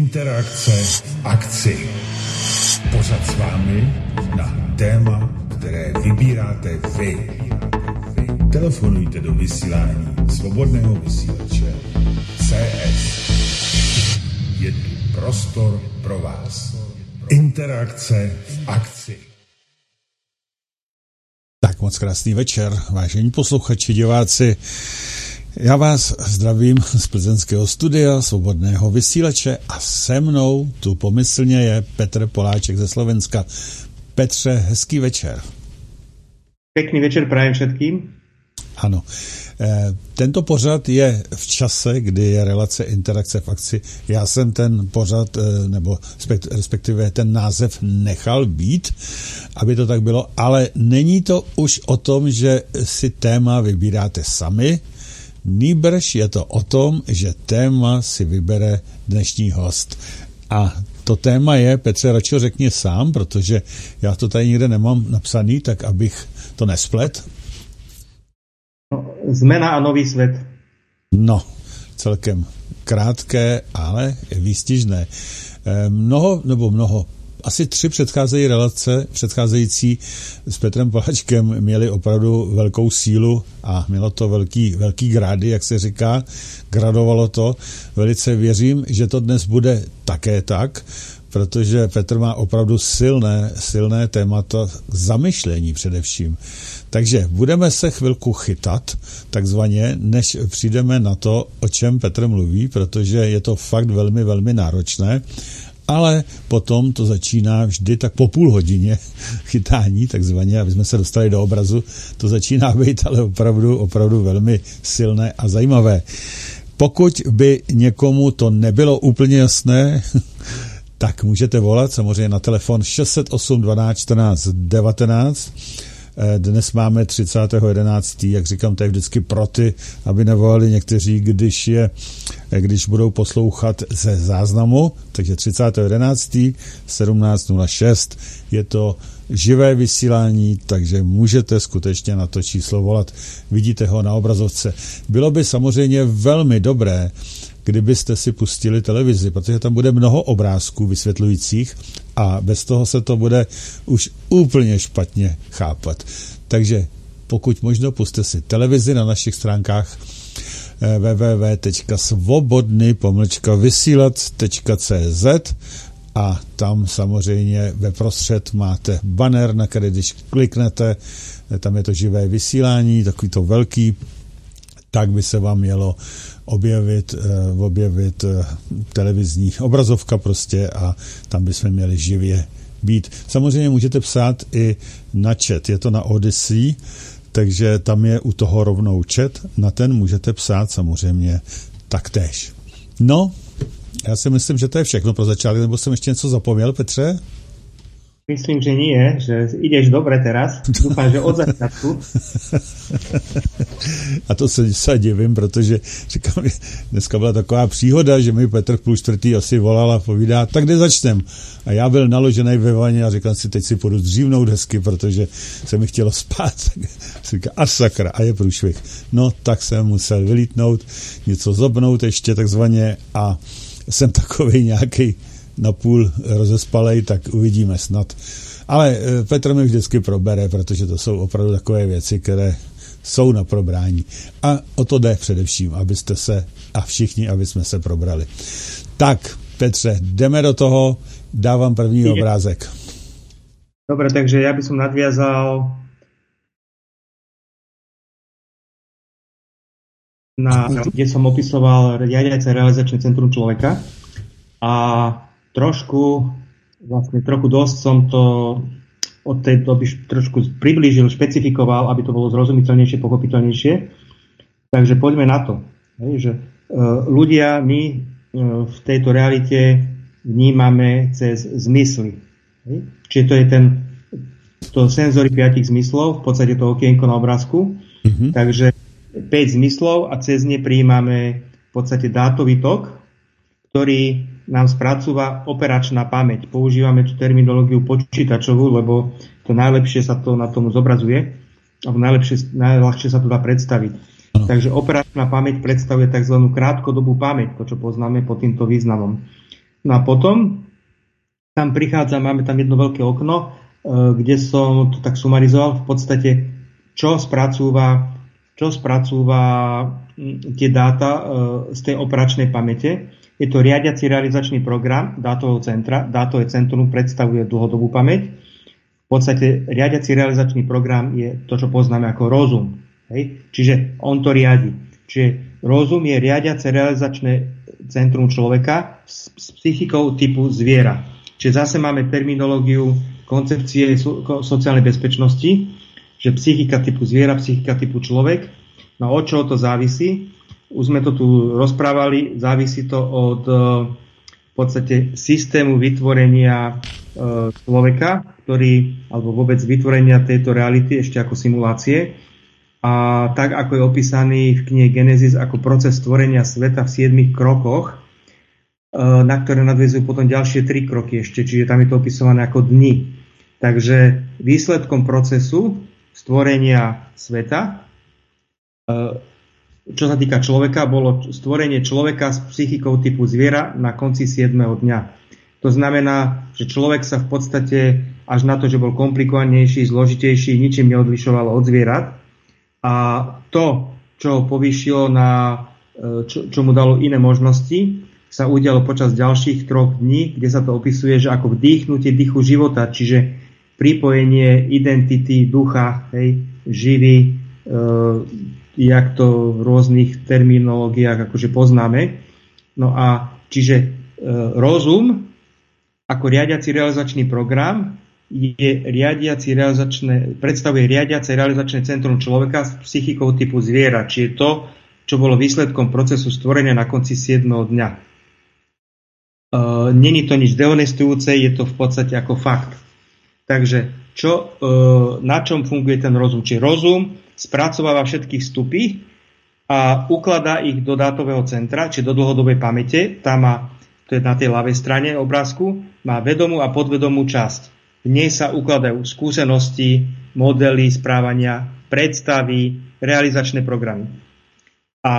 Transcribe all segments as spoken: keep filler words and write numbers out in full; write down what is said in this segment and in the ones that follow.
Interakce v akci. Pořad s vámi na téma, které vybíráte vy. Telefonujte do vysílání Svobodného vysílače C S. Je tu prostor pro vás. Interakce v akci. Tak moc krásný večer, vážení posluchači, diváci. Já vás zdravím z plzeňského studia Svobodného vysílače a se mnou tu pomyslně je Petr Poláček ze Slovenska. Petře, hezký večer. Pěkný večer prajem všetkým. Ano. Tento pořad je v čase, kdy je relace Interakce v akci. Já jsem ten pořad, nebo respektive ten název nechal být, aby to tak bylo, ale není to už o tom, že si téma vybíráte sami, nýbrž je to o tom, že téma si vybere dnešní host. A to téma je, Petře, radši řekni sám, protože já to tady nikde nemám napsaný, tak abych to nesplet. No, zmena a nový svět. No, celkem krátké, ale výstižné. Mnoho, nebo mnoho, asi tři předcházejí relace, předcházející s Petrem Poláčkem měly opravdu velkou sílu a mělo to velký, velký grády, jak se říká, gradovalo to. Velice věřím, že to dnes bude také tak, protože Petr má opravdu silné, silné témata k zamyšlení především. Takže budeme se chvilku chytat, takzvaně, než přijdeme na to, o čem Petr mluví, protože je to fakt velmi, velmi náročné, ale potom to začíná vždy tak po půl hodině chytání, takzvaně, aby jsme se dostali do obrazu, to začíná být ale opravdu, opravdu velmi silné a zajímavé. Pokud by někomu to nebylo úplně jasné, tak můžete volat samozřejmě na telefon šest set osm dvanáct čtrnáct devatenáct. Dnes máme třicátého jedenáctého jak říkám, to je vždycky pro ty, aby nevolali někteří, když je, když budou poslouchat ze záznamu, takže třicátého jedenáctého sedmnáct nula šest je to živé vysílání, takže můžete skutečně na to číslo volat. Vidíte ho na obrazovce. Bylo by samozřejmě velmi dobré, kdybyste si pustili televizi, protože tam bude mnoho obrázků vysvětlujících a bez toho se to bude už úplně špatně chápat. Takže pokud možno, puste si televizi na našich stránkách w w w tečka svobodny pomlčka vysílac tečka c z a tam samozřejmě ve prostřed máte banner, na který když kliknete, tam je to živé vysílání, takový to velký, tak by se vám mělo objevit, uh, objevit uh, televizní obrazovka prostě a tam bychom měli živě být. Samozřejmě můžete psát i na chat, je to na Odyssey, takže tam je u toho rovnou chat, na ten můžete psát samozřejmě taktéž. No, já si myslím, že to je všechno pro začátek, nebo jsem ještě něco zapomněl, Petře? Myslím, že nie, že ideš dobre teraz. Dúfam, že od začiatku. A to se, se divím, protože říkám, dneska byla taková příhoda, že mi Petr v půl čtvrtý asi volal a povídá, tak kde začnem? A já byl naložený ve vaně a říkám si, teď si půjdu zdřívnout hezky, protože se mi chtělo spát. Říká, a sakra, a je průšvih. No, tak jsem musel vylítnout, něco zobnout ještě takzvaně a jsem takovej nějaký napůl rozespalej, tak uvidíme snad. Ale Petr mi vždycky probere, protože to jsou opravdu takové věci, které jsou na probrání. A o to jde především, abyste se, a všichni, aby jsme se probrali. Tak, Petře, jdeme do toho, dávám první Ide. obrázek. Dobre, takže ja by som nadviazal na, kde som opisoval riadiace realizačné centrum človeka a trošku, vlastne trochu dosť som to od tej doby trošku priblížil, špecifikoval, aby to bolo zrozumiteľnejšie, pochopiteľnejšie. Takže poďme na to. Hej, že uh, ľudia, my uh, v tejto realite vnímame cez zmysly. Hej. Čiže to je ten to senzory piatich zmyslov, v podstate to okienko na obrázku. Mm-hmm. Takže päť zmyslov a cez ne prijímame v podstate dátový tok, ktorý nám spracúva operačná pamäť. Používame tú terminológiu počítačovú, lebo to najlepšie sa to na tom zobrazuje, alebo najlepšie, najľahšie sa to dá predstaviť. Ano. Takže operačná pamäť predstavuje tzv. Krátkodobú pamäť, to čo poznáme pod týmto významom. No a potom tam prichádza, máme tam jedno veľké okno, kde som to tak sumarizoval, v podstate, čo spracúva, čo spracúva tie dáta z tej operačnej pamäte. Je to riadiaci realizačný program dátového centra. Dátové centrum predstavuje dlhodobú pamäť. V podstate riadiaci realizačný program je to, čo poznáme ako rozum. Hej? Čiže on to riadi. Čiže rozum je riadiace realizačné centrum človeka s, s psychikou typu zviera. Čiže zase máme terminológiu koncepcie so, sociálnej bezpečnosti, že psychika typu zviera, psychika typu človek. No od čoho to závisí? Už sme to tu rozprávali, závisí to od v podstate systému vytvorenia e, človeka, ktorý, alebo vôbec vytvorenia tejto reality ešte ako simulácie. A tak, ako je opísaný v knihe Genesis ako proces stvorenia sveta v siedmich krokoch, e, na ktoré nadväzujú potom ďalšie tri kroky ešte, čiže tam je to opisované ako dni. Takže výsledkom procesu stvorenia sveta, čo sa týka človeka, bolo stvorenie človeka s psychikou typu zviera na konci siedmeho dňa. To znamená, že človek sa v podstate až na to, že bol komplikovanejší, zložitejší, ničím neodlišoval od zvierat. A to, čo ho povýšilo na, čo, čo mu dalo iné možnosti, sa udialo počas ďalších troch dní, kde sa to opisuje, že ako vdýchnutie dychu života, čiže pripojenie identity ducha, hej, živý, e, jak to v rôznych terminológiách akože poznáme. No a čiže e, rozum ako riadiaci realizačný program je riadiaci realizačné, predstavuje riadiace realizačné centrum človeka s psychikou typu zviera, čiže to, čo bolo výsledkom procesu stvorenia na konci siedmeho dňa. E, Není to nič dehonestujúce, je to v podstate ako fakt. Takže čo, na čom funguje ten rozum? Čiže rozum spracováva všetky vstupy a ukladá ich do dátového centra, či do dlhodobej pamäte. Tam má, to je na tej ľavej strane obrázku, má vedomú a podvedomú časť. V nej sa ukladajú skúsenosti, modely správania, predstavy, realizačné programy. A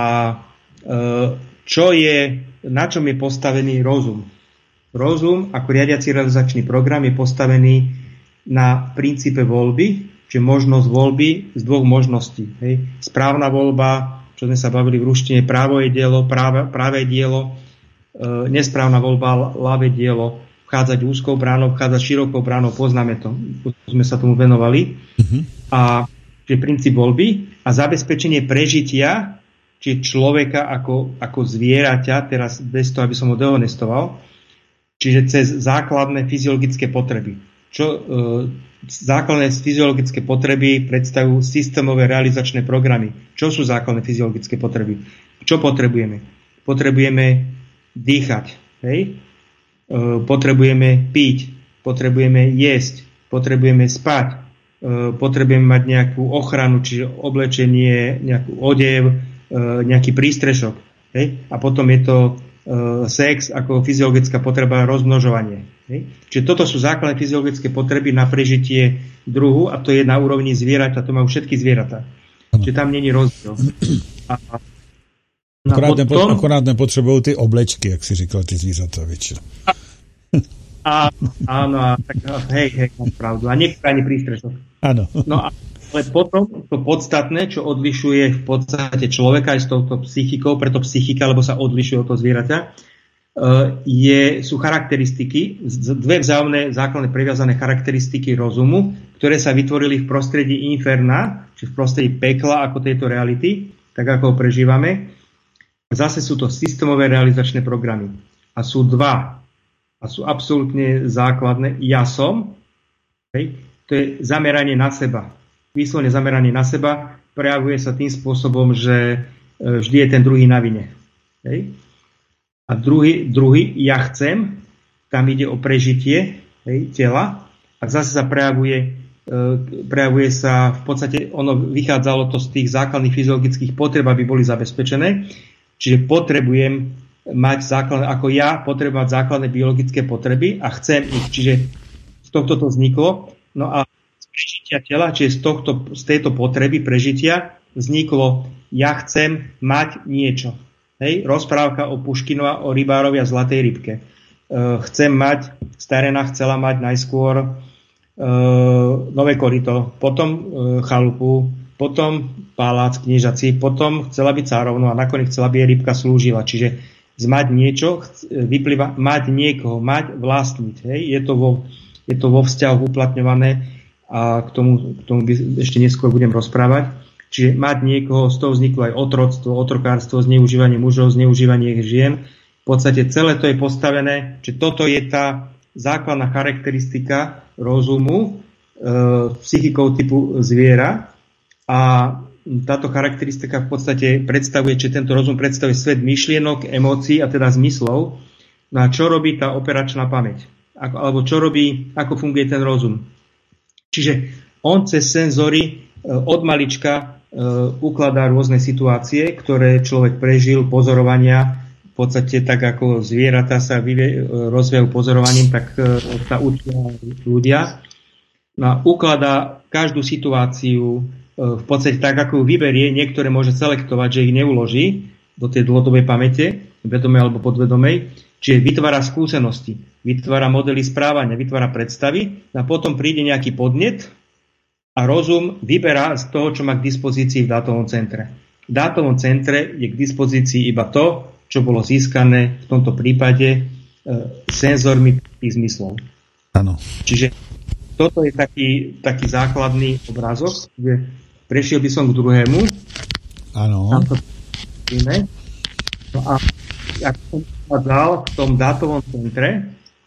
čo je, na čom je postavený rozum? Rozum ako riadiaci realizačný program je postavený na princípe voľby, čiže možnosť voľby z dvoch možností. Hej. Správna voľba, čo sme sa bavili v ruštine, právo je dielo, práve, práve dielo, e, nesprávna voľba, ľavé dielo, vchádzať úzkou bránou, vchádzať širokou bránou, poznáme to, sme sa tomu venovali. Mm-hmm. A čiže princíp voľby a zabezpečenie prežitia, či človeka ako, ako zvieraťa, teraz bez toho, aby som ho dehonestoval, čiže cez základné fyziologické potreby. Čo e, základné fyziologické potreby predstavujú systémové realizačné programy. Čo sú základné fyziologické potreby? Čo potrebujeme? Potrebujeme dýchať, hej? E, potrebujeme piť, potrebujeme jesť, potrebujeme spať, e, potrebujeme mať nejakú ochranu, čiže oblečenie, nejakú odev, e, nejaký prístrešok, hej? A potom je to sex ako fyziologická potreba, rozmnožovanie. Hej. Čiže toto sú základné fyziologické potreby na prežitie druhu a to je na úrovni zvieratá, to majú všetky zvieratá. Čiže tam není rozdiel. A, a akorát, potom, nepo, akorát nepotřebujú ty oblečky, jak si říkal, ty zvířata väčšina. A, áno, a tak hej, hej, máš pravdu. A niektoré ani prístrešok. Áno. No a ale potom to podstatné, čo odlišuje v podstate človeka aj s touto psychikou, preto psychika, lebo sa odlišuje od toho zvieraťa, je, sú charakteristiky, dve vzájomné základné previazané charakteristiky rozumu, ktoré sa vytvorili v prostredí inferna, či v prostredí pekla ako tejto reality, tak ako ho prežívame. Zase sú to systémové realizačné programy. A sú dva. A sú absolútne základné. Ja som, hej, to je zameranie na seba. Výslovne zameranie na seba prejavuje sa tým spôsobom, že vždy je ten druhý na vine. Hej. A druhý, druhý, ja chcem, tam ide o prežitie, hej, tela a zase sa prejavuje, e, prejavuje sa, v podstate ono vychádzalo to z tých základných fyziologických potreb, aby boli zabezpečené. Čiže potrebujem mať základné, ako ja potrebujem mať základné biologické potreby a chcem ich, čiže z tohto to vzniklo. No a prežitia tela, čiže z, tohto, z tejto potreby prežitia vzniklo ja chcem mať niečo. Hej? Rozprávka o Puškinova, o rybárovi a zlatej rybke. chcem mať, starena chcela mať najskôr e, nové koryto, potom e, chalupu, potom palác kniežací, potom chcela byť cárovnou a nakoniec chcela, aby jej rybka slúžila. Čiže mať niečo vyplýva, mať niekoho, mať, vlastniť. Hej? Je to vo, je to vo vzťahu uplatňované a k tomu, k tomu by ešte neskôr budem rozprávať. Čiže mať niekoho, z toho vzniklo aj otroctvo, otrokárstvo, zneužívanie mužov, zneužívanie žien. V podstate celé to je postavené, že toto je tá základná charakteristika rozumu e, psychikou typu zviera a táto charakteristika v podstate predstavuje, že tento rozum predstavuje svet myšlienok, emócií a teda zmyslov. No a čo robí tá operačná pamäť? Ako, alebo čo robí, ako funguje ten rozum? Čiže on cez senzory e, od malička e, ukladá rôzne situácie, ktoré človek prežil, pozorovania. V podstate tak ako zvieratá sa vyvie, rozvíjajú pozorovaním, tak e, sa učia ľudia. No a ukladá každú situáciu v podstate tak, ako ju vyberie, niektoré môže selektovať, že ich neuloží do tej dlhodobej pamäte, vedomej alebo podvedomej, čiže vytvára skúsenosti, vytvára modely správania, vytvára predstavy a potom príde nejaký podnet a rozum vyberá z toho, čo má k dispozícii v dátovom centre. V dátovom centre je k dispozícii iba to, čo bolo získané v tomto prípade e, senzormi tých zmyslov. Áno. Čiže toto je taký, taký základný obrázok, kde prešiel by som k druhému. Áno. No a ako som povedal, v tom dátovom centre e,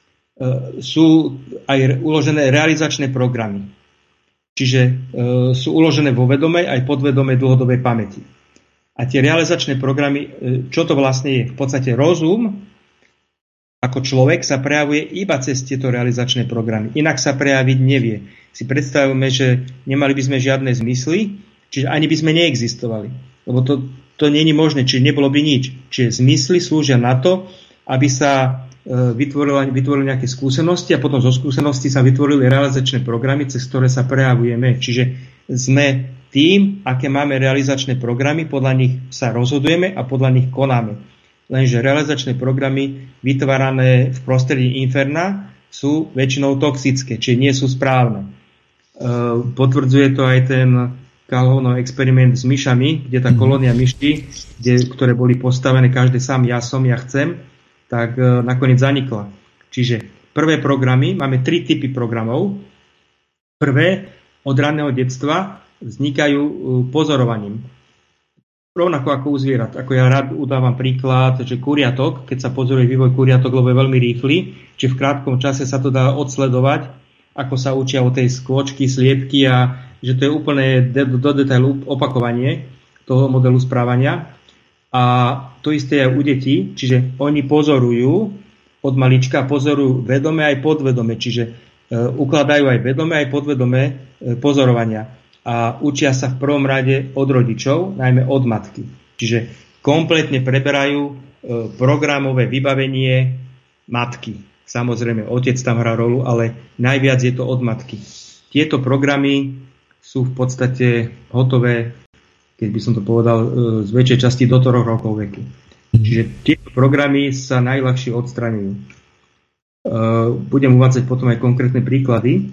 sú aj uložené realizačné programy. Čiže e, sú uložené vo vedomej aj podvedomej dlhodobej pamäti. A tie realizačné programy, e, čo to vlastne je? V podstate rozum ako človek sa prejavuje iba cez tieto realizačné programy. Inak sa prejaviť nevie. Si predstavujeme, že nemali by sme žiadne zmysly, čiže ani by sme neexistovali. Lebo to, to nie je možné, čiže nebolo by nič. Čiže zmysly slúžia na to, aby sa e, vytvorili, vytvorili nejaké skúsenosti a potom zo skúseností sa vytvorili realizačné programy, cez ktoré sa prejavujeme. Čiže sme tým, aké máme realizačné programy, podľa nich sa rozhodujeme a podľa nich konáme. Lenže realizačné programy vytvárané v prostredí inferna sú väčšinou toxické, čiže nie sú správne. E, potvrdzuje to aj ten Calhounov experiment s myšami, kde tá kolónia myší, kde, ktoré boli postavené každé sám ja som, ja chcem, tak e, nakoniec zanikla. Čiže prvé programy, máme tri typy programov. Prvé od ranného detstva vznikajú e, pozorovaním. Rovnako ako u zvierat. Ako ja rád udávam príklad, že kuriatok, keď sa pozoruje vývoj kuriatok, lebo je veľmi rýchly, či v krátkom čase sa to dá odsledovať, ako sa učia o tej skôčky, sliepky a že to je úplne do, do detailu opakovanie toho modelu správania. A to isté je u detí, čiže oni pozorujú od malička, pozorujú vedome aj podvedome, čiže e, ukladajú aj vedome aj podvedome e, pozorovania. A učia sa v prvom rade od rodičov, najmä od matky. Čiže kompletne preberajú e, programové vybavenie matky. Samozrejme, otec tam hrá rolu, ale najviac je to od matky. Tieto programy sú v podstate hotové, keď by som to povedal, e, z väčšej časti do troch rokov veku. Čiže tieto programy sa najľahšie odstraňujú. E, budem uvádzať potom aj konkrétne príklady.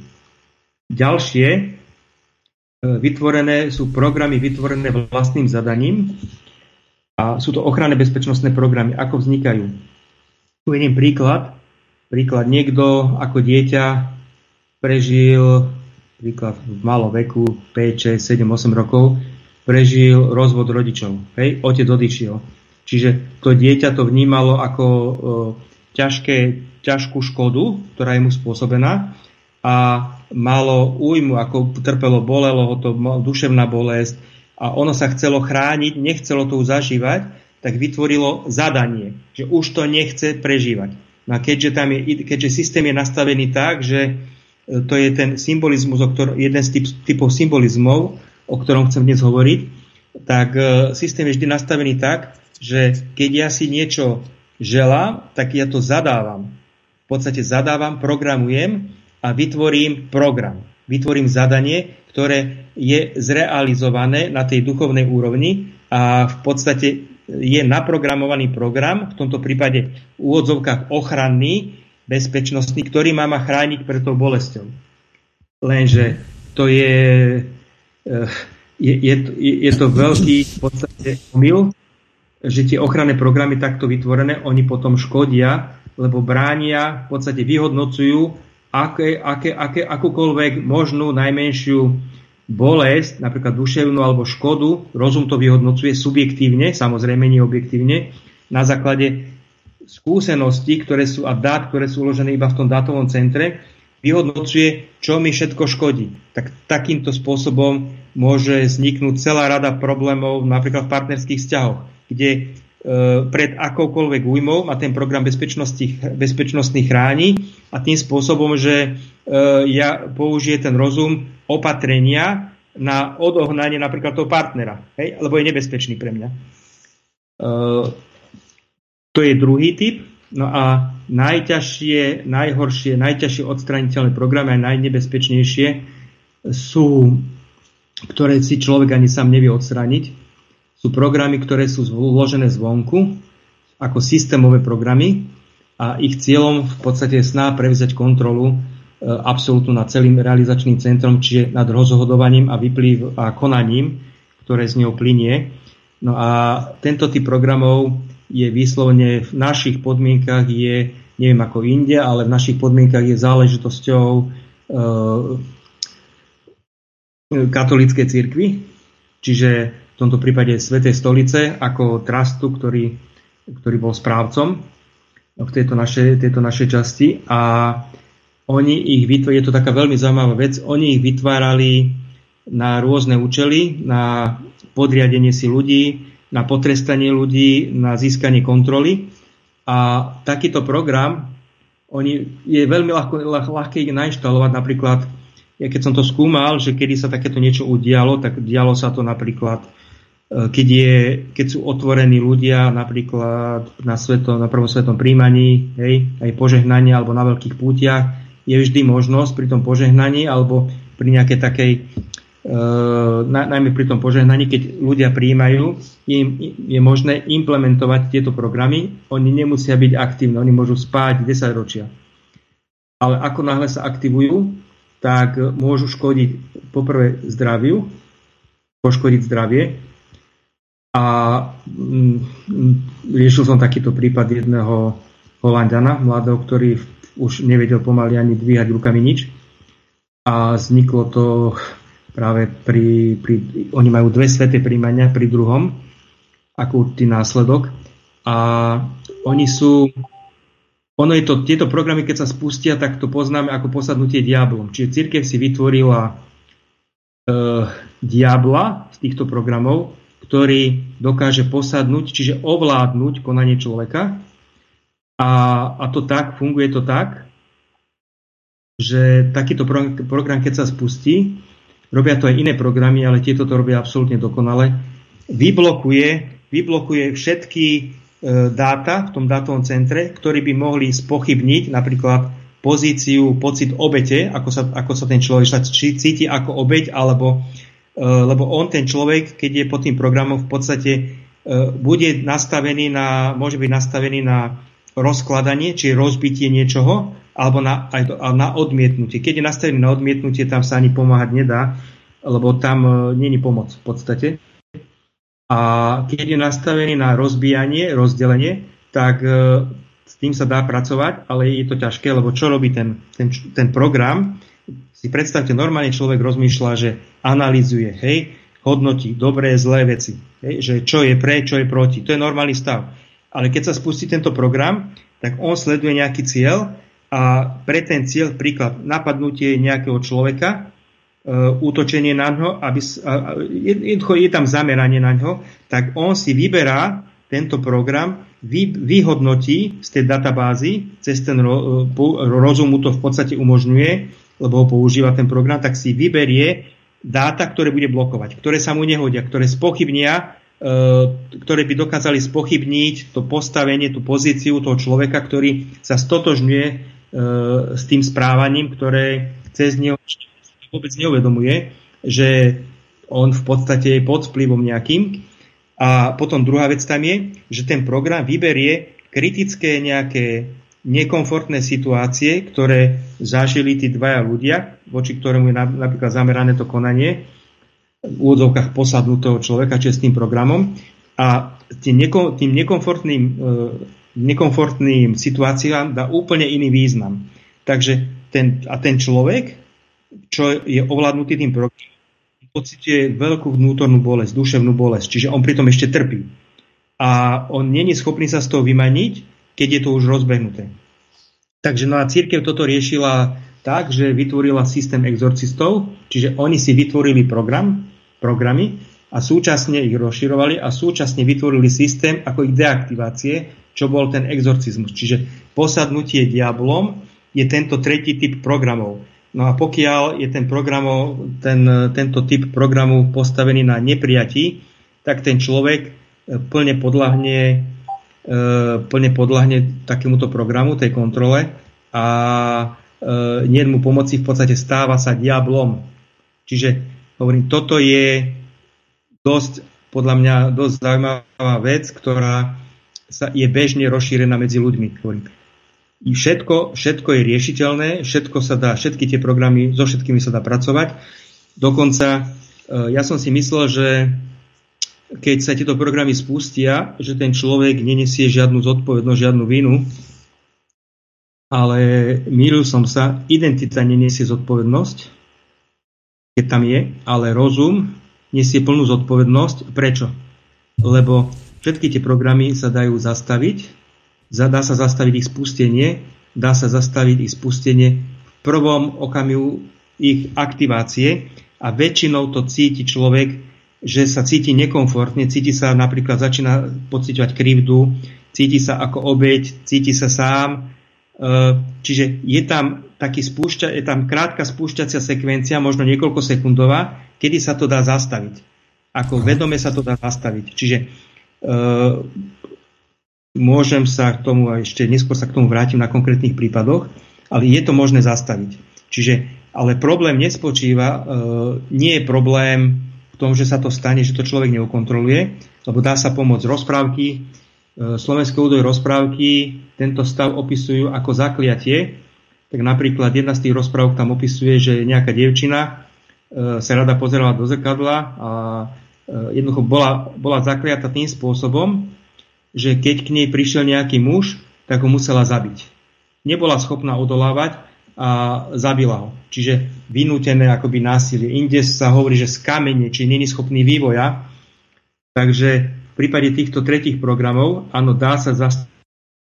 Ďalšie vytvorené sú programy vytvorené vlastným zadaním a sú to ochranné bezpečnostné programy. Ako vznikajú? Uvediem príklad. Príklad, niekto ako dieťa prežil, príklad v malom veku, päť, šesť, sedem, osem rokov, prežil rozvod rodičov. Hej? Otec odišiel. Čiže to dieťa to vnímalo ako e, ťažké, ťažkú škodu, ktorá je mu spôsobená, a malo újmu, ako trpelo, bolelo ho to, duševná bolesť a ono sa chcelo chrániť, nechcelo to zažívať, tak vytvorilo zadanie, že už to nechce prežívať. No a keďže, tam je, keďže systém je nastavený tak, že to je ten symbolizmus, o ktorom, jeden z typ, typov symbolizmov, o ktorom chcem dnes hovoriť, tak systém je vždy nastavený tak, že keď ja si niečo želám, tak ja to zadávam. V podstate zadávam, programujem a vytvorím program. Vytvorím zadanie, ktoré je zrealizované na tej duchovnej úrovni a v podstate je naprogramovaný program, v tomto prípade v úvodzovkách ochranný, bezpečnostný, ktorý má ma chrániť pred tou bolesťou. Lenže to je, je, je, je to veľký v podstate omyl, že tie ochranné programy takto vytvorené, oni potom škodia, lebo bránia, v podstate vyhodnocujú aké, aké, aké, akúkoľvek možnú najmenšiu bolesť, napríklad duševnú alebo škodu, rozum to vyhodnocuje subjektívne, samozrejme nie objektívne, na základe skúseností, ktoré sú a dát, ktoré sú uložené iba v tom dátovom centre, vyhodnocuje, čo mi všetko škodí. Tak takýmto spôsobom môže vzniknúť celá rada problémov napríklad v partnerských vzťahoch, kde e, pred akoukoľvek újmou ma ten program bezpečnostný chráni a tým spôsobom, že e, ja použije ten rozum opatrenia na odohnanie napríklad toho partnera, hej, lebo je nebezpečný pre mňa. E, to je druhý typ. No a najťažšie, najhoršie, najťažšie odstraniteľné programy a najnebezpečnejšie sú, ktoré si človek ani sám nevie odstrániť, sú programy, ktoré sú vložené zvonku ako systémové programy a ich cieľom v podstate je sná prevziať kontrolu e, absolútnu nad celým realizačným centrom, čiže nad rozhodovaním a vyplýv a konaním, ktoré z neho plynie. No a tento typ programov je výslovne v našich podmienkach je, neviem ako inde, ale v našich podmienkach je záležitosťou e, katolíckej cirkvi, čiže v tomto prípade Svätej stolice ako trustu, ktorý, ktorý bol správcom v tejto našej, tejto našej časti a oni ich vytvárali, je to taká veľmi zaujímavá vec, oni ich vytvárali na rôzne účely, na podriadenie si ľudí, na potrestanie ľudí, na získanie kontroly. A takýto program oni, je veľmi ľahko, ľah, ľahké ich nainštalovať. Napríklad, ja keď som to skúmal, že kedy sa takéto niečo udialo, tak dialo sa to napríklad, keď, je, keď sú otvorení ľudia napríklad na, sveto, na prvom svetom príjmaní, hej, aj požehnanie alebo na veľkých pútiach, je vždy možnosť pri tom požehnaní alebo pri nejakej takej Uh, na, najmä pri tom požehnaní, keď ľudia prijímajú, im, je možné implementovať tieto programy. Oni nemusia byť aktívni, oni môžu spať desaťročia. Ale ako náhle sa aktivujú, tak môžu škodiť poprvé zdraviu, poškodiť zdravie. A mm, riešil som takýto prípad jedného Holanďana, mladého, ktorý už nevedel pomaly ani dvíhať rukami nič. A vzniklo to práve pri, pri, oni majú dve sväté príjmania pri druhom, ako určitý následok. A oni sú, ono je to, tieto programy, keď sa spustia, tak to poznáme ako posadnutie diablom. Čiže cirkev si vytvorila e, diabla z týchto programov, ktorý dokáže posadnúť, čiže ovládnuť konanie človeka. A, a to tak, funguje to tak, že takýto program, keď sa spustí, robia to aj iné programy, ale tieto to robia absolútne dokonale, vyblokuje, vyblokuje všetky e, dáta v tom dátovom centre, ktorí by mohli spochybniť napríklad pozíciu, pocit obete, ako sa, ako sa ten človek či cíti ako obeť, alebo, e, lebo on, ten človek, keď je pod tým programom, v podstate e, bude nastavený na, môže byť nastavený na rozkladanie, či rozbitie niečoho, alebo na, aj to, na odmietnutie. Keď je nastavený na odmietnutie, tam sa ani pomáhať nedá, lebo tam e, nie je pomoc v podstate. A keď je nastavený na rozbíjanie, rozdelenie, tak e, s tým sa dá pracovať, ale je to ťažké, lebo čo robí ten, ten, ten program? Si predstavte, normálne človek rozmýšľa, že analyzuje, hej, hodnotí dobré, zlé veci, hej, že čo je pre, čo je proti. To je normálny stav. Ale keď sa spustí tento program, tak on sleduje nejaký cieľ a pre ten cieľ, príklad, napadnutie nejakého človeka, e, útočenie na ňo, aby, a, je, je tam zameranie na ňo, tak on si vyberá tento program, vy, vyhodnotí z tej databázy, cez ten ro, rozum mu to v podstate umožňuje, lebo ho používa ten program, tak si vyberie dáta, ktoré bude blokovať, ktoré sa mu nehodia, ktoré spochybnia, ktoré by dokázali spochybniť to postavenie, tú pozíciu toho človeka, ktorý sa stotožňuje e, s tým správaním, ktoré cez neho vôbec neuvedomuje, že on v podstate je pod vplyvom nejakým. A potom druhá vec tam je, že ten program vyberie kritické nejaké nekomfortné situácie, ktoré zažili tí dvaja ľudia, voči ktorému je napríklad zamerané to konanie, v úvodzovkách posadnutého človeka čestným programom, a tým, neko, tým nekomfortným, e, nekomfortným situáciám dá úplne iný význam. Takže ten, a ten človek, čo je ovládnutý tým programom, pociťuje veľkú vnútornú bolesť, duševnú bolesť, čiže on pritom ešte trpí. A on nie je schopný sa z toho vymaniť, keď je to už rozbehnuté. Takže no a cirkev toto riešila tak, že vytvorila systém exorcistov, čiže oni si vytvorili program, programy a súčasne ich rozširovali a súčasne vytvorili systém ako ich deaktivácie, čo bol ten exorcizmus. Čiže posadnutie diablom je tento tretí typ programov. No a pokiaľ je ten programov, ten, tento typ programu postavený na neprijatí, tak ten človek plne podľahne, plne podľahne takémuto programu, tej kontrole, a nie mu pomoci, v podstate stáva sa diablom. Čiže hovorím, toto je dosť, podľa mňa, dosť zaujímavá vec, ktorá sa je bežne rozšírená medzi ľuďmi. Hovorím. I všetko, všetko je riešiteľné, všetko sa dá, všetky tie programy, so všetkými sa dá pracovať. Dokonca ja som si myslel, že keď sa tieto programy spustia, že ten človek nenesie žiadnu zodpovednosť, žiadnu vinu, ale mýlil som sa, identita nenesie zodpovednosť, keď tam je, ale rozum nesie plnú zodpovednosť. Prečo? Lebo všetky tie programy sa dajú zastaviť, dá sa zastaviť ich spustenie, dá sa zastaviť ich spustenie v prvom okamihu ich aktivácie a väčšinou to cíti človek, že sa cíti nekomfortne, cíti sa napríklad, začína pociťovať krivdu, cíti sa ako obeť, cíti sa sám. Čiže je tam, taký spúšťa, je tam krátka spúšťacia sekvencia, možno niekoľko sekundová, kedy sa to dá zastaviť. Ako vedome sa to dá zastaviť. Čiže uh, môžem sa k tomu, a ešte neskôr sa k tomu vrátim na konkrétnych prípadoch, ale je to možné zastaviť. Čiže, ale problém nespočíva, uh, nie je problém v tom, že sa to stane, že to človek neukontroluje, lebo dá sa pomôcť rozprávky. Uh, Slovenské údoj rozprávky tento stav opisujú ako zakliatie. Tak napríklad jedna z tých rozprávok tam opisuje, že nejaká dievčina sa rada pozerala do zrkadla a jednoducho bola, bola zakliata tým spôsobom, že keď k nej prišiel nejaký muž, tak ho musela zabiť. Nebola schopná odolávať a zabila ho. Čiže vynútené akoby násilie. Inde sa hovorí, že z kamene, či není schopný vývoja. Takže v prípade týchto tretích programov, áno, dá sa zastaviť.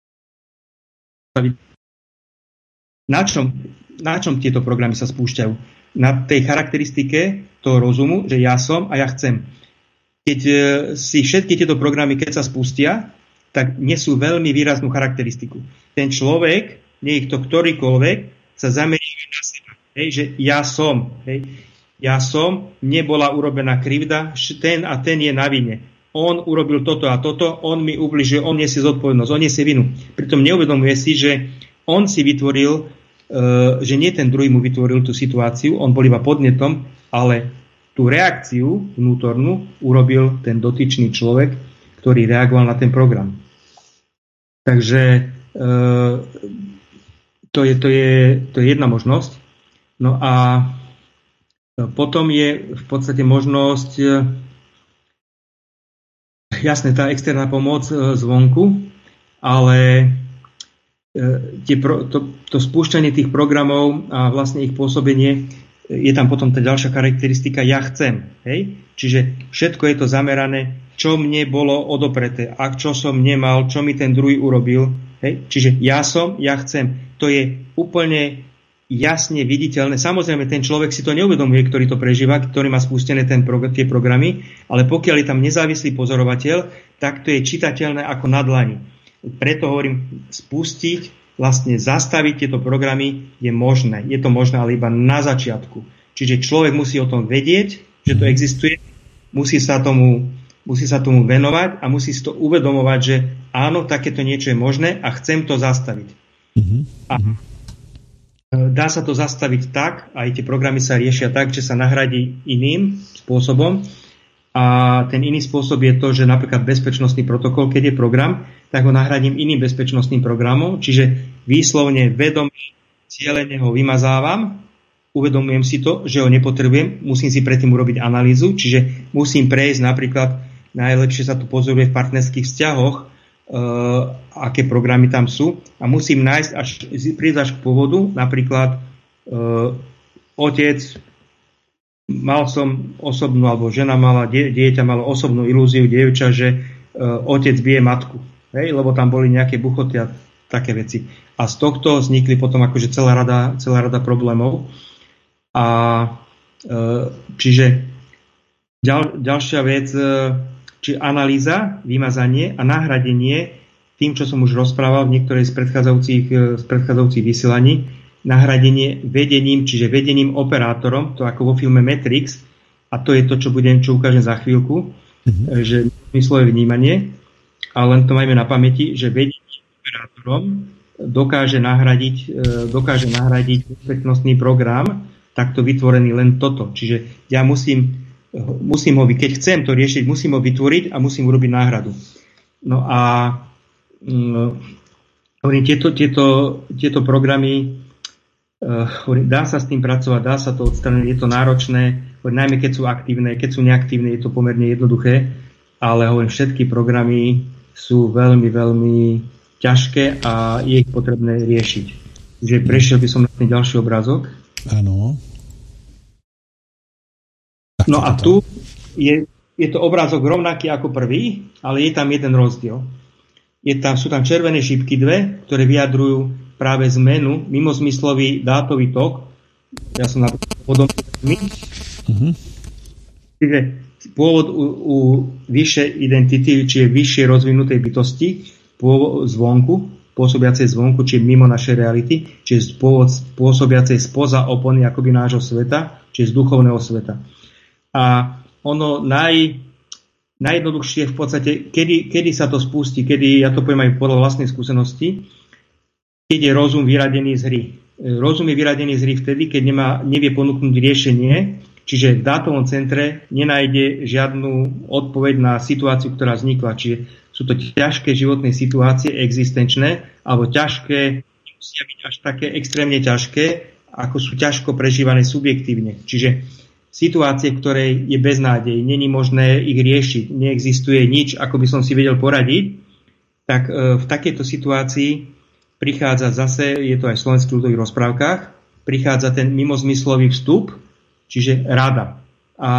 Na čom, na čom tieto programy sa spúšťajú? Na tej charakteristike toho rozumu, že ja som a ja chcem. Keď si všetky tieto programy, keď sa spustia, tak nesú veľmi výraznú charakteristiku. Ten človek, nie ich to ktorýkoľvek, sa zamerí na seba. Hej, že ja som. Hej, ja som, nebola urobená krivda, ten a ten je na vine. On urobil toto a toto, on mi ubližil, on nesie zodpovednosť, on nesie vinu. Pritom neuvedomuje si, že on si vytvoril, že nie ten druhý mu vytvoril tú situáciu, on bol iba podnetom, ale tú reakciu vnútornú urobil ten dotyčný človek, ktorý reagoval na ten program. Takže to je, to je, to je jedna možnosť. No a potom je v podstate možnosť, jasné, tá externá pomoc zvonku, ale Tie pro, to, to spúšťanie tých programov a vlastne ich pôsobenie, je tam potom tá ďalšia charakteristika ja chcem. Hej? Čiže všetko je to zamerané, čo mne bolo odopreté, a čo som nemal, čo mi ten druhý urobil. Hej? Čiže ja som, ja chcem. To je úplne jasne viditeľné. Samozrejme, ten človek si to neuvedomuje, ktorý to prežíva, ktorý má spustené ten prog- tie programy, ale pokiaľ je tam nezávislý pozorovateľ, tak to je čitateľné ako na dlani. Preto hovorím, spustiť, vlastne zastaviť tieto programy je možné. Je to možné, ale iba na začiatku. Čiže človek musí o tom vedieť, že to existuje, musí sa tomu, musí sa tomu venovať a musí si to uvedomovať, že áno, takéto niečo je možné a chcem to zastaviť. Mm-hmm. A dá sa to zastaviť tak, aj tie programy sa riešia tak, že sa nahradí iným spôsobom. A ten iný spôsob je to, že napríklad bezpečnostný protokol, keď je program, tak ho nahradím iným bezpečnostným programom. Čiže výslovne vedomé, cieľene ho vymazávam, uvedomujem si to, že ho nepotrebujem, musím si predtým urobiť analýzu, čiže musím prejsť napríklad, najlepšie sa to pozoruje v partnerských vzťahoch, e, aké programy tam sú a musím nájsť, až prísť až k pôvodu, napríklad e, otec, mal som osobnú, alebo žena mala, die, dieťa malo osobnú ilúziu, dievča, že e, otec bije matku, hej, lebo tam boli nejaké buchoty a také veci. A z tohto vznikli potom akože celá rada, celá rada problémov. A e, čiže ďal, ďalšia vec, e, či analýza, vymazanie a nahradenie tým, čo som už rozprával v niektorej z predchádzajúcich, z predchádzajúcich vysielaní, nahradenie vedením, čiže vedením operátorom, to ako vo filme Matrix, a to je to, čo budem, čo ukážem za chvíľku, mm-hmm. že myslové vnímanie, ale len to majme na pamäti, že vedením operátorom dokáže nahradiť, dokáže nahradiť bezpečnostný program, takto vytvorený len toto. Čiže ja musím musím ho, keď chcem to riešiť, musím ho vytvoriť a musím urobiť náhradu. No a um, tieto, tieto, tieto programy uh, dá sa s tým pracovať, dá sa to odstrániť, je to náročné, najmä keď sú aktívne, keď sú neaktívne, je to pomerne jednoduché, ale hovorím, všetky programy sú veľmi, veľmi ťažké a je ich potrebné riešiť. Takže prešiel by som na ten ďalší obrázok. Áno. No a tu je, je to obrázok rovnaký ako prvý, ale je tam jeden rozdiel. Je tam, sú tam červené šípky dve, ktoré vyjadrujú práve zmenu, mimozmyslový dátový tok. Ja som na to podobný. Mm-hmm. Čiže pôvod u, u vyššej identity, či je vyššie rozvinutej bytosti, pôvod zvonku, pôsobiacej zvonku, či mimo našej reality, či je pôvod pôsobiacej spoza opony akoby nášho sveta, či z duchovného sveta. A ono naj, najjednoduchšie v podstate, kedy, kedy sa to spustí, kedy, ja to poviem aj podľa vlastnej skúsenosti, keď je rozum vyradený z hry. Rozum je vyradený z hry vtedy, keď nemá, nevie ponúknuť riešenie, čiže v dátovom centre nenájde žiadnu odpoveď na situáciu, ktorá vznikla. Čiže sú to ťažké životné situácie, existenčné, alebo ťažké, musia byť až také extrémne ťažké, ako sú ťažko prežívané subjektívne. Čiže situácie, v ktorej je beznádej, není možné ich riešiť, neexistuje nič, ako by som si vedel poradiť, tak v takejto situácii prichádza zase, je to aj v slovenských ľudových rozprávkach, prichádza ten mimozmyslový vstup, čiže rada. A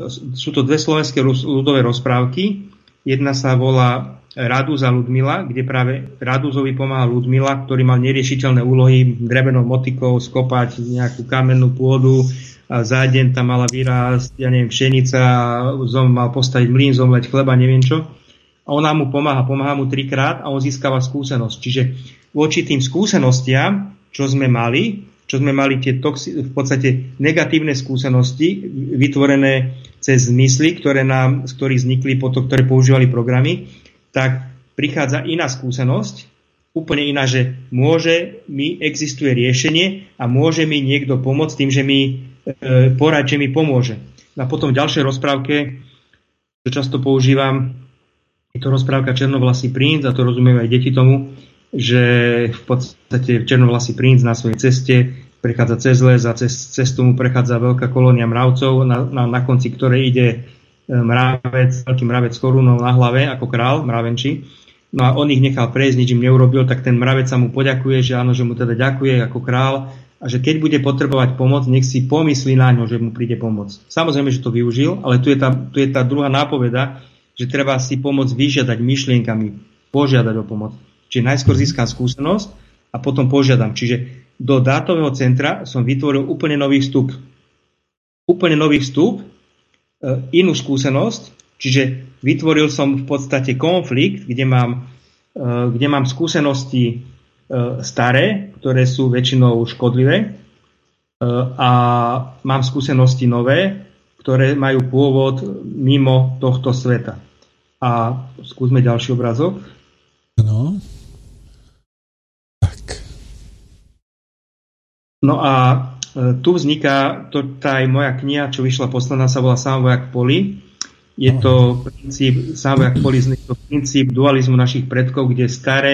sú to dve slovenské ľudové rozprávky. Jedna sa volá Raduza Ludmila, kde práve Raduzovi pomáha Ludmila, ktorý mal neriešiteľné úlohy drevenou motikou skopať nejakú kamennú pôdu, a za deň tam mala vyrásť, ja neviem, pšenica, zom mal postaviť mlyn, zomleť chleba, neviem čo. A ona mu pomáha, pomáha mu trikrát a on získava skúsenosť. Čiže voči tým skúsenostiam, čo sme mali, čo sme mali tie toxi- v podstate negatívne skúsenosti, vytvorené cez zmysly, ktoré nám, z ktorých vznikli, potom, ktoré používali programy, tak prichádza iná skúsenosť, úplne iná, že môže mi, existuje riešenie a môže mi niekto pomôcť tým, že mi porad, že mi pomôže. A potom v ďalšej rozprávke, čo často používam, je to rozprávka Černovlasý princ, a to rozumejú aj deti tomu, že v podstate Černovlasý princ na svojej ceste prechádza cez les a cez cestu mu prechádza veľká kolónia mravcov, na, na, na konci ktorej ide mravec, veľký mravec s korunou na hlave, ako král, mravenčí. No a on ich nechal prejsť, nič im neurobil, tak ten mravec sa mu poďakuje, že áno, že mu teda ďakuje ako král, a že keď bude potrebovať pomoc, nech si pomyslí na ňo, že mu príde pomoc. Samozrejme, že to využil, ale tu je tá, tu je tá druhá nápoveda, že treba si pomoc vyžiadať myšlienkami, požiadať o pomoc. Čiže najskôr získam skúsenosť a potom požiadam. Čiže do dátového centra som vytvoril úplne nový vstup. Úplne nový vstup, inú skúsenosť, čiže vytvoril som v podstate konflikt, kde mám, kde mám skúsenosti staré, ktoré sú väčšinou škodlivé, a mám skúsenosti nové, ktoré majú pôvod mimo tohto sveta. A skúsme ďalší obrázok. No. Tak. No a tu vzniká, to tá aj moja kniha, čo vyšla posledná, sa volá Sám vojak v poli. Je to princíp, Sám vojak v poli, to princíp dualizmu našich predkov, kde staré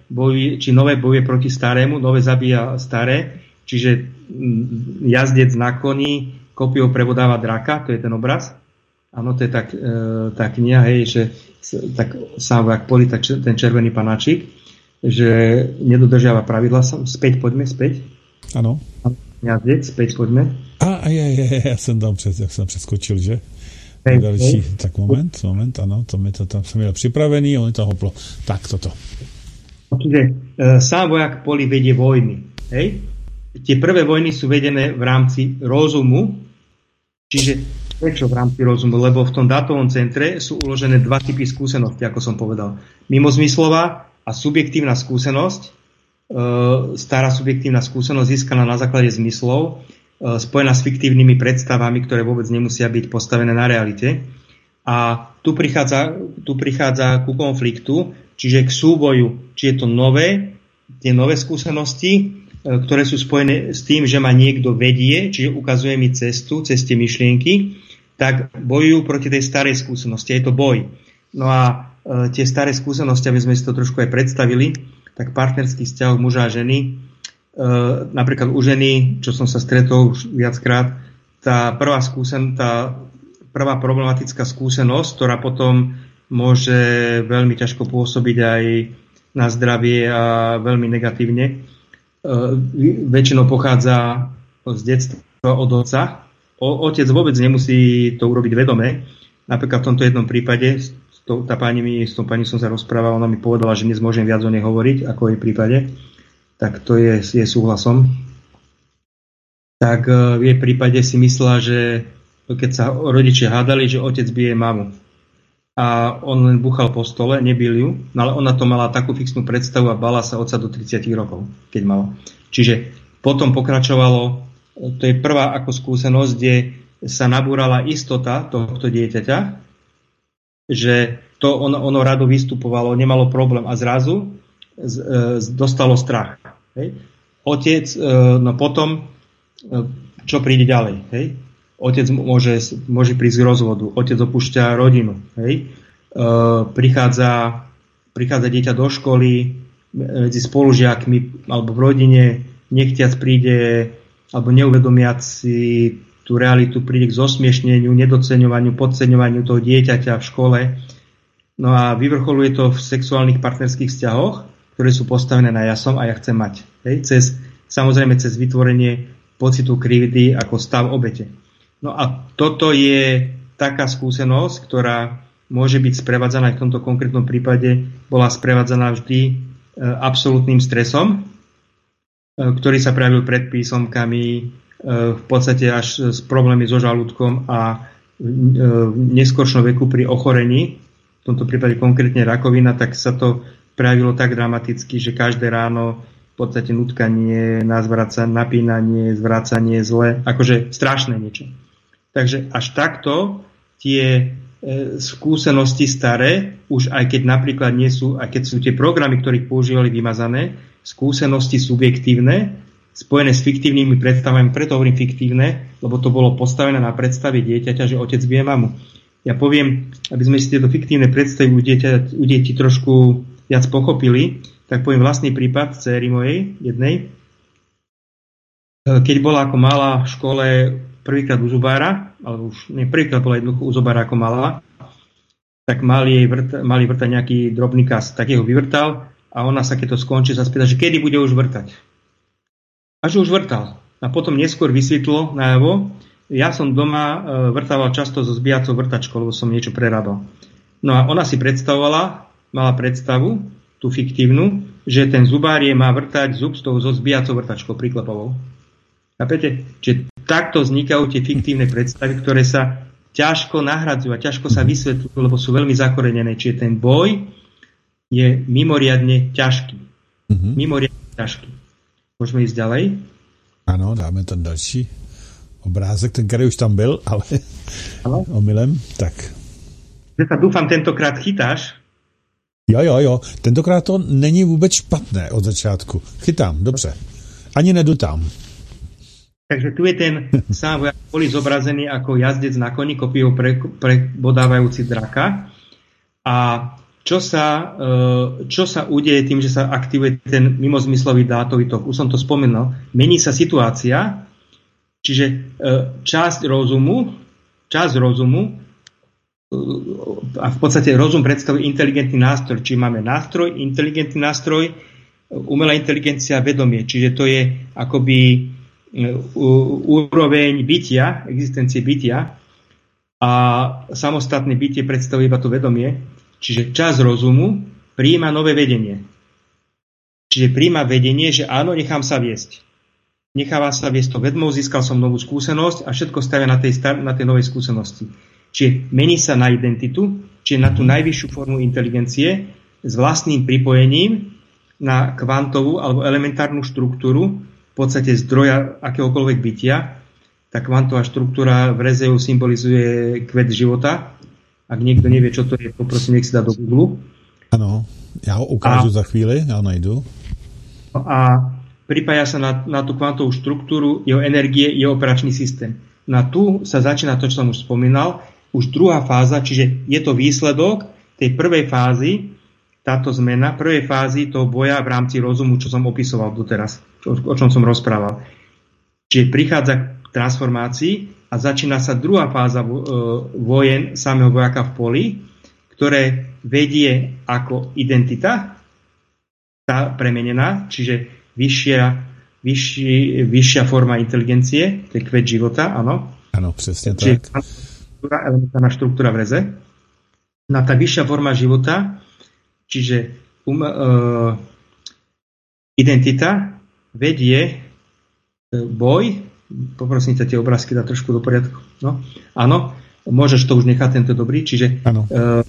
bojuje, či nové bojuje proti starému, nové zabíja staré, čiže jazdec na koni kopiou prebodáva draka, to je ten obraz. Áno, to je tak, e, tá kniha, hej, že tak sám vojak Poli, tak ten červený panáčik, že nedodržiava pravidla. Späť, poďme, späť. Áno. Jazdec, späť, poďme. A je, je, ja som tam přes, jak som preskočil, že? Hej, další, hej. Tak moment, moment, áno, to mi to tam som měl připravený, on to hoplo. Tak, toto. Čiže e, sám vojak Poli vedie vojny, hej? Tie prvé vojny sú vedené v rámci rozumu, čiže prečo v rámci rozumu? Lebo v tom dátovom centre sú uložené dva typy skúsenosti, ako som povedal. Mimozmyslová a subjektívna skúsenosť, e, stará subjektívna skúsenosť získaná na základe zmyslov, e, spojená s fiktívnymi predstavami, ktoré vôbec nemusia byť postavené na realite. A tu prichádza, tu prichádza ku konfliktu, čiže k súboju, či je to nové, tie nové skúsenosti, ktoré sú spojené s tým, že ma niekto vedie, čiže ukazuje mi cestu, cez tie myšlienky, tak bojujú proti tej starej skúsenosti. Je to boj. No a e, tie staré skúsenosti, aby sme si to trošku aj predstavili, tak partnerský vzťah muža a ženy, e, napríklad u ženy, čo som sa stretol už viackrát, tá prvá skúsen, tá prvá problematická skúsenosť, ktorá potom môže veľmi ťažko pôsobiť aj na zdravie a veľmi negatívne, väčšinou pochádza z detstva od otca. O, otec vôbec nemusí to urobiť vedome. Napríklad v tomto jednom prípade, tá pani mi, s tou pani som sa rozprával, ona mi povedala, že dnes môžem viac o nej hovoriť, ako v jej prípade. Tak to je, je súhlasom. Tak v jej prípade si myslela, že keď sa rodičia hádali, že otec bije mamu. A on len buchal po stole, nebil ju, no ale ona to mala takú fixnú predstavu a bala sa otca do tridsať rokov, keď mala. Čiže potom pokračovalo, to je prvá ako skúsenosť, kde sa nabúrala istota tohto dieťaťa, že to ono, ono rado vystupovalo, nemalo problém a zrazu z, e, dostalo strach. Hej. Otec, e, no potom, e, čo príde ďalej, hej? Otec môže, môže prísť k rozvodu, otec opúšťa rodinu, hej? E, prichádza, prichádza dieťa do školy, medzi spolužiakmi alebo v rodine, nechtiac príde, alebo neuvedomiac si tú realitu, príde k zosmiešneniu, nedoceňovaniu, podceňovaniu toho dieťaťa v škole. No a vyvrcholuje to v sexuálnych partnerských vzťahoch, ktoré sú postavené na ja som a ja chcem mať. Hej? Cez, samozrejme cez vytvorenie pocitu krivdy ako stav obete. No a toto je taká skúsenosť, ktorá môže byť sprevádzaná, v tomto konkrétnom prípade bola sprevádzaná vždy e, absolútnym stresom, e, ktorý sa prejavil pred písomkami, e, v podstate až s problémy so žalúdkom a e, v neskoršom veku pri ochorení, v tomto prípade konkrétne rakovina, tak sa to prejavilo tak dramaticky, že každé ráno v podstate nutkanie, napínanie, zvracanie, zle, akože strašné niečo. Takže až takto tie e, skúsenosti staré, už aj keď napríklad nie sú, aj keď sú tie programy, ktorých používali vymazané, skúsenosti subjektívne, spojené s fiktívnymi predstavami, preto hovorím fiktívne, lebo to bolo postavené na predstave dieťaťa, že otec bije mamu. Ja poviem, aby sme si tieto fiktívne predstavy u, dieťa, u detí trošku viac pochopili, tak poviem vlastný prípad dcéry mojej, jednej. Keď bola ako malá v škole prvýkrát u zubára, alebo už nie, prvýkrát bola jednoducho u zubára ako malá, tak mali jej vrt, mali vrtať nejaký drobný kas, tak jeho vyvrtal a ona sa, keď to skončí, sa spýta, že kedy bude už vrtať. A že už vrtal. A potom neskôr vysvetlo najavo, ja som doma vrtával často so zbijacou vrtačkou, lebo som niečo prerábal. No a ona si predstavovala, mala predstavu, tú fiktívnu, že ten zubár je má vrtať zub s tou so zbijacou vrtačkou priklepovou. Chápete? Čiže takto vznikajú tie fiktívne predstavy, ktoré sa ťažko nahradzujú a ťažko sa vysvetľujú, lebo sú veľmi zakorenené. Čiže ten boj je mimoriadne ťažký. Mm-hmm. Mimoriadne ťažký. Môžeme ísť ďalej? Ano, dáme ten další obrázek, ten, který už tam byl, ale ano? Omylem. Tak. Že sa dúfam tentokrát chytáš. Jo, jo, jo. Tentokrát to není vůbec špatné od začátku. Chytám, dobře. Ani nedutám. Takže tu je ten sám vojak Poli zobrazený ako jazdec na koni, kopiou pre, prebodávajúci draka. A čo sa, čo sa udeje tým, že sa aktivuje ten mimozmyslový dátový tok. Už som to spomenul. Mení sa situácia, čiže časť rozumu, časť rozumu a v podstate rozum predstavuje inteligentný nástroj. Čiže máme nástroj, inteligentný nástroj, umelá inteligencia, vedomie. Čiže to je akoby úroveň bytia, existencie bytia a samostatné bytie predstavuje iba to vedomie. Čiže časť rozumu prijíma nové vedenie. Čiže prijíma vedenie, že áno, nechám sa viesť. Necháva sa viesť to vedmou, získal som novú skúsenosť a všetko stavia na tej, star- na tej novej skúsenosti. Čiže mení sa na identitu, čiže na tú najvyššiu formu inteligencie s vlastným pripojením na kvantovú alebo elementárnu štruktúru, v podstate zdroja akéhokoľvek bytia. Tá kvantová štruktúra v Rezeu symbolizuje kvet života. Ak niekto nevie, čo to je, poprosím, nech si dá do Google. Ano, já ho ukážu a, za chvíli, já najdu. A pripája sa na, na tú kvantovú štruktúru, jeho energie, jeho operačný systém. Na tu sa začína to, čo som už spomínal, už druhá fáza, čiže je to výsledok tej prvej fázy, táto zmena, prvej fázy toho boja v rámci rozumu, čo som opisoval doteraz, čo, o čom som rozprával. Čiže prichádza k transformácii a začína sa druhá fáza vojen samého vojaka v poli, ktoré vedie ako identita, tá premenená, čiže vyššia, vyšší, vyššia forma inteligencie, to je kvet života, áno. Áno, presne tak. Čiže elementárna štruktúra v Reze. Na tá vyššia forma života, čiže um, uh, identita vedie uh, boj. Poprosím ťa tie obrázky dať trošku do poriadku. No, áno, môžeš to už nechať, tento dobrý. Čiže uh,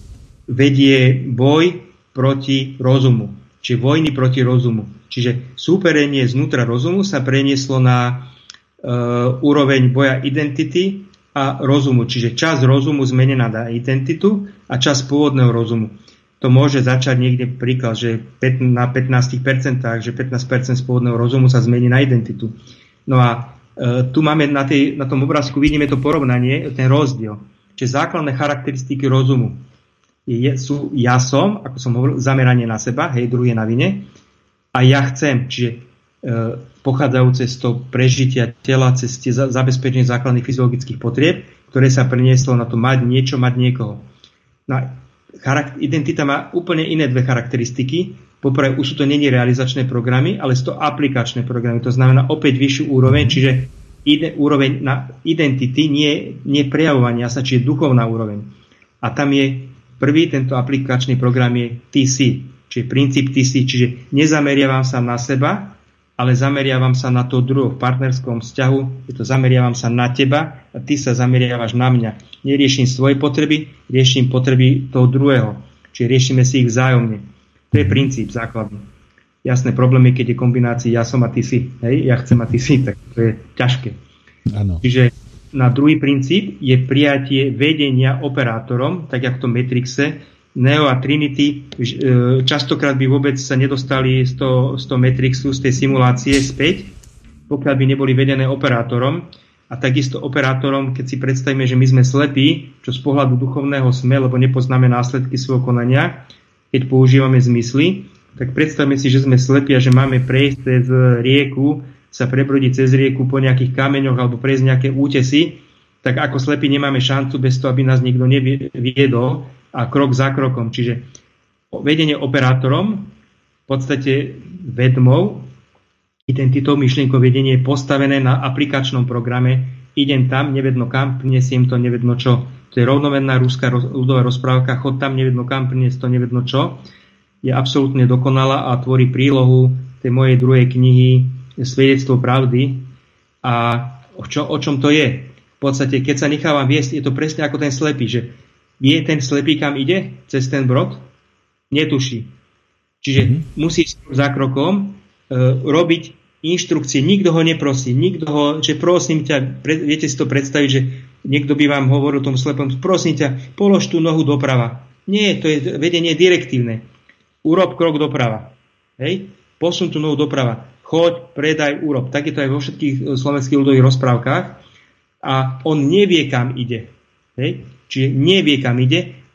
vedie boj proti rozumu. Čiže vojny proti rozumu. Čiže súperenie znútra rozumu sa prenieslo na uh, úroveň boja identity a rozumu. Čiže časť rozumu zmenená na identitu a časť pôvodného rozumu. To môže začať niekde príklad, že na pätnásť percent, že pätnásť percent z pôvodného rozumu sa zmení na identitu. No a tu máme na, tej, na tom obrázku, vidíme to porovnanie, ten rozdiel. Čiže základné charakteristiky rozumu je, sú ja som, ako som hovoril, zameranie na seba, hej, druhý je na vine, a ja chcem, čiže e, pochádzajúce z toho prežitia tela cez tie zabezpečenie základných fyziologických potrieb, ktoré sa prenieslo na to mať niečo, mať niekoho. No, charakter, identita má úplne iné dve charakteristiky. Poprvé, už sú to nie realizačné programy, ale sú to aplikačné programy. To znamená opäť vyššiu úroveň, čiže ide, úroveň na identity, nie, nie prejavovania sa, čiže duchovná úroveň. A tam je prvý, tento aplikačný program je T C, čiže princíp T C, čiže nezameriavam sa na seba, ale zameriavam sa na to druhého v partnerskom vzťahu, je to zameriavam sa na teba a ty sa zameriavaš na mňa. Neriešim svoje potreby, riešim potreby toho druhého, čiže riešime si ich vzájomne. To je princíp základný. Jasné, problém je, keď je kombinácia ja som a ty si. Hej, ja chcem a ty si, tak to je ťažké. Áno. Čiže na druhý princíp je prijatie vedenia operátorom, tak ako v tom Matrixe. Neo a Trinity častokrát by vôbec sa nedostali z toho, z toho Matrixu, z tej simulácie späť, pokiaľ by neboli vedené operátorom. A takisto operátorom, keď si predstavíme, že my sme slepí, čo z pohľadu duchovného sme, lebo nepoznáme následky svojho konania, keď používame zmysly, tak predstavme si, že sme slepí a že máme prejsť cez rieku, sa prebrodiť cez rieku po nejakých kameňoch alebo prejsť nejaké útesy, tak ako slepí nemáme šancu bez toho, aby nás niekto neviedol a krok za krokom. Čiže vedenie operátorom, v podstate vedmou, identitou, myšlienkou vedenie je postavené na aplikačnom programe. Idem tam, nevedno kam, prinesiem to, nevedno čo. To je rovnomenná ruská ľudová rozprávka, chod tam, nevedno kam, priniesť to, nevedno čo. Je absolútne dokonalá a tvorí prílohu tej mojej druhej knihy Svedectvo pravdy. A o, čo, o čom to je? V podstate, keď sa nechávam viesť, je to presne ako ten slepý, že vie ten slepý, kam ide cez ten brod? Netuší. Čiže mm-hmm. musí za krokom e, robiť inštrukcie, nikto ho neprosí, nikto ho, že prosím ťa, pre, viete si to predstaviť, že niekto by vám hovoril tomu slepom, prosím ťa, polož tú nohu doprava. Nie, to je vedenie direktívne. Urob krok doprava. Hej? Posun tú nohu doprava. Choď, predaj, urob. Tak je to aj vo všetkých slovenských ľudových rozprávkach. A on nevie, kam ide. Hej? Čiže nevie, kam ide,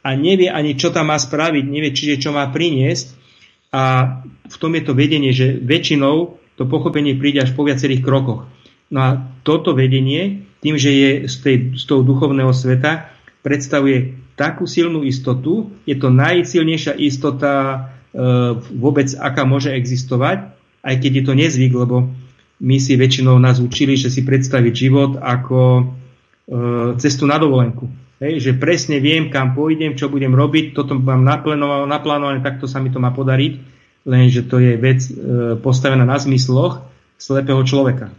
a nevie ani, čo tam má spraviť, nevie, čiže čo má priniesť. A v tom je to vedenie, že väčšinou to pochopenie príde až po viacerých krokoch. No a toto vedenie, tým, že je z, tej, z toho duchovného sveta, predstavuje takú silnú istotu, je to najsilnejšia istota e, vôbec, aká môže existovať, aj keď je to nezvyk, lebo my si väčšinou nás učili, že si predstaviť život ako e, cestu na dovolenku. Hej, že presne viem, kam pôjdem, čo budem robiť, toto mám naplánované, takto sa mi to má podariť, lenže to je vec e, postavená na zmysloch slepého človeka.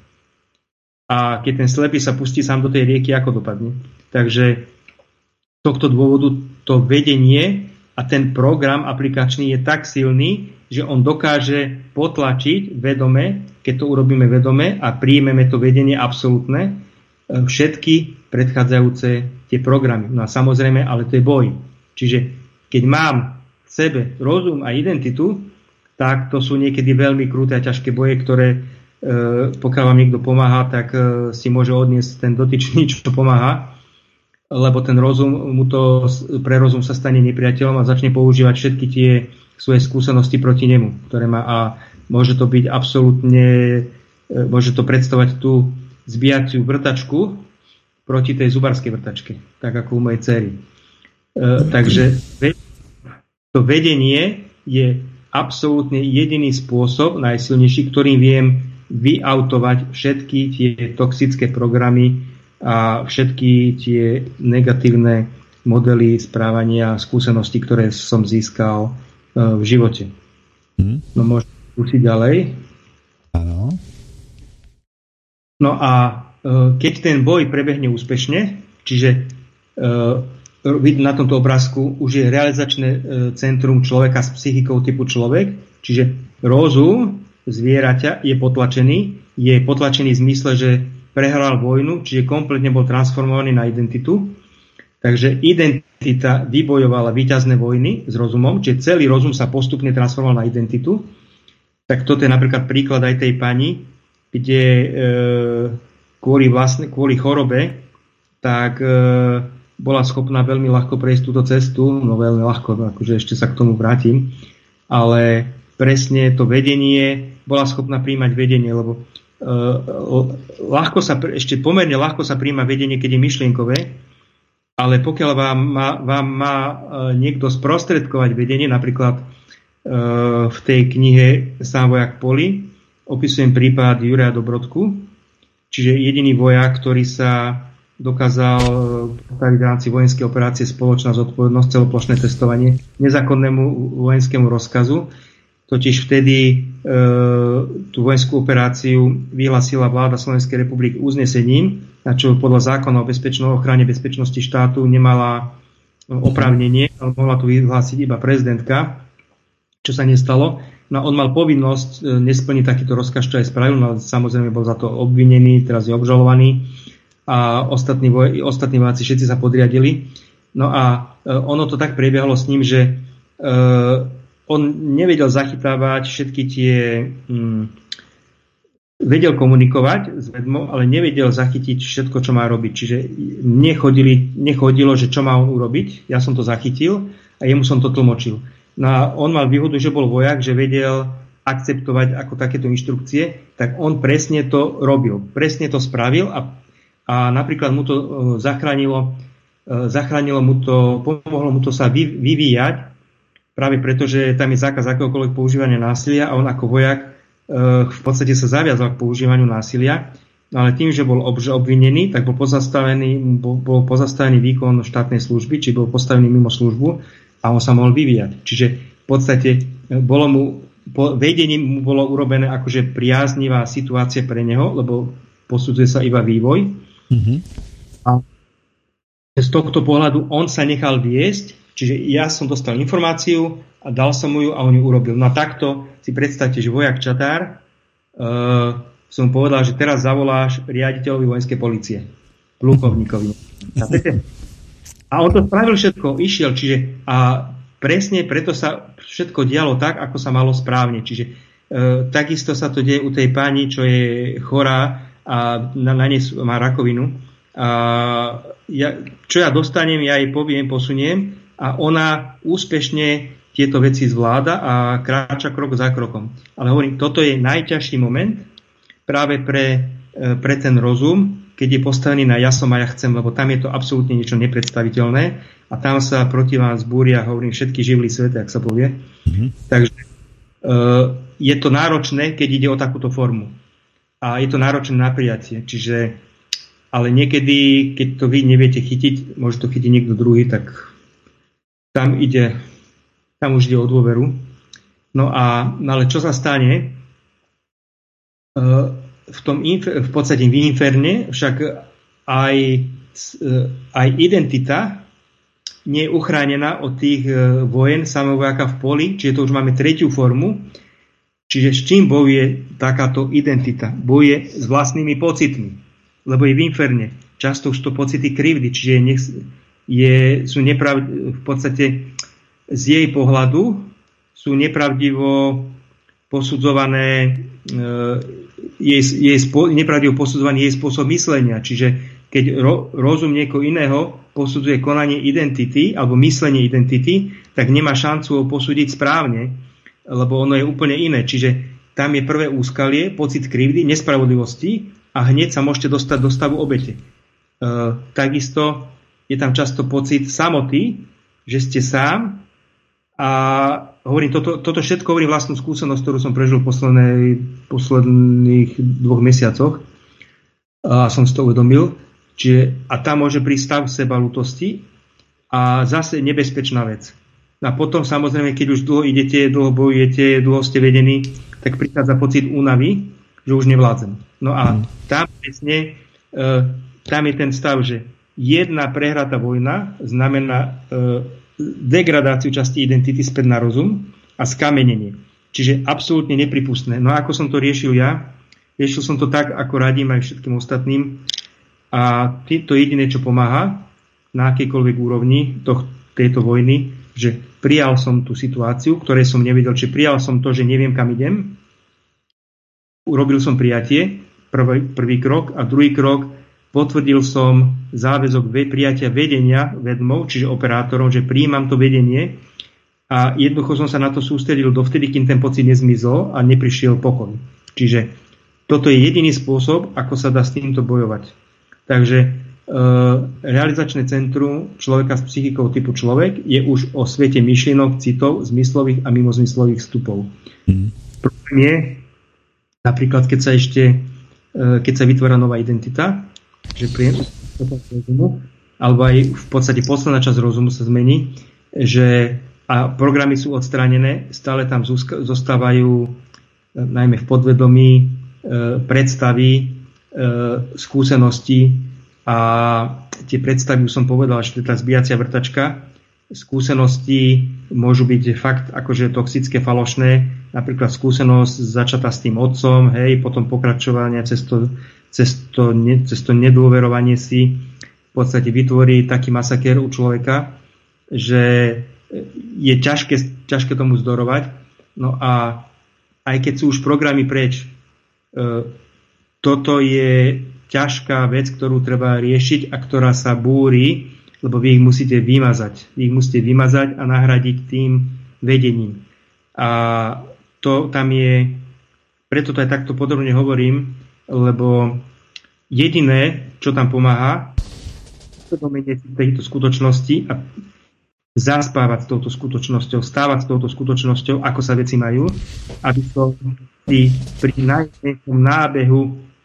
A keď ten slepý sa pustí sám do tej rieky, ako dopadne. Takže z tohto dôvodu to vedenie a ten program aplikačný je tak silný, že on dokáže potlačiť vedome, keď to urobíme vedome a príjmeme to vedenie absolútne, všetky predchádzajúce tie programy. No a samozrejme, ale to je boj. Čiže keď mám v sebe rozum a identitu, tak to sú niekedy veľmi kruté a ťažké boje, ktoré e, pokiaľ vám niekto pomáha, tak e, si môže odniesť ten dotyčný, čo pomáha, lebo ten rozum, mu to, pre rozum sa stane nepriateľom a začne používať všetky tie svoje skúsenosti proti nemu, ktoré má, a môže to byť absolútne, e, môže to predstavovať tú zbijaciu vrtačku proti tej zubarskej vrtačke, tak ako u mojej dcery. E, takže to vedenie je absolútne jediný spôsob, najsilnejší, ktorým viem vyautovať všetky tie toxické programy a všetky tie negatívne modely správania a skúsenosti, ktoré som získal uh, v živote. Hmm. No môžem skúsiť ďalej. Áno. No a uh, keď ten boj prebehne úspešne, čiže uh, na tomto obrázku už je realizačné centrum človeka s psychikou typu človek, čiže rozum zvieraťa je potlačený, je potlačený v zmysle, že prehral vojnu, čiže kompletne bol transformovaný na identitu. Takže identita vybojovala víťazné vojny s rozumom, čiže celý rozum sa postupne transformoval na identitu. Tak toto je napríklad príklad aj tej pani, kde e, kvôli, vlastne, kvôli chorobe, tak e, bola schopná veľmi ľahko prejsť túto cestu, no veľmi ľahko, akože ešte sa k tomu vrátim, ale presne to vedenie, bola schopná príjmať vedenie, lebo uh, ľahko sa, ešte pomerne ľahko sa príjma vedenie, keď je myšlienkové, ale pokiaľ vám má, vám má uh, niekto sprostredkovať vedenie, napríklad uh, v tej knihe Sám vojak Poli opisujem prípad Juraja Dobrodku, čiže jediný vojak, ktorý sa dokázal postaviť v rámci vojenskej operácie Spoločná zodpovednosť, celoplošné testovanie nezákonnému vojenskému rozkazu. Totiž vtedy e, tú vojenskú operáciu vyhlásila vláda Slovenskej republiky uznesením, na čo podľa zákona o bezpečno, ochrane bezpečnosti štátu nemala oprávnenie, ale mohla tu vyhlásiť iba prezidentka, čo sa nestalo. No on mal povinnosť nesplniť takýto rozkaz, čo aj spravil, no samozrejme bol za to obvinený, teraz je obžalovaný. A ostatní, voj, ostatní vojaci všetci sa podriadili. No a e, ono to tak prebiehalo s ním, že e, on nevedel zachytávať všetky tie... Hm, vedel komunikovať s vedmou, ale nevedel zachytiť všetko, čo má robiť. Čiže nechodili, nechodilo, že čo má on urobiť. Ja som to zachytil a jemu som to tlmočil. No a on mal výhodu, že bol vojak, že vedel akceptovať ako takéto inštrukcie, tak on presne to robil. Presne to spravil a A napríklad mu to zachránilo, zachránilo mu to, pomohlo mu to sa vyvíjať, práve preto, že tam je zákaz akéhokoľvek používania násilia a on ako vojak v podstate sa zaviazal k používaniu násilia, ale tým, že bol obvinený, tak bol pozastavený, bol, bol pozastavený výkon štátnej služby, či bol postavený mimo službu a on sa mohol vyvíjať. Čiže v podstate bolo mu, vedením mu bolo urobené akože priaznivá situácia pre neho, lebo posudzuje sa iba vývoj. Mm-hmm. A z tohto pohľadu on sa nechal viesť, čiže ja som dostal informáciu a dal som mu ju a on ju urobil. No a takto si predstavte, že vojak Čatár uh, som povedal, že teraz zavoláš riaditeľovi vojenskej polície, plukovníkovi. A on to spravil všetko, išiel, čiže a presne preto sa všetko dialo tak, ako sa malo správne. Čiže uh, takisto sa to deje u tej pani, čo je chorá a na, na nej má rakovinu. A ja, čo ja dostanem, ja jej poviem, posuniem a ona úspešne tieto veci zvláda a kráča krok za krokom. Ale hovorím, toto je najťažší moment práve pre, pre ten rozum, keď je postavený na ja som a ja chcem, lebo tam je to absolútne niečo nepredstaviteľné a tam sa proti vám zbúria, hovorím, všetky živly sveta, ak sa povie. Mm-hmm. Takže uh, je to náročné, keď ide o takúto formu. A je to náročné na prijatie. Čiže, ale niekedy, keď to vy neviete chytiť, môže to chytiť niekto druhý, tak tam ide, tam už ide o dôveru. No a, ale čo sa stane? Uh, v tom v podstate v inferne však aj, aj identita nie je uchránená od tých vojen samovojaka v poli, čiže to už máme tretiu formu. Čiže s čím bojuje takáto identita? Bojuje s vlastnými pocitmi, lebo je v inferne. Často už to pocity krivdy, čiže je, je, sú neprav, v podstate z jej pohľadu sú nepravdivo posudzované jej, jej spo, nepravdivo posudzovaný jej spôsob myslenia. Čiže keď ro, rozum niekoho iného posudzuje konanie identity alebo myslenie identity, tak nemá šancu ho posúdiť správne, lebo ono je úplne iné. Čiže tam je prvé úskalie, pocit krivdy, nespravodlivosti a hneď sa môžete dostať do stavu obete. E, takisto je tam často pocit samoty, že ste sám a hovorím, toto, toto všetko hovorím vlastnú skúsenosť, ktorú som prežil v poslednej, posledných dvoch mesiacoch a som si to uvedomil. Čiže, a tam môže prísť stav sebaľútosti a zase nebezpečná vec. A potom samozrejme, keď už dlho idete, dlho bojujete, dlho ste vedení, tak prichádza pocit únavy, že už nevládzem. No a tam presne, e, tam je ten stav, že jedna prehratá vojna znamená e, degradáciu časti identity späť na rozum a skamenenie. Čiže absolútne nepripustné. No a ako som to riešil ja? Riešil som to tak, ako radím aj všetkým ostatným. A to jediné, čo pomáha na akejkoľvek úrovni toh, tejto vojny, že prijal som tú situáciu, ktorej som nevedel, či prijal som to, že neviem, kam idem. Urobil som prijatie, prvý, prvý krok, a druhý krok, potvrdil som záväzok prijatia vedenia vedmov, čiže operátorom, že prijímam to vedenie a jednoducho som sa na to sústredil dovtedy, kým ten pocit nezmizol a neprišiel pokoj. Čiže toto je jediný spôsob, ako sa dá s týmto bojovať. Takže e, realizačné centrum človeka s psychikou typu človek je už o svete myšlienok, citov, zmyslových a mimozmyslových vstupov. Mm. Problém je, napríklad, keď sa ešte e, keď sa vytvára nová identita, že príjem rozumu, alebo aj v podstate posledná časť rozumu sa zmení, že a programy sú odstránené, stále tam zostávajú najmä v podvedomí e, predstavy, e, skúsenosti a tie predstavy, už som povedal, že to je tá zbíjacia vrtačka, skúsenosti môžu byť fakt akože toxické, falošné, napríklad skúsenosť začatá s tým otcom, hej, potom pokračovanie cez to, cez to, ne, cez to nedôverovanie si v podstate vytvorí taký masakér u človeka, že je ťažké, ťažké tomu zdorovať. No a aj keď sú už programy preč, e, toto je ťažká vec, ktorú treba riešiť a ktorá sa búri, lebo vy ich musíte vymazať. Vy ich musíte vymazať a nahradiť tým vedením. A to tam je, preto to aj takto podrobne hovorím, lebo jediné, čo tam pomáha, uvedomenie si tejto skutočnosti a zaspávať s touto skutočnosťou, stávať s touto skutočnosťou, ako sa veci majú, aby som si pri najmenšom nábehu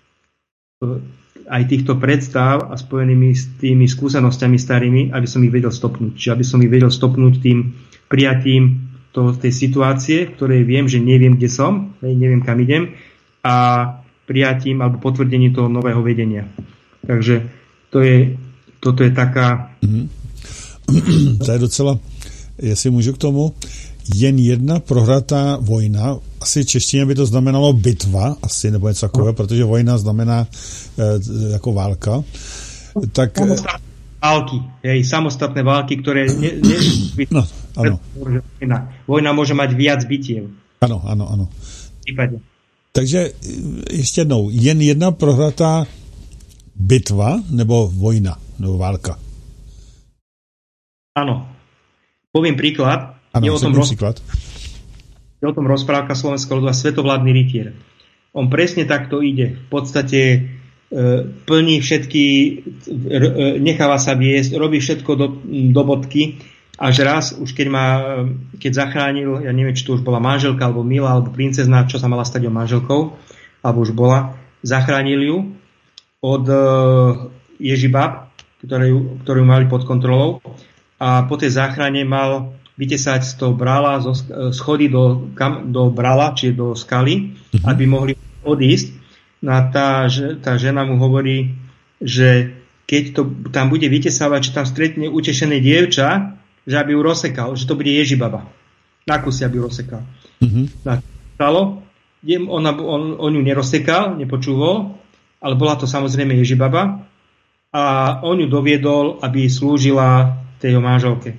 aj týchto predstav a spojenými s tými skúsenosťami starými, aby som ich vedel stopnúť. Čiže aby som ich vedel stopnúť tým prijatím to, tej situácie, v ktorej viem, že neviem, kde som, neviem, kam idem, a prijatím alebo potvrdením toho nového vedenia. Takže to je, toto je taká... Mm-hmm. To je docela, jestli můžu k tomu, jen jedna prohratá vojna, asi češtině by to znamenalo bitva, asi, nebo něco takového, protože vojna znamená e, jako válka. Tak... Samostatné války, hej, samostatné války, ktoré... Ne, ne, no, ano. Vojna môže mať viac bitiev. Ano, ano, ano. Případně. Takže ještě jednou, jen jedna prohratá bitva, nebo vojna, nebo válka? Áno. Poviem príklad. Ano, je, o tom roz... príklad. je o tom rozprávka slovenského ľudu a Svetovládny rytier. On presne takto ide. V podstate e, plní všetky, e, necháva sa viesť, robí všetko do, do bodky, až raz, už keď ma, keď zachránil, ja neviem, či to už bola manželka, alebo milá, alebo princezna, čo sa mala stať o manželkou, alebo už bola, zachránil ju od e, Ježibab, ktorú, ktorú mali pod kontrolou, a po tej záchrane mal vytesať z toho brala, zo schody do, kam, do brala, čiže do skaly, mm-hmm. aby mohli odísť. No a tá, tá žena mu hovorí, že keď to tam bude vytesávať, že tam stretne utešené dievča, že aby ju rozsekal, že to bude Ježibaba. Na kusy, aby ju rozsekal. Mm-hmm. No, stalo, ona, on, on ju nerozsekal, nepočúval, ale bola to samozrejme Ježibaba a on ju doviedol, aby slúžila tej manželke.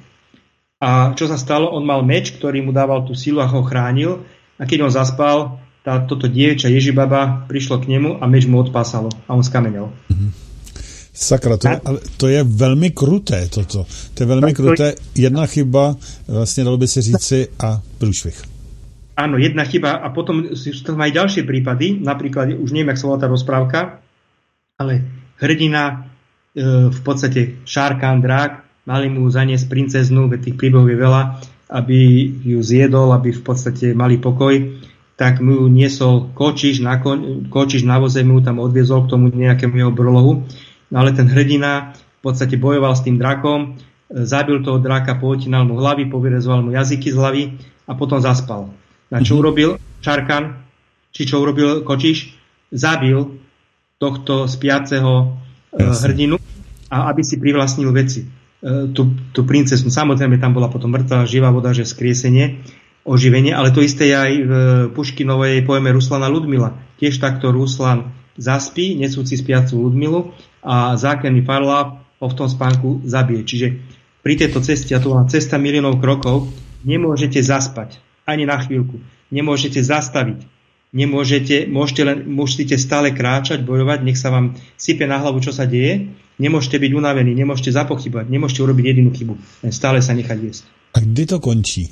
A čo sa stalo? On mal meč, ktorý mu dával tú silu a ho chránil. A keď on zaspal, tá, toto dievča Ježibaba prišlo k nemu a meč mu odpásalo. A on skamenel. Mm-hmm. Sakra, to je, ale to je velmi kruté toto. To je velmi kruté. Jedna chyba, vlastně dalo by se říci, a průšvih. Áno, jedna chyba. A potom sú aj ďalšie prípady. Napríklad, už neviem, jak sa volá tá rozprávka, ale hrdina, e, v podstate Šárkán, drák, mali mu zaniesť princeznu, veď tých príbehov je veľa, aby ju zjedol, aby v podstate mali pokoj, tak mu ju niesol kočiš na, kon, kočiš na voze, mu tam odviezol k tomu nejakému jeho brlohu. No ale ten hrdina v podstate bojoval s tým drakom, zabil toho draka, pohotinal mu hlavy, povyrezoval mu jazyky z hlavy a potom zaspal. Na čo urobil Šarkan, či čo urobil kočiš? Zabil tohto spiaceho yes. hrdinu, a aby si privlastnil veci. Tú, tú princeznu. Samozrejme, tam bola potom mŕtva, živá voda, že skriesenie, oživenie, ale to isté je aj v Puškinovej poeme Ruslana Ludmila. Tiež takto Ruslan zaspí, nesúci spiacu Ludmilu a zákerný Farláp ho v tom spánku zabije. Čiže pri tejto ceste, a to bola cesta miliónov krokov, nemôžete zaspať ani na chvíľku. Nemôžete zastaviť. Nemôžete, môžete len, musíte stále kráčať, bojovať, nech sa vám sype na hlavu, čo sa deje. Nemôžete byť unavení, nemôžete zapochybať, nemôžete urobiť jedinú chybu. Stále sa nechať viesť. A kdy to končí?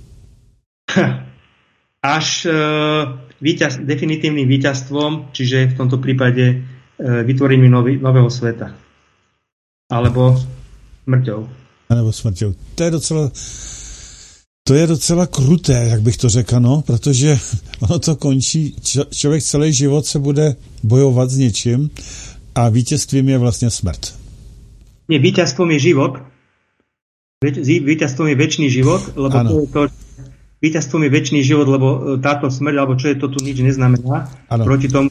Až e, víťaz, definitívnym víťazstvom, čiže v tomto prípade e, vytvorením nový, nového sveta. Alebo smrťou. Alebo smrťou. To je docela... To je docela kruté, jak bych to řekl, no, protože ono to končí, č- člověk celý život se bude bojovat s něčím a vítězstvím je vlastně smrt. Nie, víťazstvom je život. Víťazstvom je večný život, lebo to je to, víťazstvom je večný život, lebo táto smrť, alebo čo je to tu, nič neznamená ano. Proti tomu,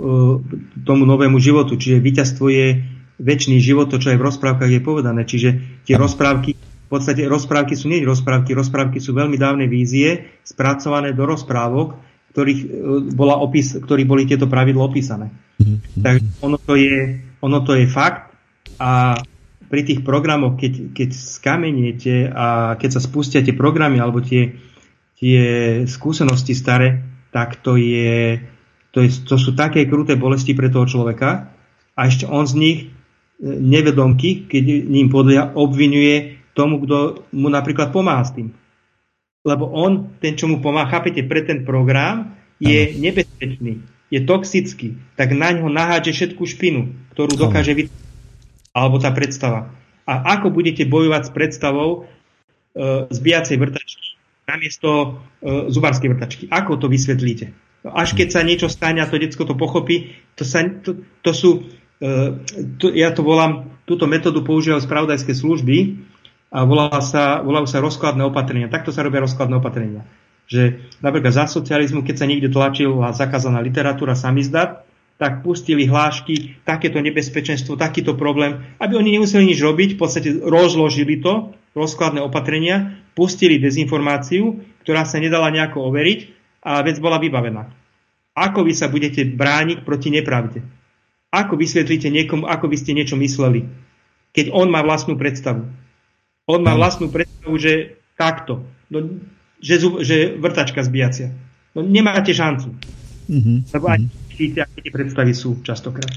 tomu novému životu. Čiže víťazstvo je večný život, to, čo je v rozprávkach je povedané. Čiže tie ano. rozprávky V podstate rozprávky sú nie rozprávky, rozprávky sú veľmi dávne vízie, spracované do rozprávok, ktorých bola opis, ktorých boli tieto pravidlo opísané. Mm-hmm. Takže ono to je, ono to je fakt a pri tých programoch, keď, keď skameniete a keď sa spustia tie programy alebo tie, tie skúsenosti staré, tak to je, to je, to sú také kruté bolesti pre toho človeka a ešte on z nich nevedomky, keď ním podľa, obvinuje tomu, kto mu napríklad pomáha s tým. Lebo on, ten, čo mu pomáha, chápete, pre ten program je nebezpečný, je toxický, tak na ňo nahádže všetku špinu, ktorú dokáže vytvoriť. Alebo tá predstava. A ako budete bojovať s predstavou e, zbijacej vrtačky namiesto e, zubárskej vrtačky? Ako to vysvetlíte? Až keď sa niečo stane a to decko to pochopí, to, sa, to, to sú, e, to, ja to volám, túto metódu používajú spravodajské služby, a volá sa, volajú sa rozkladné opatrenia. Takto sa robia rozkladné opatrenia. Že napríklad za socializmu, keď sa niekde tlačila zakázaná literatúra samizdat, tak pustili hlášky, takéto nebezpečenstvo, takýto problém, aby oni nemuseli nič robiť, v podstate rozložili to, rozkladné opatrenia, pustili dezinformáciu, ktorá sa nedala nejako overiť a vec bola vybavená. Ako vy sa budete brániť proti nepravde? Ako vysvetlíte niekomu, ako by ste niečo mysleli, keď on má vlastnú predstavu? On má vlastnú predstavu, že takto, no, že, že vrtačka zbijacia. No nemáte šancu. Mm-hmm. Lebo aj vidíte, aké tie predstavy sú častokrát.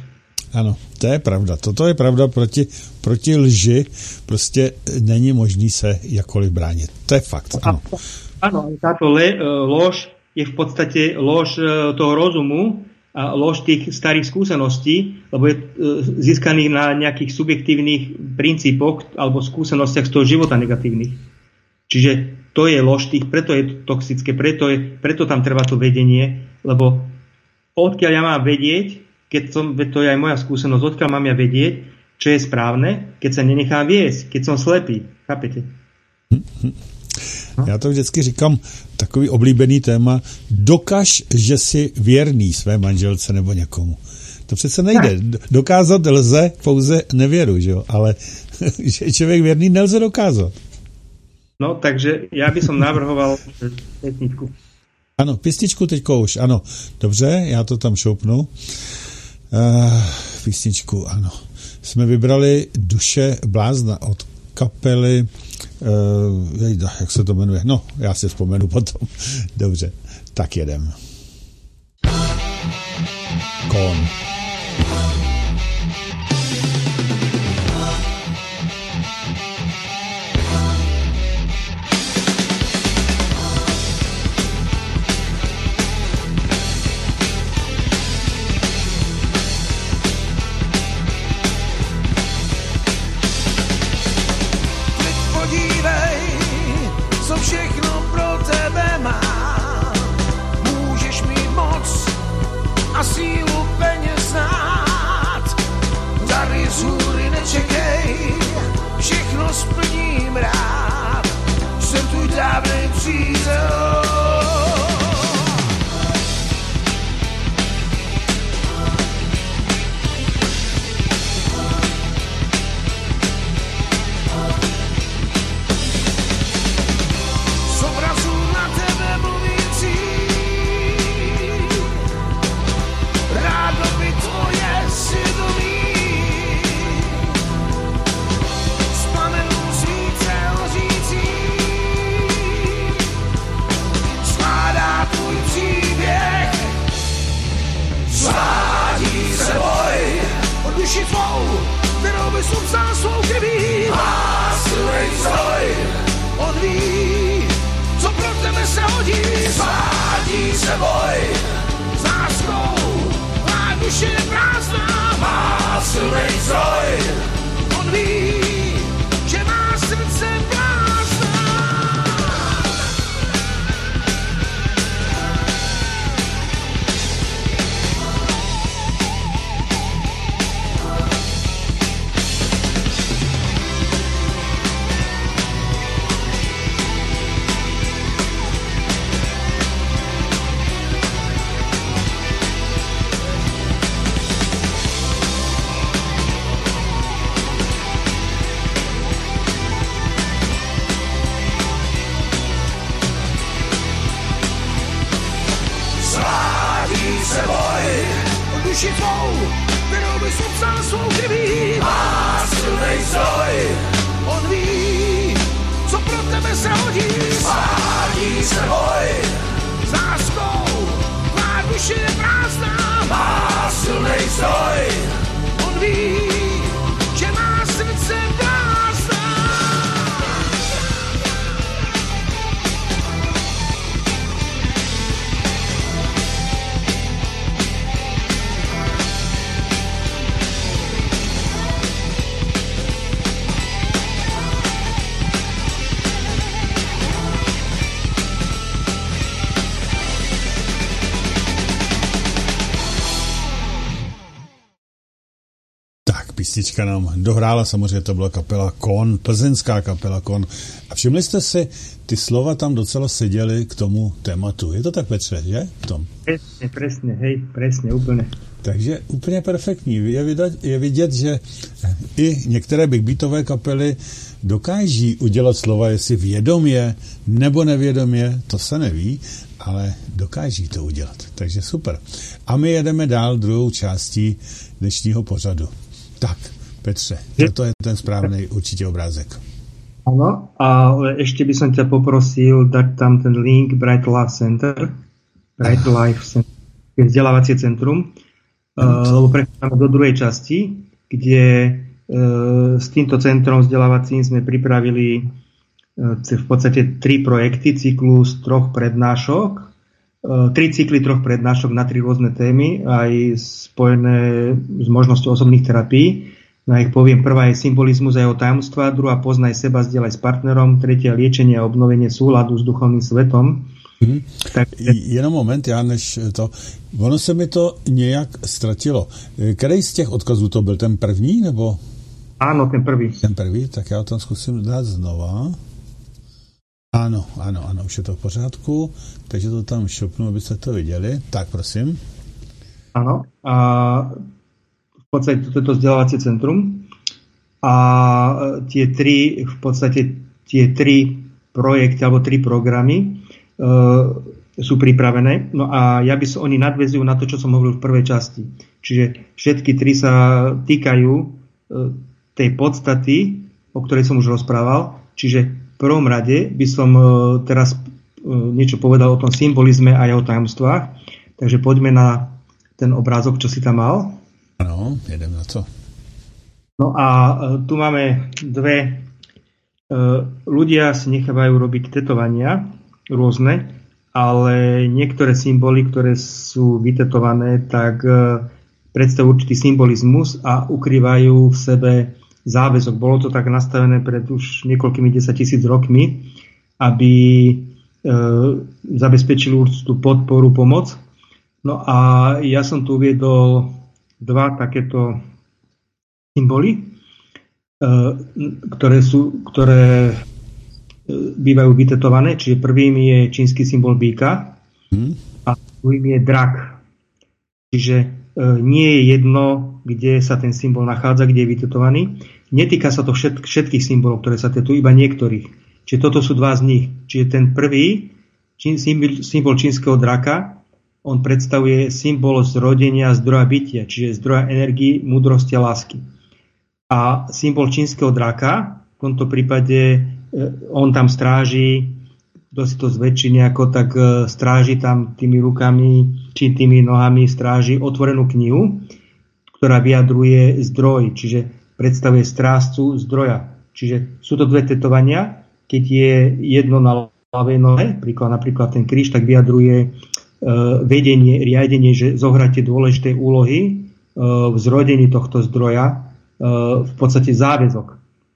Ano, to je pravda. Toto je pravda, proti, proti lži prostě není možný se jakkoliv bránit. To je fakt, ano. Áno, táto le, lož je v podstate lož toho rozumu a lož tých starých skúseností, lebo je získaný na nejakých subjektívnych princípoch alebo skúsenostiach z toho života negatívnych. Čiže to je lož tých, preto je to toxické, preto, je, preto tam treba to vedenie, lebo odkiaľ ja mám vedieť, keď som, to je aj moja skúsenosť, odkiaľ mám ja vedieť, čo je správne, keď sa nenechám viesť, keď som slepý. Chápete? Já to vždycky říkám, takový oblíbený téma, dokaž, že jsi věrný své manželce nebo někomu. To přece nejde. Dokázat lze pouze nevěru, že jo? Ale že je člověk věrný, nelze dokázat. No, takže já bych som navrhoval pěsničku. Ano, písničku teďko už, ano. Dobře, já to tam šoupnu. Uh, písničku, ano. Jsme vybrali Duše blázna od kapely Uh, jejda, jak se to jmenuje? No, já si vzpomenu potom. Dobře, tak jedem. Kon. A sílu peněz znát, dary z hůry nečekej, všechno splním rád, jsem tvůj dávnej přítel. Z obrazu na tebe mluvící, rádo by tvoje svědomí vzpomenu svíce hořící, skládá tvůj příběh, svádí se boj od duši tvou, kterou bys upsal svou krví. Má silnej zdroj, on ví, co pro tebe se hodí. Svádí se boj s láskou, duše je prázdná, má silnej zdroj, on ví, že má srdce prázdná. Duši tvou, kterou bys upsal svou krví. Má silnej zdroj, on ví, co pro tebe se hodí. Svádí se boj s láskou, tvá duše je prázdná. Má silnej zdroj, on ví, že má srdce prázdná. Písnička nám dohrála, samozřejmě to byla kapela Kon, plzeňská kapela Kon. A všimli jste si, ty slova tam docela seděly k tomu tématu. Je to tak, Petře, že? V tom. Presne, presne, hej, presne, úplně. Takže úplně perfektní. Je vidět, je vidět, že i některé big beatové kapely dokáží udělat slova, jestli vědomě nebo nevědomě, to se neví, ale dokáží to udělat. Takže super. A my jedeme dál druhou částí dnešního pořadu. Tak, Petře, to je ten správný určitě obrázek. Áno, ale ešte by som ťa poprosil dať tam ten link Bright Life Center, Bright Life Center, vzdelávacie centrum, lebo prechádzame do druhej časti, kde s týmto centrom vzdelávacím sme pripravili v podstate tri projekty, cyklus troch prednášok, tri cykly troch prednášok na tri rôzne témy, aj spojené s možnosťou osobných terapií. No ich poviem, prvá je symbolizmus a jeho tajomstva, druhá poznaj seba, zdieľaj s partnerom, tretia liečenie a obnovenie súladu s duchovným svetom. Hmm. Tak, jenom moment, já než to, ono se mi to nějak ztratilo. Který z těch odkazů to byl, ten první, nebo? Áno, ten prvý. Ten prvý, tak já tam zkusím dát znova. Ano, ano, ano, už je to v pořádku, takže to tam šopnu, abyste to viděli. Tak, prosím. Áno, a v podstate toto je to vzdelávacie centrum a tie tri, v podstate tie tri projekty alebo tri programy Uh, sú pripravené. No a ja by som, oni nadväzujú na to, čo som hovoril v prvej časti. Čiže všetky tri sa týkajú uh, tej podstaty, o ktorej som už rozprával. Čiže v prvom rade by som uh, teraz uh, niečo povedal o tom symbolizme a jeho tajomstvách. Takže poďme na ten obrázok, čo si tam mal. Áno, jedem na to. No a uh, tu máme dve uh, ľudia si nechávajú robiť tetovania rôzne, ale niektoré symboly, ktoré sú vytetované, tak predstavujú určitý symbolizmus a ukrývajú v sebe záväzok. Bolo to tak nastavené pred už niekoľkými desaťtisíc rokmi, aby e, zabezpečili určitú podporu, pomoc. No a ja som tu uviedol dva takéto symboly, e, ktoré sú, ktoré bývajú vytetované, čiže prvým je čínsky symbol býka hmm. a druhým je drak. Čiže e, nie je jedno, kde sa ten symbol nachádza, kde je vytetovaný. Netýka sa to všet, všetkých symbolov, ktoré sa tetujú, iba niektorých. Čiže toto sú dva z nich. Čiže ten prvý čín, symbol, symbol čínskeho draka, on predstavuje symbol zrodenia zdroja bytia, čiže zdroja energii, múdrosti a lásky. A symbol čínskeho draka, v tomto prípade on tam stráži, kto si to zväčší nejako, tak stráži tam tými rukami či tými nohami stráži otvorenú knihu, ktorá vyjadruje zdroj, čiže predstavuje strážcu zdroja. Čiže sú to dve tetovania, keď je jedno na ľavej nohe, príklad, napríklad ten kríž, tak vyjadruje e, vedenie, riadenie, že zohráte dôležité úlohy e, v zrodení tohto zdroja, e, v podstate záväzok.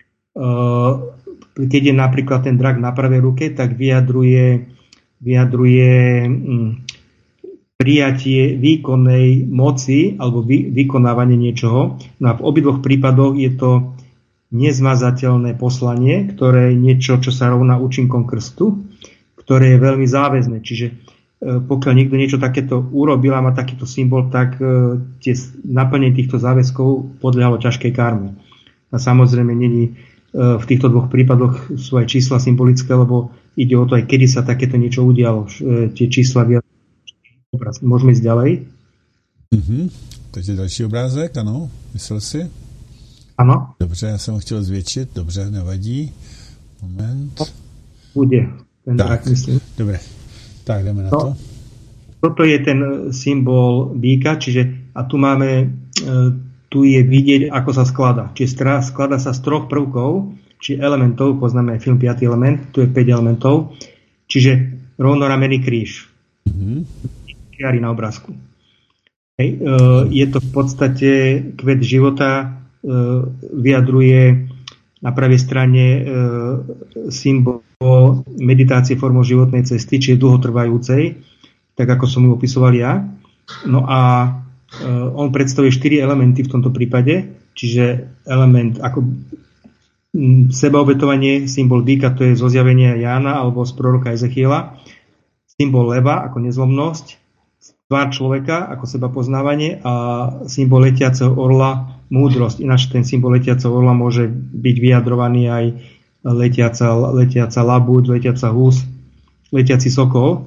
E, Keď je napríklad ten drak na pravej ruke, tak vyjadruje, vyjadruje hm, prijatie výkonnej moci alebo vy, vykonávanie niečoho. No a v obidvoch prípadoch je to nezmazateľné poslanie, ktoré je niečo, čo sa rovná účinkom krstu, ktoré je veľmi záväzné. Čiže e, pokiaľ niekto niečo takéto urobil a má takýto symbol, tak e, tie naplnenie týchto záväzkov podľahlo ťažkej karme. A samozrejme není v týchto dvoch prípadoch sú aj čísla symbolické, lebo ide o to aj kedy sa takéto niečo udialo. Tie čísla vyjadrujú. Môžeme ísť ďalej? Mm-hmm. Takže další obrázek, ano, myslel si? Ano. Dobře, já jsem ho chtěl zvětšit, dobře, nevadí. Moment. Bude. Ten tak, dobre. Tak, jdeme na no, to. Toto je ten symbol býka, čiže a tu máme e, tu je vidieť, ako sa skladá. Čiže skladá sa z troch prvkov, či elementov, poznáme aj film piaty element, tu je päť elementov, čiže rovnoramenný kríž. Mm-hmm. Čiary na obrázku. Hej, e, je to v podstate kvet života, e, vyjadruje na pravej strane e, symbol meditácie formou životnej cesty, čiže dlhotrvajúcej, tak ako som ju opisoval ja. No a on predstavuje štyri elementy v tomto prípade, čiže element ako sebaobetovanie, symbol býka, to je zo zjavenia Jána alebo z proroka Ezechiela, symbol leva ako nezlomnosť, tvár človeka ako seba poznávanie a symbol letiaceho orla múdrosť. Ináč ten symbol letiaceho orla môže byť vyjadrovaný aj letiaca, letiaca labuť, letiaca hus, letiaci sokol.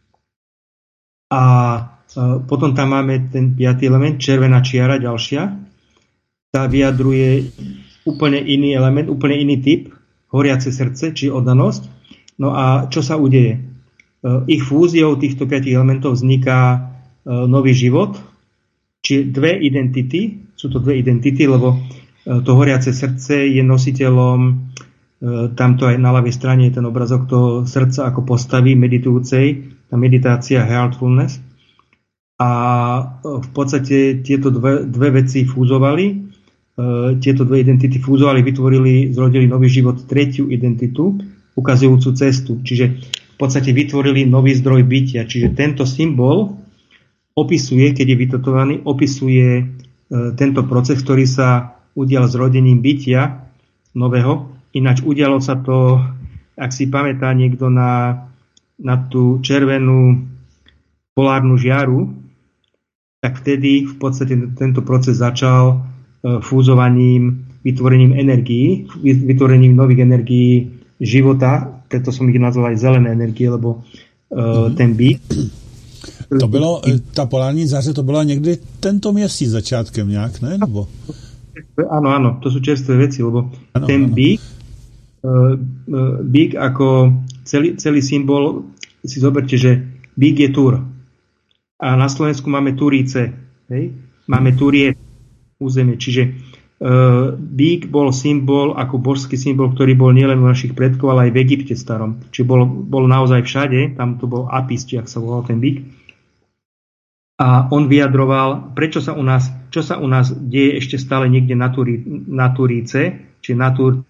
A potom tam máme ten piatý element, červená čiara, ďalšia. Tá vyjadruje úplne iný element, úplne iný typ, horiace srdce, či oddanosť. No a čo sa udeje? Ich fúziou týchto piatich elementov vzniká nový život, Čiže dve identity, sú to dve identity, lebo to horiace srdce je nositeľom, tamto aj na ľavej strane je ten obrazok toho srdca ako postavy meditujúcej, tá meditácia heartfulness. A v podstate tieto dve, dve veci fúzovali, tieto dve identity fúzovali, vytvorili, zrodili nový život, tretiu identitu, ukazujúcu cestu. Čiže v podstate vytvorili nový zdroj bytia. Čiže tento symbol opisuje, keď je vytetovaný, opisuje tento proces, ktorý sa udial s rodením bytia nového. Ináč udialo sa to, ak si pamätá niekto na, na tú červenú polárnu žiaru, tak vtedy v podstate tento proces začal fúzovaním, vytvorením energií, vytvorením nových energií života, preto som ich nazval aj zelené energie, lebo uh, ten byt. To bylo, ta polární záře, to byla někdy tento měsíc začátkem nějak, ne? Nebo... Áno, áno, to sú čerstvé veci, lebo ano, ten ano. bík, uh, uh, bík ako celý, celý symbol, si zoberte, že bík je Tur. A na Slovensku máme Turíce, hej? Máme Turie územie, čiže uh, bík bol symbol, ako božský symbol, ktorý bol nielen u našich predkov, ale aj v Egypte starom. Čiže bol, bol naozaj všade, tam to bol Apis, či ak sa volal ten bík. A on vyjadroval, prečo sa u nás, čo sa u nás deje ešte stále niekde na, Turí, na Turíce, čiže na Tur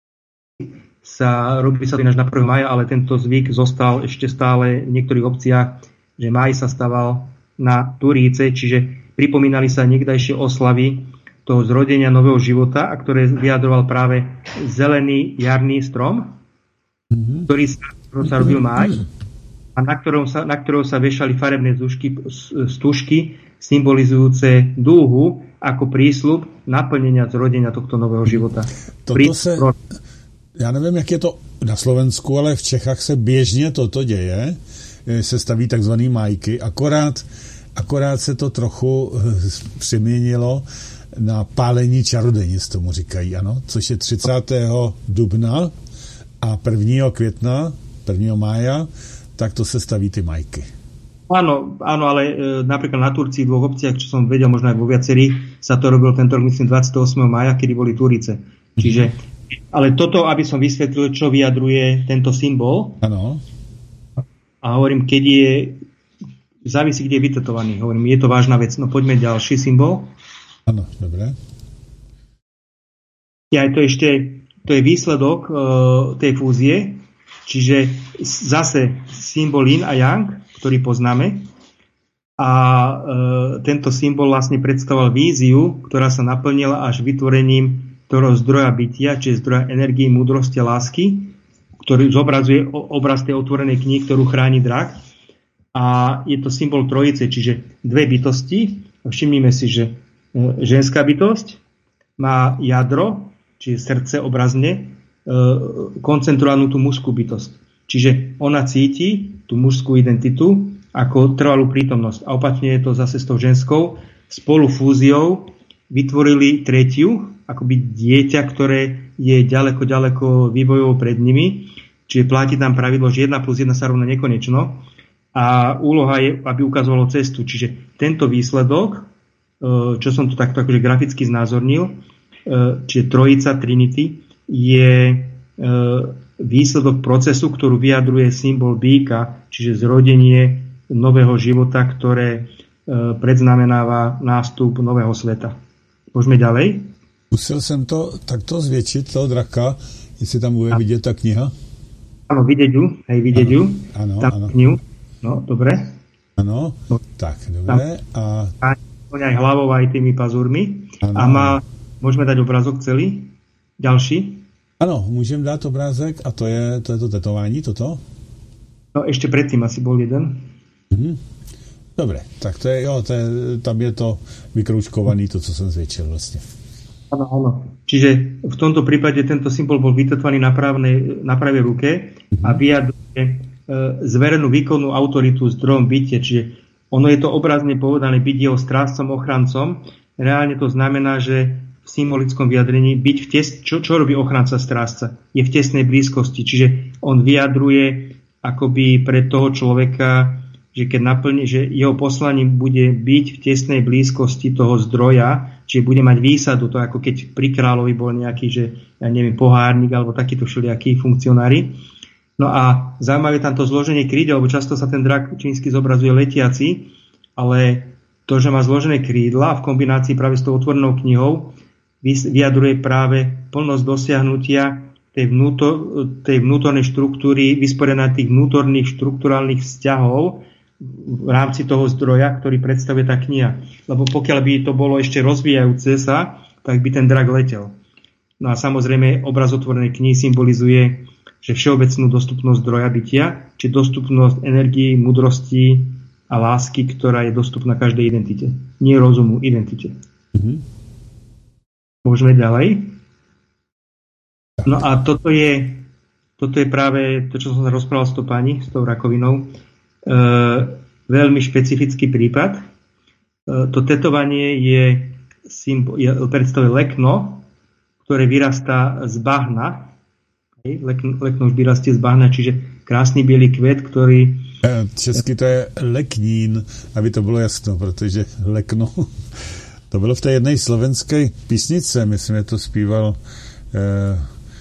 sa robí sa ináč na prvého mája, ale tento zvyk zostal ešte stále v niektorých obciach, že máj sa staval na Turíce, čiže pripomínali sa niekdajšie oslavy toho zrodenia nového života, a ktoré vyjadroval práve zelený jarný strom, mm-hmm. ktorý sa, sa robil máj, a na ktorom sa, na ktorého sa vešali farebné stužky, stužky symbolizujúce dúhu ako prísľub naplnenia zrodenia tohto nového života. Toto se, já nevím, jak je to na Slovensku, ale v Čechách se běžně toto děje, se staví takzvaný májky, akorát Akorát se to trochu přeměnilo na pálení čarodějnic, tomu říkají, ano, což je třicátého dubna a prvního května, prvního mája, tak to se staví ty majky. Áno, áno, ale e, napríklad na Turcii v dvoch obciach, čo som vedel, možno aj vo viacerých, sa to robil tento rok, myslím, dvadsiateho ôsmeho mája, kedy boli Turice. Čiže, ale toto, aby som vysvetlil, čo vyjadruje tento symbol. Áno. A hovorím, keď je závisí, kde je vytetovaný. Hovorím, je to vážna vec. No poďme ďalší symbol. Áno, dobre. Ja, to ešte, to je výsledok uh, tej fúzie, čiže zase symbol Yin a Yang, ktorý poznáme. A uh, tento symbol vlastne predstavoval víziu, ktorá sa naplnila až vytvorením toho zdroja bytia, čiže zdroja energie, múdrosti a lásky, ktorý zobrazuje obraz tej otvorenej knihy, ktorú chráni drak. A je to symbol trojice, čiže dve bytosti. Všimnime si, že ženská bytosť má jadro, čiže srdce obrazne, koncentrovanú tú mužskú bytosť. Čiže ona cíti tú mužskú identitu ako trvalú prítomnosť. A opačne je to zase s tou ženskou. Spolu fúziou vytvorili tretiu, akoby dieťa, ktoré je ďaleko, ďaleko vývojov pred nimi. Čiže platí tam pravidlo, že jedna plus jedna sa rovná nekonečno. A úloha je, aby ukazovalo cestu. Čiže tento výsledok, čo som tu takto akože graficky znázornil, čiže trojica Trinity, je výsledok procesu, ktorú vyjadruje symbol býka, čiže zrodenie nového života, ktoré predznamenáva nástup nového sveta. Môžeme ďalej? Musel som to takto zvětšit, toho draka, jestli tam bude vidět ta kniha. Áno, vidieť ju, hej, vidieť ju. Áno, áno. Knihu. No, dobre. Áno, no, tak, dobre. A... a aj hlavou, aj tými pazúrmi. Ano. A má, môžeme dať obrázok celý? Ďalší? Áno, môžem dať obrázek a to je to, je to tetování, toto? No, ešte predtým asi bol jeden. Mhm. Dobre, tak to je, jo, to je, tam je to vykroučkovaný, to, co som zväčšil vlastne. Áno, áno. Čiže v tomto prípade tento symbol bol vytetovaný na, právnej, na pravej ruke mhm. a vyjadruje e, zverenú výkonnú autoritu zdrojom bytia. Čiže ono je to obrazne povedané byť jeho strážcom, ochrancom. Reálne to znamená, že v symbolickom vyjadrení byť v tes, čo, čo robí ochranca strážca? Je v tesnej blízkosti. Čiže on vyjadruje akoby pre toho človeka že keď naplní, že jeho poslaním bude byť v tesnej blízkosti toho zdroja, čiže bude mať výsadu, to ako keď pri kráľovi bol nejaký, že ja neviem, pohárnik alebo takíto všelijakí funkcionári. No a zaujímavé tam to zloženie krídel, lebo často sa ten drak čínsky zobrazuje letiaci, ale to, že má zložené krídla v kombinácii práve s tou otvorenou knihou, vyjadruje práve plnosť dosiahnutia tej, vnútor, tej vnútornej štruktúry, vysporiadania tých vnútorných štruktúrálnych vzťahov v rámci toho zdroja, ktorý predstavuje tá kniha. Lebo pokiaľ by to bolo ešte rozvíjajúce sa, tak by ten drak letel. No a samozrejme obraz otvorenej knihy symbolizuje, že všeobecnú dostupnosť zdroja bytia, či dostupnosť energii, múdrosti a lásky, ktorá je dostupná každej identite. Nie rozumu, identite. Mm-hmm. Môžeme ďalej. No a toto je, toto je práve to, čo som sa rozprával s tou pani, s tou rakovinou. E, veľmi špecifický prípad. E, to tetovanie je, symbol, je predstavuje lekno, ktoré vyrastá z bahna. Lekno, lekno už vyrastie z bahna, čiže krásny bielý kvet, ktorý... Česky to je leknín, aby to bylo jasno, protože lekno... To bylo v té jednej slovenské písnice, myslím, že to zpíval eh,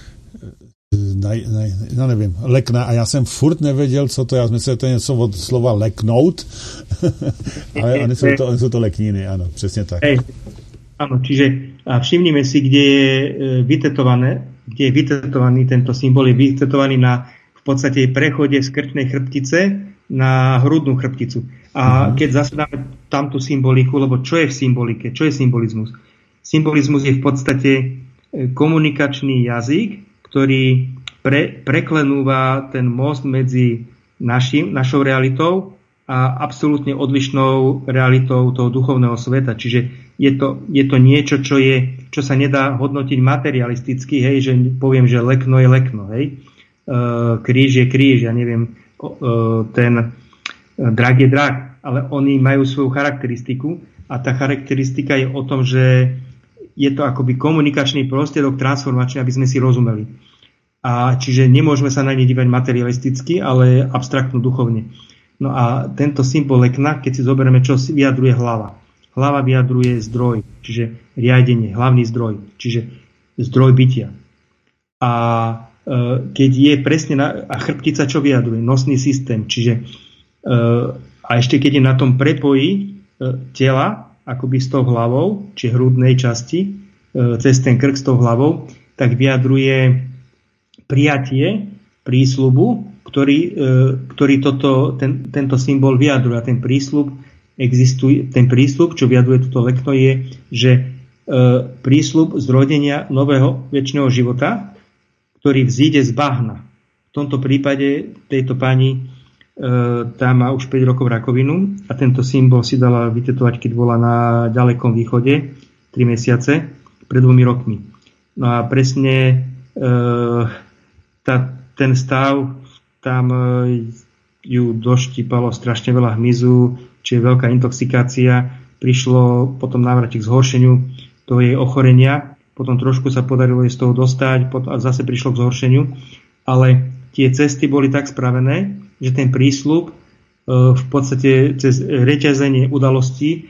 na, na, no nevím, lekna, a já jsem furt nevěděl, co to je, já myslím, že to je něco od slova leknout, ale oni jsou, to, oni jsou to lekníny, ano, přesně tak. Hej, áno, čiže a všimnime si, kde je vytetované, kde je vytetovaný tento symbol, je vytetovaný na v podstate prechode z krčnej chrbtice na hrudnú chrbticu. A keď zasadáme tamtú symboliku, lebo čo je v symbolike? Čo je symbolizmus? Symbolizmus je v podstate komunikačný jazyk, ktorý pre, preklenúva ten most medzi našim, našou realitou a absolútne odlišnou realitou toho duchovného sveta. Čiže je to, je to niečo, čo, je, čo sa nedá hodnotiť materialisticky, hej, že poviem, že lekno je lekno, hej. Uh, kríž je kríž, ja neviem, uh, ten drak je drak, ale oni majú svoju charakteristiku a tá charakteristika je o tom, že je to akoby komunikačný prostriedok transformačný, aby sme si rozumeli. A čiže nemôžeme sa na ne dívať materialisticky, ale abstraktno duchovne. No a tento symbol lekna, keď si zoberieme, čo vyjadruje hlava. Hlava vyjadruje zdroj, čiže riadenie, hlavný zdroj, čiže zdroj bytia. A keď je presne na, a chrbtica čo vyjadruje? Nosný systém, čiže a ešte keď je na tom prepoji tela, akoby s tou hlavou, či hrudnej časti, cez ten krk s tou hlavou, tak vyjadruje prijatie prísľubu, ktorý, ktorý toto, ten, tento symbol vyjadruje. A ten prísľub existuje, ten prísľub, čo vyjadruje toto lekno, je, že prísľub zrodenia nového večného života, ktorý vzíde z bahna. V tomto prípade tejto pani e, tá má už päť rokov rakovinu a tento symbol si dala vytetovať, keď bola na ďalekom východe tri mesiace, pred dvomi rokmi. No a presne e, tá, ten stav, tam e, ju doštípalo strašne veľa hmyzu, čiže veľká intoxikácia, prišlo potom návrate k zhoršeniu toho jej ochorenia. Potom trošku sa podarilo jej z toho dostať a zase prišlo k zhoršeniu. Ale tie cesty boli tak spravené, že ten prísľub v podstate cez reťazenie udalostí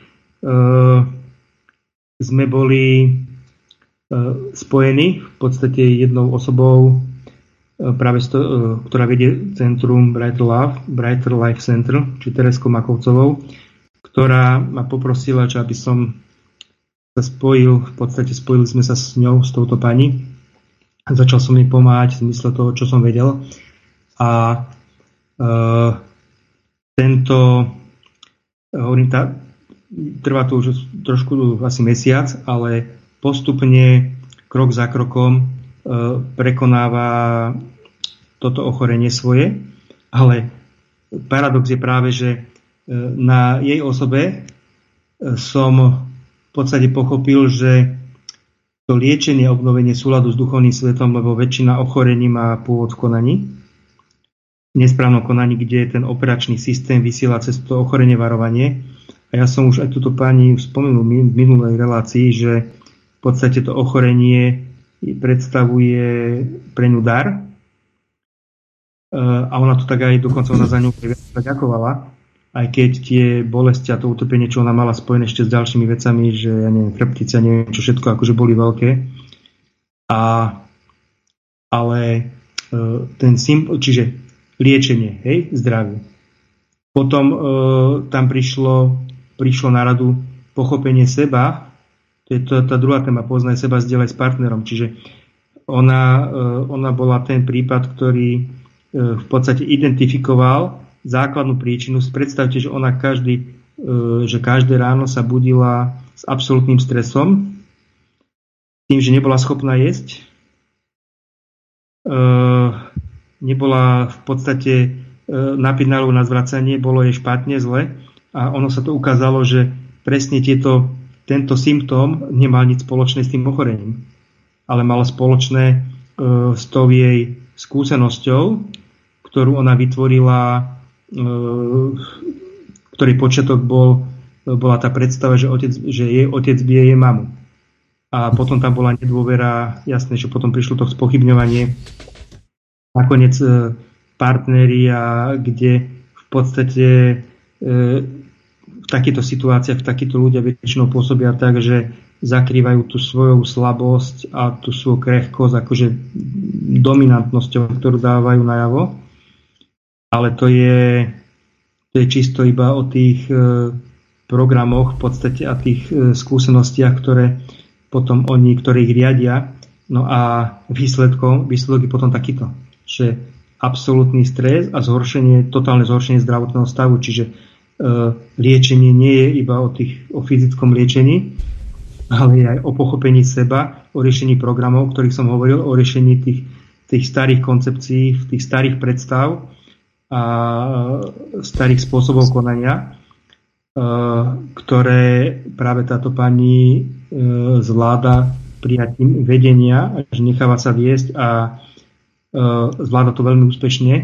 sme boli spojení v podstate jednou osobou, práve sto, ktorá vedie centrum Brighter Life, Brighter Life Center, či Tereskou Makovcovou, ktorá ma poprosila, že aby som sa spojil, v podstate spojili sme sa s ňou, s touto pani a začal som jej pomáhať v zmysle toho, čo som vedel. A e, tento hovorím, tá, trvá to už trošku asi mesiac, ale postupne krok za krokom e, prekonáva toto ochorenie svoje, ale paradox je práve, že e, na jej osobe e, som v podstate pochopil, že to liečenie, obnovenie súladu s duchovným svetom, lebo väčšina ochorení má pôvod v konaní, v nesprávnom konaní, kde je ten operačný systém vysiela cez to ochorenie varovanie. A ja som už aj túto pani spomenul v minulej relácii, že v podstate to ochorenie predstavuje pre ňu dar. A ona to tak aj dokonca ona za ňu ďakovala. aj keď tie bolesti a to utrpenie, čo ona mala spojené ešte s ďalšími vecami, že ja neviem, chrbtice, neviem čo všetko, akože boli veľké. A, ale ten symbol, čiže liečenie, hej, zdravie. Potom e, tam prišlo, prišlo na radu pochopenie seba, to je to, tá druhá téma, poznaj seba, zdieľaj s partnerom, čiže ona, e, ona bola ten prípad, ktorý e, v podstate identifikoval základnú príčinu. Predstavte, že ona každý, e, že každé ráno sa budila s absolútnym stresom, tým, že nebola schopná jesť, e, nebola v podstate e, napínalou na zvracanie, bolo jej špatne, zle a ono sa to ukázalo, že presne tieto, tento symptóm nemal nič spoločné s tým ochorením, ale mal spoločné e, s tou jej skúsenosťou, ktorú ona vytvorila, e, ktorý počiatok bol, bola tá predstava, že, otec, že jej otec bije jej mamu. A potom tam bola nedôvera, jasné, že potom prišlo to spochybňovanie, nakoniec partneri, a kde v podstate e, v takýchto situáciách, v takýchto ľudia väčšinou pôsobia tak, že zakrývajú tú svoju slabosť a tú svoju krehkosť akože dominantnosťou, ktorú dávajú najavo. Ale to je, to je čisto iba o tých e, programoch v podstate a tých e, skúsenostiach, ktoré potom oni, ktorí ich riadia. No a výsledkom, výsledok je potom takýto, že absolútny stres a zhoršenie, totálne zhoršenie zdravotného stavu, čiže e, liečenie nie je iba o, tých, o fyzickom liečení, ale aj o pochopení seba, o riešení programov, o ktorých som hovoril, o riešení tých, tých starých koncepcií, tých starých predstav a starých spôsobov konania, e, ktoré práve táto pani e, zvláda prijatím vedenia, že necháva sa viesť a e, zvláda to veľmi úspešne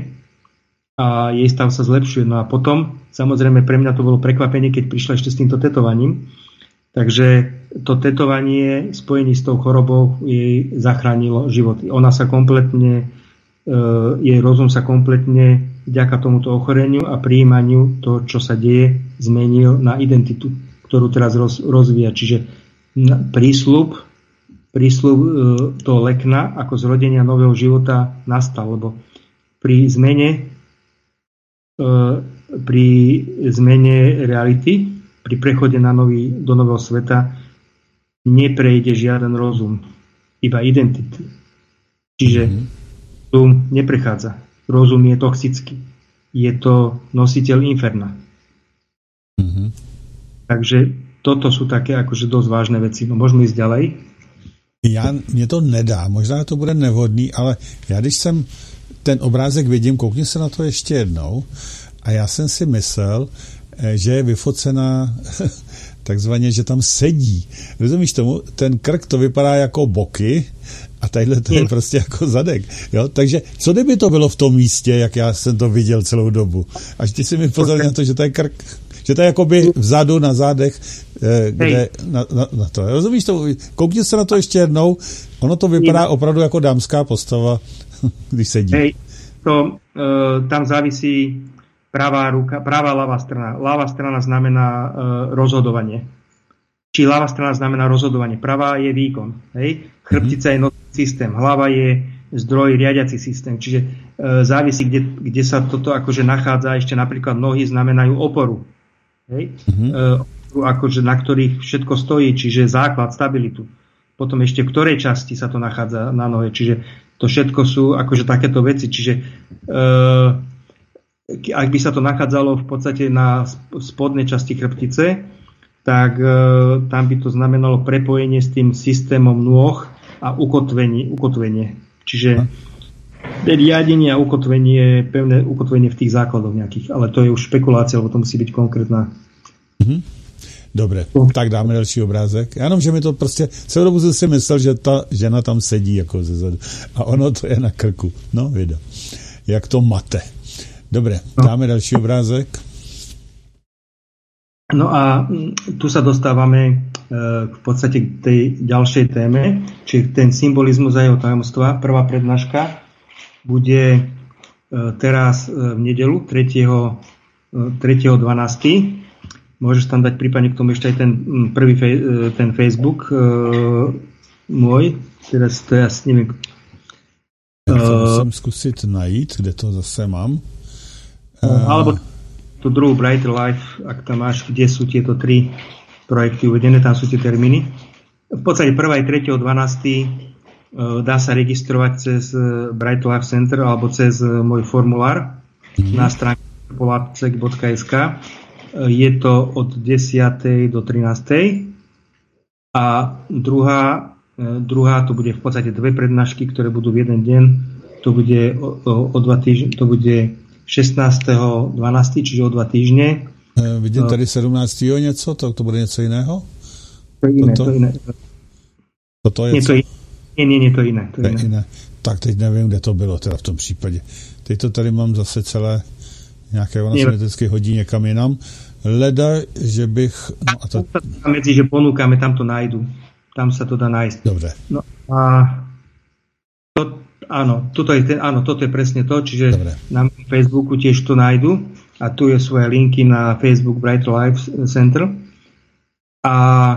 a jej stav sa zlepšuje. No a potom, samozrejme, pre mňa to bolo prekvapenie, keď prišla ešte s týmto tetovaním. Takže to tetovanie spojení s tou chorobou jej zachránilo životy. Ona sa kompletne, e, jej rozum sa kompletne vďaka tomuto ochoreniu a prijímaniu to, čo sa deje, zmenil na identitu, ktorú teraz roz, rozvíja. Čiže prísľub, prísľub e, toho lekna ako zrodenia nového života nastal, lebo pri zmene e, pri zmene reality, pri prechode na nový, do nového sveta neprejde žiaden rozum, iba identity. Čiže rozum neprechádza. Rozum je toxický. Je to nositeľ inferna. Mm-hmm. Takže toto sú také akože dosť vážne veci. No môžeme ísť ďalej. Já, mě to nedá, možná to bude nevhodný, ale já když jsem ten obrázek vidím, koukni se na to ještě jednou a já jsem si myslel, že je vyfocená takzvaně, že tam sedí. Rozumíš tomu? Ten krk to vypadá jako boky a tadyhle to je prostě jako zadek. Jo? Takže co kdyby to bylo v tom místě, jak já jsem to viděl celou dobu? Až ty si mi pozoril na to, že to je krk, že to je jakoby vzadu na zádech, kde na, na, na to. Rozumíš to? Koukni se na to ještě jednou. Ono to vypadá opravdu jako dámská postava, když sedí. Hej, to uh, tam závisí pravá ruka, pravá ľavá strana. Ľavá strana znamená uh, rozhodovanie. Či ľavá strana znamená rozhodovanie. Pravá je výkon. Hej? Chrbtica mm-hmm. je nosný systém. Hlava je zdroj, riadiaci systém. Čiže uh, závisí, kde, kde sa toto akože nachádza. Ešte napríklad nohy znamenajú oporu. Hej? Mm-hmm. Uh, akože, na ktorých všetko stojí. Čiže základ, stabilitu. Potom ešte v ktorej časti sa to nachádza na nohe. Čiže to všetko sú akože takéto veci. Čiže uh, ak by sa to nachádzalo v podstate na spodnej časti chrbtice, tak e, tam by to znamenalo prepojenie s tým systémom nôh a ukotvenie. ukotvenie. Čiže riadenie a ukotvenie, pevné ukotvenie v tých základoch nejakých. Ale to je už špekulácia, lebo to musí byť konkrétna. Mm-hmm. Dobre, tak dáme další obrázek. Já jenom, že mi to prostě, celou dobu jsem si myslel, že ta žena tam sedí jako zezadu. A ono to je na krku. No, vida. Jak to mate. Dobre, dáme další obrázek. No a tu sa dostávame v podstate k tej ďalšej téme, čiže ten symbolizmus a jeho tajomstva. Prvá prednáška bude teraz v nedeľu tretieho tretieho dvanásteho Môžeš tam dať prípadne k tomu ešte aj ten prvý fej, ten Facebook uh, môj. Teraz to ja s neviem. Ja to musím skúsiť najít, kde to zase mám. Uh, alebo tú druhú Brighter Life, ak tam máš, kde sú tieto tri projekty uvedené, tam sú tie termíny. V podstate prvá aj tretieho dvanásteho uh, dá sa registrovať cez Brighter Life Center alebo cez uh, môj formulár mm-hmm. na stránke polacek bodka es ká. Je to od desiatej do trinástej a druhá, druhá to bude v podstate dve prednášky, ktoré budú v jeden deň. To bude o, o, o dva týždne, to bude šestnásteho dvanásteho čiže o dva týždne. E, vidím tady sedmnásteho něco, to, to bude něco jiného? To je iné, Toto? to iné. Toto je nie, to je, nie, nie, nie, to je iné. To je iné. iné. Tak teď nevím, kde to bylo teda v tom případě. Teď to tady mám zase celé nějaké, ona se mi vždycky hodí někam jinam. Leda, že bych... No a to... Medzi, že ponúkame, tam to nájdu. Tam sa to dá nájsť. Dobre. No a to, áno, toto je ten, áno, toto je presne to, čiže Dobre. Na Facebooku tiež to nájdu a tu je svoje linky na Facebook Brighter Life Center. A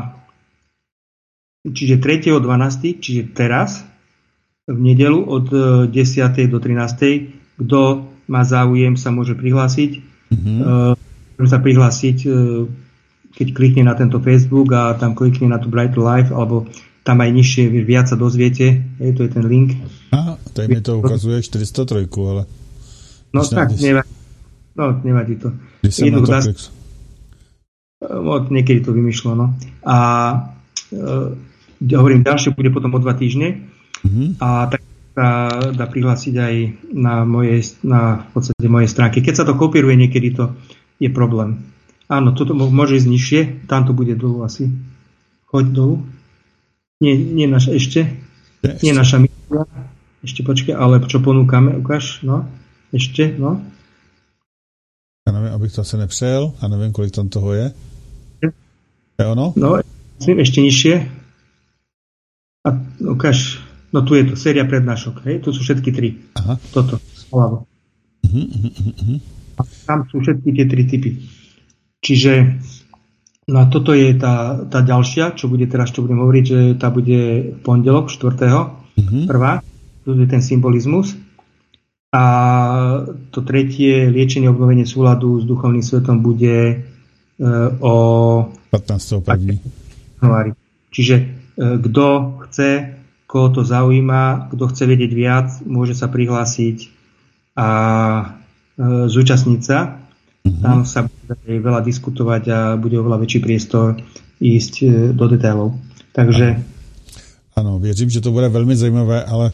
čiže tretieho dvanásteho čiže teraz, v nedeľu od desiatej do trinástej kto má záujem, sa môže prihlásiť. Mm-hmm. Môže sa prihlásiť, keď klikne na tento Facebook a tam klikne na tú Brighter Life, alebo tam aj nižšie, viac sa dozviete. Je, to je ten link. Aha, tady mi to ukazuje štyristo tri, ale... No tak, nevadí. No, nevadí to. Když som na to klik... Od niekedy to vymýšľa, no. A e, hovorím, ďalšie bude potom o dva týždne. Mm-hmm. A tak sa dá prihlásiť aj na mojej, na v podstate mojej stránke. Keď sa to kopíruje, niekedy to je problém. Áno, toto môže ísť nižšie, tam to bude dolu asi. Choď dolu. Nie, nie naša, ešte. ešte. Nie naša misia. Ešte počkaj, ale čo ponúkame, ukáž, no. Ešte, no. Ja neviem, abych to asi nepřejel, a neviem, kolik tam toho je. Je ono? No, ešte nižšie. A ukáž. No tu je to, séria prednášok, hej? Tu sú všetky tri. Aha. Toto, hľavo. Uh-huh, uh-huh, uh-huh. A tam sú všetky tie tri typy. Čiže, no a toto je tá, tá ďalšia, čo bude teraz, čo budem hovoriť, že tá bude v pondelok, štvrtého Uh-huh. Prvá, tu je ten symbolizmus. A to tretie, liečenie, obnovenie súladu s duchovným svetom bude e, o pätnásteho prvého januári. Čiže e, kto chce, koho to zaujíma, kto chce vedieť viac, môže sa prihlásiť a e, zúčastniť sa. Uh-huh. Tam sa bude veľa diskutovať a bude oveľa väčší priestor ísť e, do detailov. Takže... Ano, věřím, že to bude velmi zajímavé, ale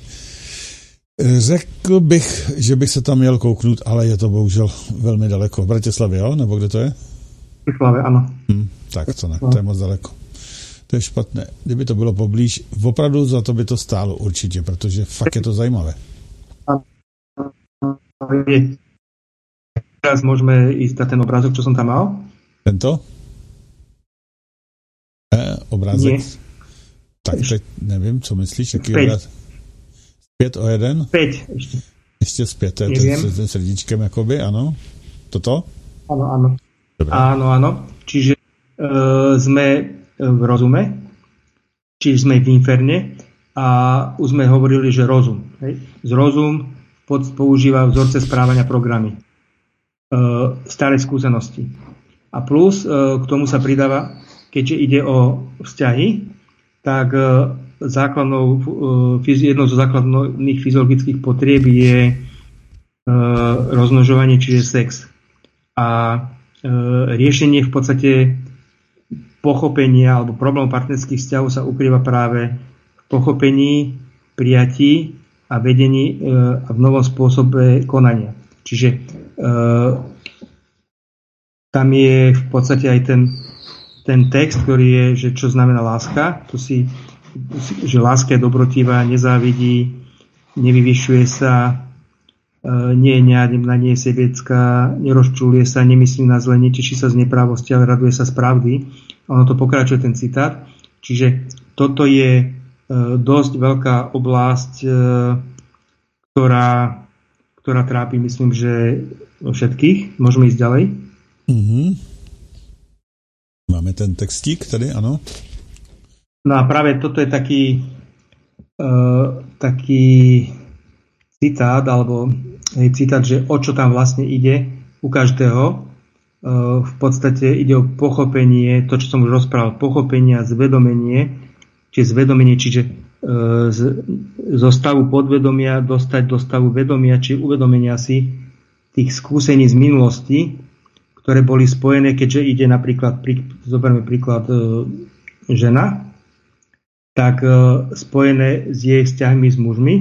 řekl bych, že bych se tam měl kouknout, ale je to bohužel velmi daleko. V Bratislavě, jo? Nebo kde to je? V Bratislavě, ano. Hm, tak to ne, to je moc daleko. To je špatné. Kdyby to bylo poblíž, opravdu za to by to stálo určitě, protože fakt je to zajímavé. Teraz môžeme ísť na ten obrázok, čo som tam mal. Tento? E, obrázek? Nie. Tak teď nevím, co myslíš, jaký obrázek? Zpět o jeden? Zpět ještě. Ještě zpět, to je ten, ten srdíčkem jakoby, ano? Toto? Áno, áno. Dobre. Áno, áno. Čiže uh, sme v rozume, čiže sme v inferne a už sme hovorili, že rozum. Hej? Z rozum pod, používa vzorce správania programy. Uh, staré skúsenosti. A plus uh, k tomu sa pridáva, keďže ide o vzťahy, tak uh, základnou, uh, jednou zo základných fyziologických potrieb je uh, rozmnožovanie, čiže sex. A uh, riešenie v podstate pochopenia alebo problém partnerských vzťahov sa ukrýva práve v pochopení, prijatí a vedení uh, a v novom spôsobe konania. Čiže uh, tam je v podstate aj ten, ten text, ktorý je, že čo znamená láska. To si, že láska je dobrotivá, nezávidí, nevyvyšuje sa, uh, nie je neademná, nie je sebecká, nerozčuluje sa, nemyslí na zle, neteší sa z neprávosti, ale raduje sa z pravdy. Ono to pokračuje ten citát. Čiže toto je uh, dosť veľká oblasť, uh, ktorá ktorá trápi, myslím, že všetkých. Môžeme ísť ďalej. Mm-hmm. Máme ten textík tady, ano? No a práve toto je taký uh, taký citát, alebo hej, citát, že o čo tam vlastne ide u každého. Uh, v podstate ide o pochopenie, to, čo som už rozprával, pochopenie a zvedomenie, či zvedomenie, čiže uh, z, zo stavu podvedomia dostať do stavu vedomia, či uvedomenia si tých skúsení z minulosti, ktoré boli spojené, keďže ide napríklad, prí, zoberme príklad uh, žena, tak uh, spojené s jej vzťahmi s mužmi,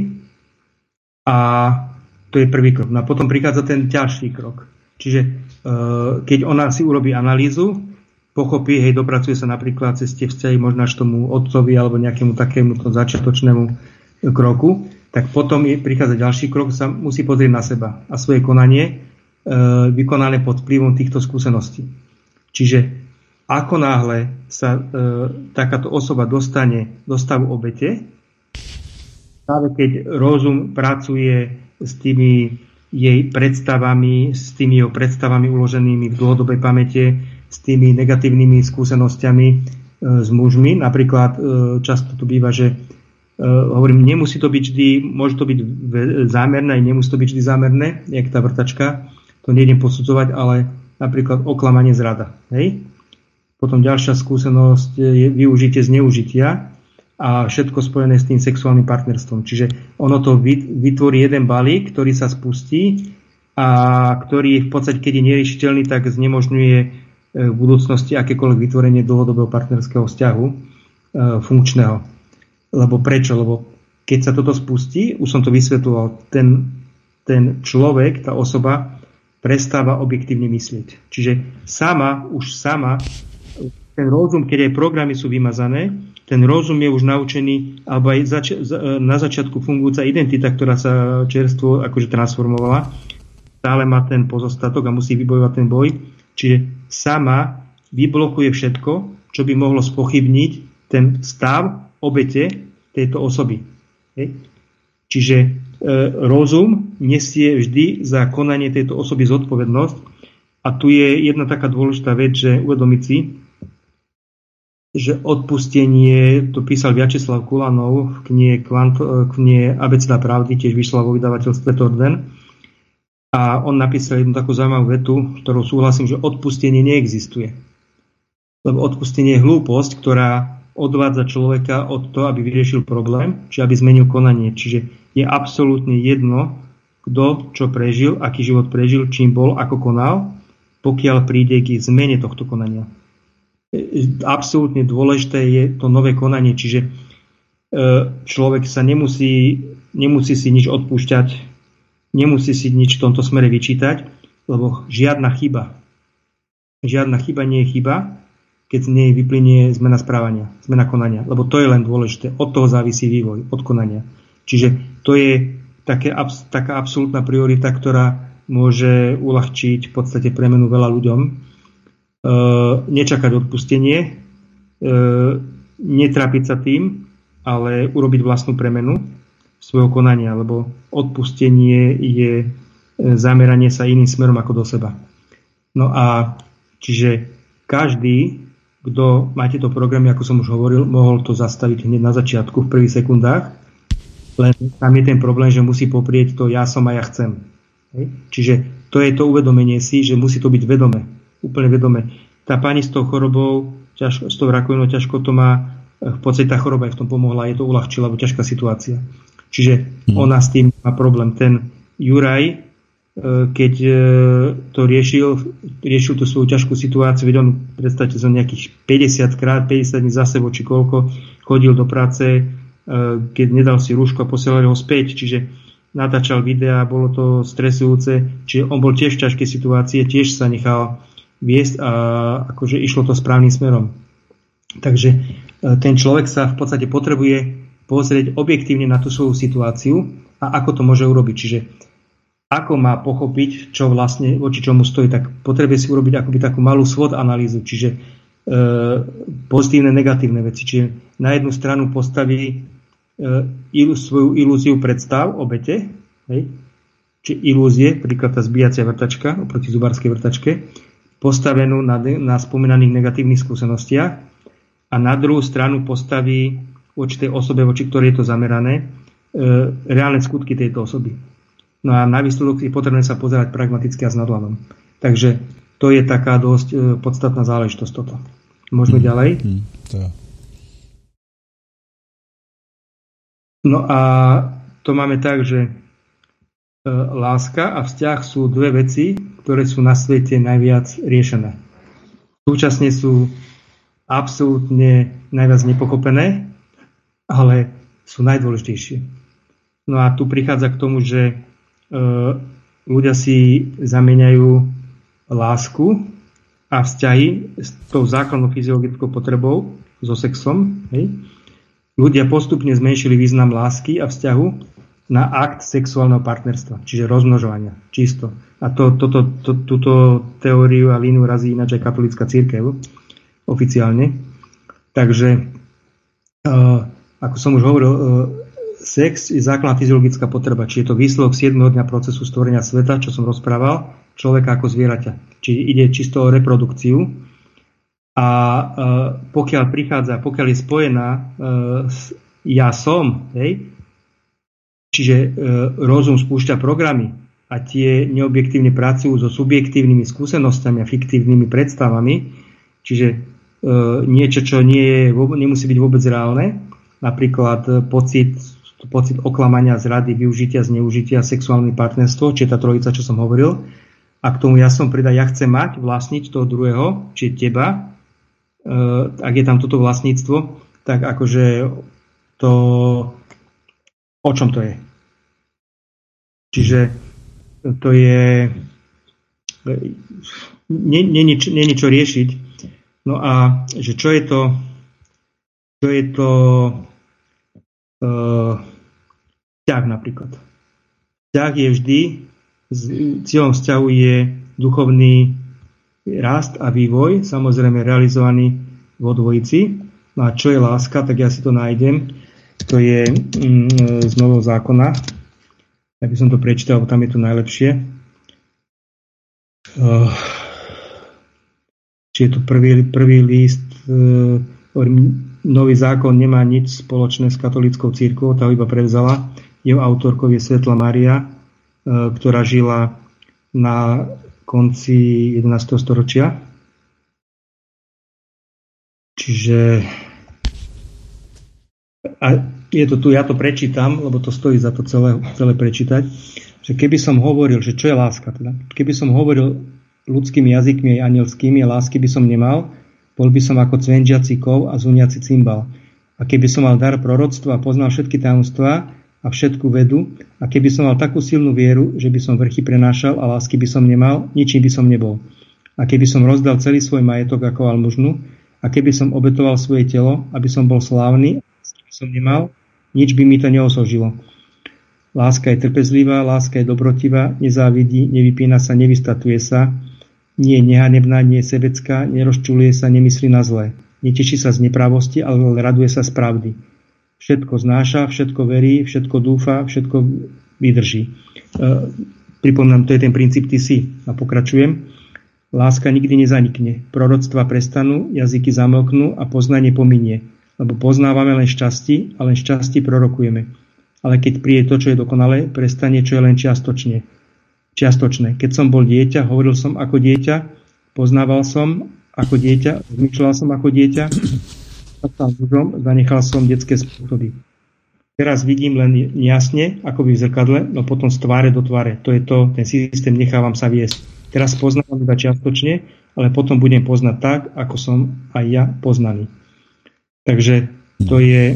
a to je prvý krok. No a potom prichádza ten ďalší krok. Čiže uh, keď ona si urobí analýzu, pochopí, hej, dopracuje sa napríklad cez tie vzťahy možno až tomu otcovi alebo nejakému takému začiatočnému kroku, tak potom je, prichádza ďalší krok, sa musí pozrieť na seba a svoje konanie uh, vykonané pod vplyvom týchto skúseností. Čiže ako náhle sa e, takáto osoba dostane do stavu obete, práve keď rozum pracuje s tými jej predstavami, s tými jeho predstavami uloženými v dlhodobej pamäte, s tými negatívnymi skúsenosťami e, s mužmi. Napríklad e, často to býva, že e, hovorím, nemusí to byť vždy, môže to byť zámerné, nemusí to byť vždy zámerné, jak tá vrtačka, to nejdem posudzovať, ale napríklad oklamanie, zrada. Hej? Potom ďalšia skúsenosť je využitie zneužitia a všetko spojené s tým sexuálnym partnerstvom. Čiže ono to vytvorí jeden balík, ktorý sa spustí a ktorý v podstate, keď je neriešiteľný, tak znemožňuje v budúcnosti akékoľvek vytvorenie dlhodobého partnerského vzťahu funkčného. Lebo prečo? Lebo keď sa toto spustí, už som to vysvetľoval, ten, ten človek, tá osoba prestáva objektívne myslieť. Čiže sama, už sama ten rozum, keď aj programy sú vymazané, ten rozum je už naučený, alebo aj zač- na začiatku fungujúca identita, ktorá sa čerstvo akože transformovala, stále má ten pozostatok a musí vybojovať ten boj. Čiže sama vyblokuje všetko, čo by mohlo spochybniť ten stav obete tejto osoby. Hej. Čiže e, rozum nesie vždy za konanie tejto osoby zodpovednosť. A tu je jedna taká dôležitá vec, že uvedomiť si, že odpustenie, to písal Vjačeslav Kulanov v knihe, v knihe Abeceda pravdy, tiež vyšla vo vydavateľstve Torden. A on napísal jednu takú zaujímavú vetu, ktorou súhlasím, že odpustenie neexistuje. Lebo odpustenie je hlúposť, ktorá odvádza človeka od toho, aby vyriešil problém, či aby zmenil konanie. Čiže je absolútne jedno, kto čo prežil, aký život prežil, čím bol, ako konal, pokiaľ príde k zmene tohto konania. Absolútne dôležité je to nové konanie, čiže človek sa nemusí, nemusí si nič odpúšťať, nemusí si nič v tomto smere vyčítať, lebo žiadna chyba, žiadna chyba nie je chyba, keď z nej vyplynie zmena správania, zmena konania, lebo to je len dôležité, od toho závisí vývoj, od konania. Čiže to je také, taká absolútna priorita, ktorá môže uľahčiť v podstate premenu veľa ľuďom. E, nečakať odpustenie, e, netrápiť sa tým, ale urobiť vlastnú premenu svojho konania, lebo odpustenie je zameranie sa iným smerom ako do seba. No a čiže každý, kto má tieto programy, ako som už hovoril, mohol to zastaviť hneď na začiatku, v prvých sekundách, len tam je ten problém, že musí poprieť to ja som a ja chcem. Hej? Čiže to je to uvedomenie si, že musí to byť vedome. Úplne vedome. Tá pani s tou chorobou, ťažko, s tou rakovinou ťažko to má, v podstate tá choroba aj v tom pomohla, je to uľahčila, lebo ťažká situácia. Čiže hmm. ona s tým má problém. Ten Juraj, keď to riešil, riešil tú svoju ťažkú situáciu, veď on, predstavte sa, nejakých päťdesiat krát, päťdesiat dní za sebou, či koľko, chodil do práce, keď nedal si rúško a posielali ho späť, čiže natáčal videá, bolo to stresujúce, čiže on bol tiež v ťažkej situácii, tiež sa nechal viesť a akože išlo to správnym smerom. Takže ten človek sa v podstate potrebuje pozrieť objektívne na tú svoju situáciu a ako to môže urobiť. Čiže ako má pochopiť, čo vlastne voči čomu stojí, tak potrebuje si urobiť akoby takú malú SWOT analýzu, čiže e, pozitívne, negatívne veci. Čiže na jednu stranu postaví e, ilú, svoju ilúziu predstav obete, hej, či ilúzie, príklad tá zbíjacia vrtačka oproti zubárskej vrtačke, postavenú na, na spomínaných negatívnych skúsenostiach a na druhú stranu postaví voči tej osobe, voči ktorej je to zamerané, e, reálne skutky tejto osoby. No a na výsledok je potrebné sa pozerať pragmaticky a s nadhľadom. Takže to je taká dosť e, podstatná záležitosť toto. Môžeme hmm. ďalej? Hmm. To. No a to máme tak, že e, láska a vzťah sú dve veci, ktoré sú na svete najviac riešené. Súčasne sú absolútne najviac nepochopené, ale sú najdôležitejšie. No a tu prichádza k tomu, že e, ľudia si zamieňajú lásku a vzťahy s tou základnou fyziologickou potrebou, so sexom. Hej. Ľudia postupne zmenšili význam lásky a vzťahu na akt sexuálneho partnerstva, čiže rozmnožovania, čisto. A to, toto, to, túto teóriu a líniu razí ináč aj katolícka cirkev oficiálne. Takže, uh, ako som už hovoril, uh, sex je základná fyziologická potreba, či je to výsledok siedmeho dňa procesu stvorenia sveta, čo som rozprával, človeka ako zvieraťa. Čiže ide čisto o reprodukciu. A uh, pokiaľ prichádza, pokiaľ je spojená uh, s ja som, hej, čiže uh, rozum spúšťa programy a tie neobjektívne pracujú so subjektívnymi skúsenostami a fiktívnymi predstavami, čiže uh, niečo, čo nie je, nemusí byť vôbec reálne, napríklad uh, pocit, pocit oklamania, zrady, využitia, zneužitia, sexuálne partnerstvo, či je tá trojica, čo som hovoril, a k tomu ja som pridá, ja chcem mať, vlastniť toho druhého, či teba, uh, ak je tam toto vlastníctvo, tak akože to, o čom to je? Čiže to je nie, nie, nie, nie niečo riešiť. No a že čo je to čo je to uh, vzťah napríklad. Vzťah je vždy, cieľom vzťahu je duchovný rast a vývoj, samozrejme realizovaný vo dvojici. No a čo je láska, tak ja si to nájdem. To je mm, z Nového zákona. Ja by som to prečítal, lebo tam je to najlepšie. Uh, či je to prvý, prvý list. Uh, Nový zákon nemá nič spoločné s katolíckou cirkvou, tá ho iba prevzala. Jeho autorkou je Svetla Mária, uh, ktorá žila na konci jedenásteho storočia. Čiže a je to tu, ja to prečítam, lebo to stojí za to celé, celé prečítať, že keby som hovoril, že čo je láska, teda, keby som hovoril ľudskými jazykmi aj anielskými, lásky by som nemal, bol by som ako cvenžiaci kov a zuniaci cymbal. A keby som mal dar proroctva a poznal všetky tajomstvá a všetku vedu, a keby som mal takú silnú vieru, že by som vrchy prenášal a lásky by som nemal, ničím by som nebol. A keby som rozdal celý svoj majetok ako almužnu, a keby som obetoval svoje telo, aby som bol slávny, som nemal, nič by mi to neosožilo. Láska je trpezlivá, láska je dobrotivá, nezávidí, nevypína sa, nevystatuje sa, nie je nehanebná, nie je sebecká, nerozčuluje sa, nemyslí na zlé. Neteší sa z neprávosti, ale raduje sa z pravdy. Všetko znáša, všetko verí, všetko dúfa, všetko vydrží. E, pripomínam, to je ten princíp ty si. A pokračujem. Láska nikdy nezanikne. Proroctva prestanú, jazyky zamlknú a poznanie pominie. Lebo poznávame len šťastí a len šťastí prorokujeme. Ale keď príde to, čo je dokonalé, prestane, čo je len čiastočne. čiastočné. Keď som bol dieťa, hovoril som ako dieťa, poznával som ako dieťa, zmýšľal som ako dieťa, stal mužom, zanechal som detské spôsoby. Teraz vidím len jasne, ako by v zrkadle, no potom z tváre do tváre. To je to, ten systém, nechávam sa viesť. Teraz poznávam iba čiastočne, ale potom budem poznať tak, ako som aj ja poznaný. Takže to je...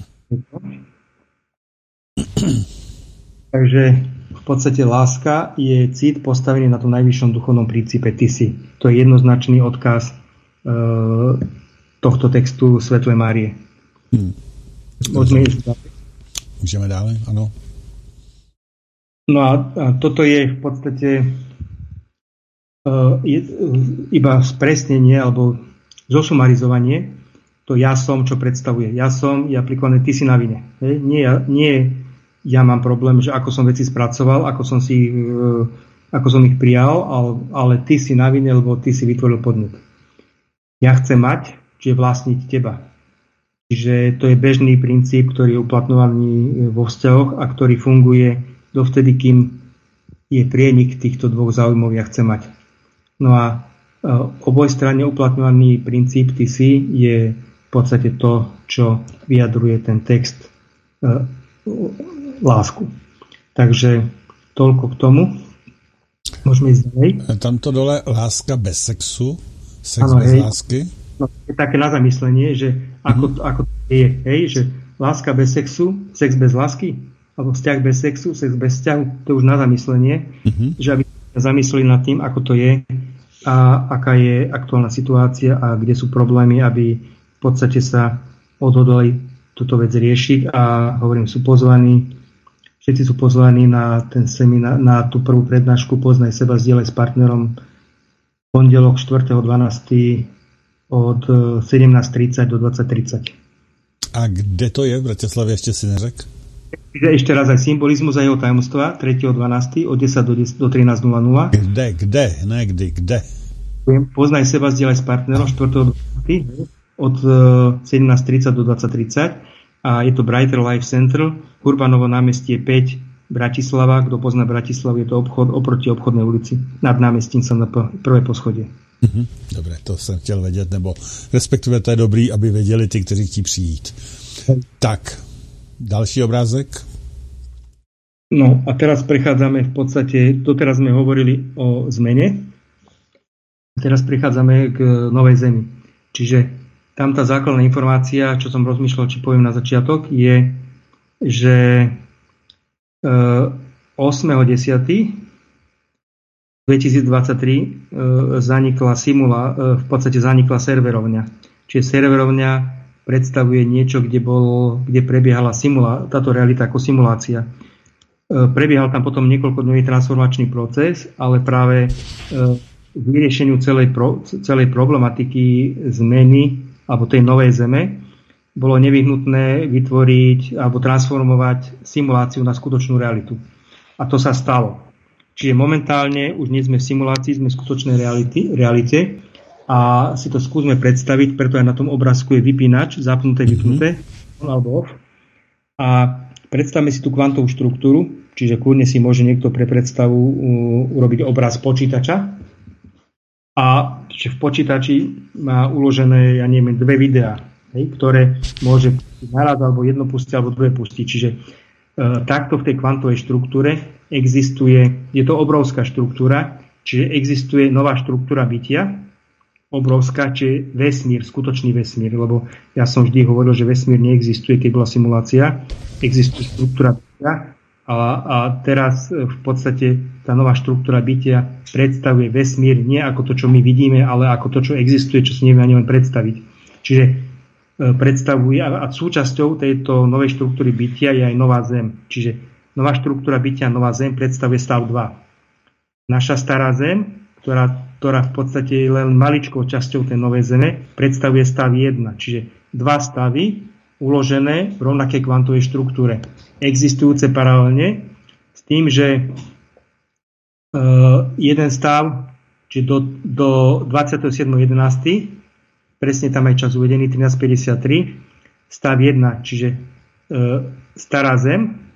Takže v podstate láska je cit postavený na tom najvyššom duchovnom princípe ty si. To je jednoznačný odkaz e, tohto textu Svetlej Márie. Hmm. Môžeme ísť ďalej? Môžeme ďalej, áno. No a, a toto je v podstate e, je, iba spresnenie alebo zosumarizovanie. To ja som, čo predstavuje. Ja som je aplikované ty si na vine. Hej? Nie, nie ja mám problém, že ako som veci spracoval, ako som si e, ako som ich prijal, ale, ale ty si na vine, lebo ty si vytvoril podnet. Ja chcem mať, čiže vlastniť teba. Čiže to je bežný princíp, ktorý je uplatňovaný vo vzťahoch a ktorý funguje dovtedy, kým je prienik týchto dvoch záujmov, ja chcem mať. No a obojstranne uplatňovaný princíp ty si je v podstate to, čo vyjadruje ten text e, lásku. Takže toľko k tomu. Môžeme ísť ďalej. Tamto dole láska bez sexu, sex ano, bez hej. lásky. No, je také na zamyslenie, že ako, mm-hmm. ako to je, hej, že láska bez sexu, sex bez lásky, alebo vzťah bez sexu, sex bez vzťahu, to je už na zamyslenie, mm-hmm. že aby sa zamysleli nad tým, ako to je a aká je aktuálna situácia a kde sú problémy, aby v podstate sa odhodlali túto vec riešiť a hovorím, sú pozvaní, všetci sú pozvaní na ten seminár, na tú prvú prednášku Poznaj seba, zdieľaj s partnerom pondelok štvrtého decembra od sedemnásť tridsať do dvadsať tridsať. A kde to je v Bratislave, ešte si neřek? Ešte raz aj symbolizmus a jeho tajomstva tretieho decembra od desať do trinásť nula nula. Kde, kde, ne kdy, kde? Poznaj seba, zdieľaj s partnerom štvrtého decembra od sedemnásť tridsať do dvadsať tridsať a je to Brighter Life Center, Urbanovo námestie päť, Bratislava. Kto pozná Bratislavu, je to obchod oproti obchodnej ulici nad námestím sa na prvé poschodie. Mm-hmm. Dobre, to jsem chtěl vědět, nebo respektive to je dobrý, aby věděli ty, kteří chtějí přijít. Tak, další obrázek. No a teraz prechádzame v podstate, doteraz sme hovorili o zmene, teraz prechádzame k novej zemi. Čiže tam tá základná informácia, čo som rozmýšľal, či poviem na začiatok, je, že ôsmeho desiateho dvetisícdvadsaťtri zanikla simula, v podstate zanikla serverovňa. Čiže serverovňa predstavuje niečo, kde, bol, kde prebiehala simula, táto realita ako simulácia. Prebiehal tam potom niekoľkodňový transformačný proces, ale práve k vyriešeniu celej, pro, celej problematiky zmeny alebo tej novej zeme bolo nevyhnutné vytvoriť alebo transformovať simuláciu na skutočnú realitu. A to sa stalo. Čiže momentálne už nie sme v simulácii, sme v skutočnej reality, realite a si to skúsme predstaviť, preto aj na tom obrázku je vypínač, zapnuté, vypnuté, on alebo off. A predstavme si tú kvantovú štruktúru, čiže kľudne si môže niekto pre predstavu urobiť obraz počítača. A čiže v počítači má uložené, ja neviem, dve videá, hej, ktoré môže naraz alebo jedno pustiť, alebo druhé pustiť. Čiže e, takto v tej kvantovej štruktúre existuje, je to obrovská štruktúra, čiže existuje nová štruktúra bytia, obrovská, čiže vesmír, skutočný vesmír, lebo ja som vždy hovoril, že vesmír neexistuje, keď bola simulácia, existuje štruktúra bytia a, a teraz v podstate tá nová štruktúra bytia predstavuje vesmír nie ako to, čo my vidíme, ale ako to, čo existuje, čo si nevieme ani len predstaviť. Čiže e, predstavuje a, a súčasťou tejto novej štruktúry bytia je aj nová Zem. Čiže nová štruktúra bytia, nová Zem predstavuje stav dva. Naša stará Zem, ktorá, ktorá v podstate je len maličkou časťou tej novej Zeme, predstavuje stav jeden. Čiže dva stavy uložené v rovnakej kvantovej štruktúre. Existujúce paralelne s tým, že Uh, jeden stav, čiže do, do dvadsiateho siedmeho jedenásteho presne tam aj čas uvedený, trinásť päťdesiattri, stav jeden, čiže uh, stará Zem,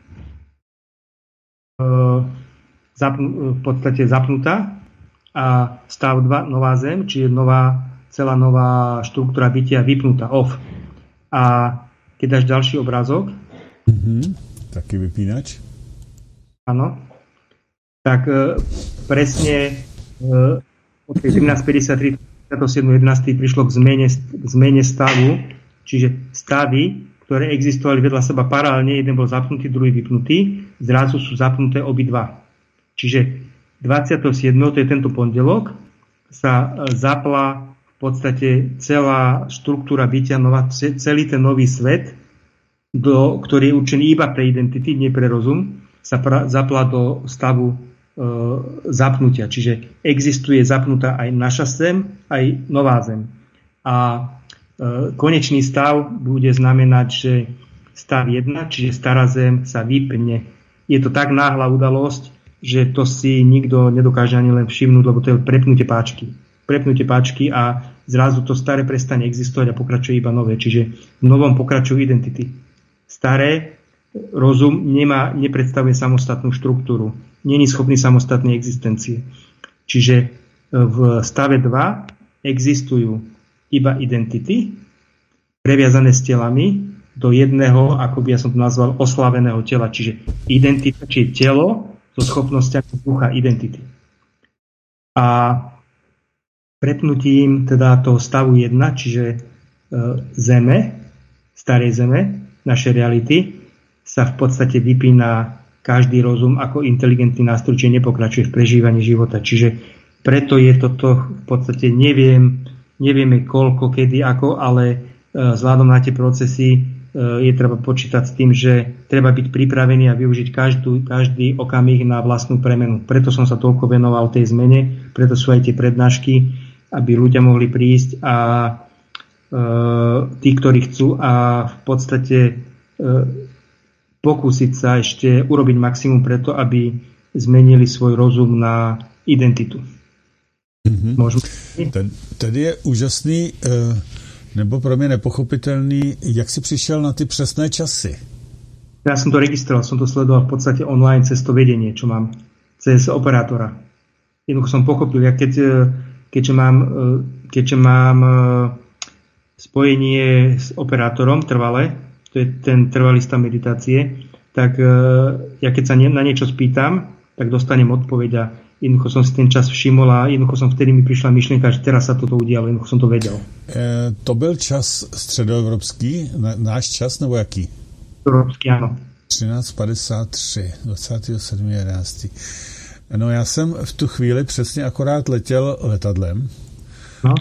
uh, zapn- v podstate zapnutá, a stav dva, nová Zem, čiže nová, celá nová štruktúra bytia vypnutá, off. A keď dáš ďalší obrázok, mm-hmm, taký vypínač. Áno. Tak e, presne e, od tej trinásť päťdesiattri do siedmeho jedenásteho prišlo k zmene, k zmene stavu, čiže stavy, ktoré existovali vedľa seba paralelne, jeden bol zapnutý, druhý vypnutý, zrazu sú zapnuté obidva. Čiže dvadsiateho siedmeho to je tento pondelok, sa e, zapla v podstate celá štruktúra bytia, nová, celý ten nový svet, do, ktorý je určený iba pre identity, nie pre rozum, sa pra, zapla do stavu e, zapnutia. Čiže existuje zapnutá aj naša Zem, aj nová Zem. A e, konečný stav bude znamenať, že stav jeden, čiže stará Zem, sa vypne. Je to tak náhla udalosť, že to si nikto nedokáže ani len všimnúť, lebo to je prepnutie páčky. Prepnutie páčky a zrazu to staré prestane existovať a pokračuje iba nové. Čiže v novom pokračujú identity. Staré rozum nemá, nepredstavuje samostatnú štruktúru. Není schopný samostatnej existencie. Čiže v stave dva existujú iba identity, previazané s telami do jedného, ako by ja som to nazval, oslaveného tela. Čiže identita, či telo so schopnosťami ducha identity. A prepnutím teda toho stavu jedna, čiže e, Zeme, starej Zeme, našej reality, sa v podstate vypína každý rozum ako inteligentný nástroj, čiže nepokračuje v prežívaní života. Čiže preto je toto v podstate, neviem, nevieme koľko, kedy, ako, ale e, vzhľadom na tie procesy e, je treba počítať s tým, že treba byť pripravený a využiť každú, každý okamih na vlastnú premenu. Preto som sa toľko venoval tej zmene, preto sú aj tie prednášky, aby ľudia mohli prísť a e, tí, ktorí chcú a v podstate e, pokúsiť sa ešte urobiť maximum preto, aby zmenili svoj rozum na identitu. Mm-hmm. Ten, tady je úžasný, nebo pro mě nepochopitelný, jak si přišel na ty přesné časy. Ja som to registroval, som to sledoval v podstate online cez to vedenie, čo mám, cez operátora. Jednoducho som pochopil, ja keď, keďže mám, keďže mám spojenie s operátorom trvale, to je ten trvalý stav meditácie, tak ja keď sa na niečo spýtam, tak dostanem odpoveď a jednoducho som si ten čas všimol a jednoducho som vtedy mi prišla myšlienka, že teraz sa toto udialo, jednoducho som to vedel. E, to byl čas středoevropský, na, náš čas, nebo jaký? Evropský, áno. třináct padesát tři, dvacátého sedmého jedenáctého No já jsem v tu chvíli přesně akorát letěl letadlem. No.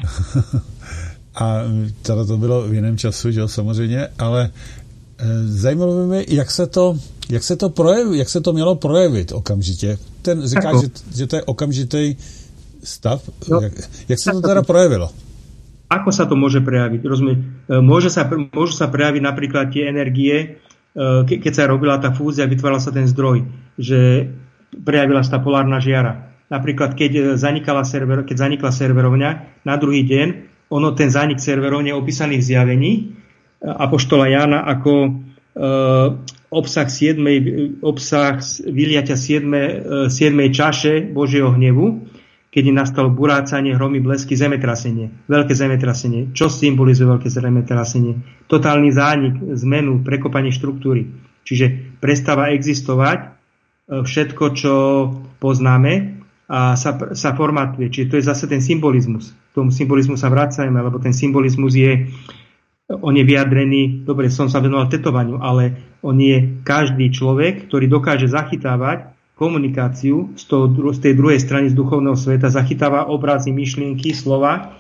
A teda to bylo v jiném času, že jo, samozřejmě, ale e, zajímalo by mě, jak se to, jak se to projeví, jak se to mělo projevit okamžitě. Ten říká, že, že to je okamžitý stav. No, jak, jak sa to teda projavilo? Ako sa to môže prejaviť? Rozumiem, môže sa, môžu sa prejaviť napríklad tie energie, ke, keď sa robila tá fúzia, vytváral sa ten zdroj, že prejavila sa tá polárna žiara. Napríklad, keď zanikala server, keď zanikla serverovňa, na druhý deň, ono, ten zánik serverovne opísaných zjavení apoštola Jána ako e, obsah siedmej, obsah vyliatia siedmej čaše Božieho hnevu, keď nastalo burácanie, hromy, blesky, zemetrasenie. Veľké zemetrasenie. Čo symbolizuje veľké zemetrasenie? Totálny zánik, zmenu, prekopanie štruktúry. Čiže prestáva existovať všetko, čo poznáme a sa, sa formatuje. Čiže to je zase ten symbolizmus. K tomu symbolizmu sa vracajme, lebo ten symbolizmus je on je vyjadrený, dobre, som sa venoval tetovaniu, ale on je každý človek, ktorý dokáže zachytávať komunikáciu z, toho, z tej druhej strany z duchovného sveta, zachytáva obrazy, myšlienky, slova.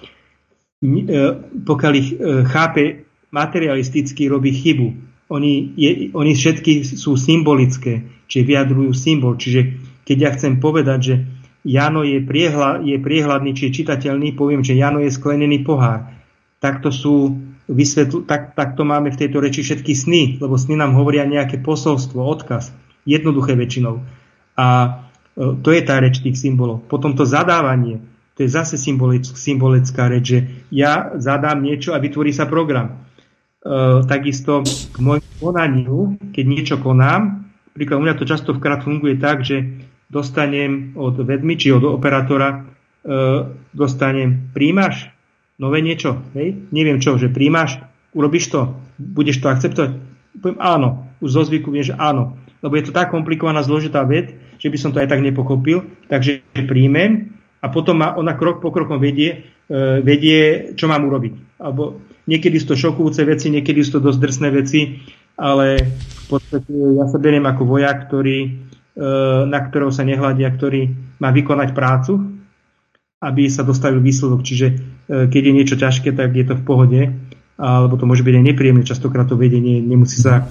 Pokiaľ ich chápe materialisticky, robí chybu. Oni, je, oni všetky sú symbolické, čiže vyjadrujú symbol. Čiže keď ja chcem povedať, že Jano je, priehľad, je priehľadný, či je čitateľný, poviem, že Jano je sklenený pohár. Takto sú Vysvetl, tak, tak to máme v tejto reči všetky sny, lebo sny nám hovoria nejaké posolstvo, odkaz, jednoduché väčšinou. A to je tá reč tých symbolov. Potom to zadávanie, to je zase symbolic, symbolická reč, že ja zadám niečo a vytvorí sa program. E, takisto k môjmu konaniu, keď niečo konám, príklad u mňa to častokrát funguje tak, že dostanem od vedmy, či od operátora, e, dostanem, príjmaš nové niečo, hej? Neviem čo, že príjmaš, urobíš to, budeš to akceptovať? Poviem áno, už zo zvyku viem, že áno, lebo je to tak komplikovaná, zložitá vec, že by som to aj tak nepochopil, takže príjmem a potom ma ona krok po krokom vedie, e, vedie, čo mám urobiť. Alebo niekedy sú to šokujúce veci, niekedy sú to dosť drsné veci, ale v podstate ja sa beriem ako vojak, ktorý, e, na ktorého sa nehľadia, ktorý má vykonať prácu, aby sa dostavil výsledok. Čiže keď je niečo ťažké, tak je to v pohode, alebo to môže byť aj nepríjemné. Častokrát to vedenie nemusí sa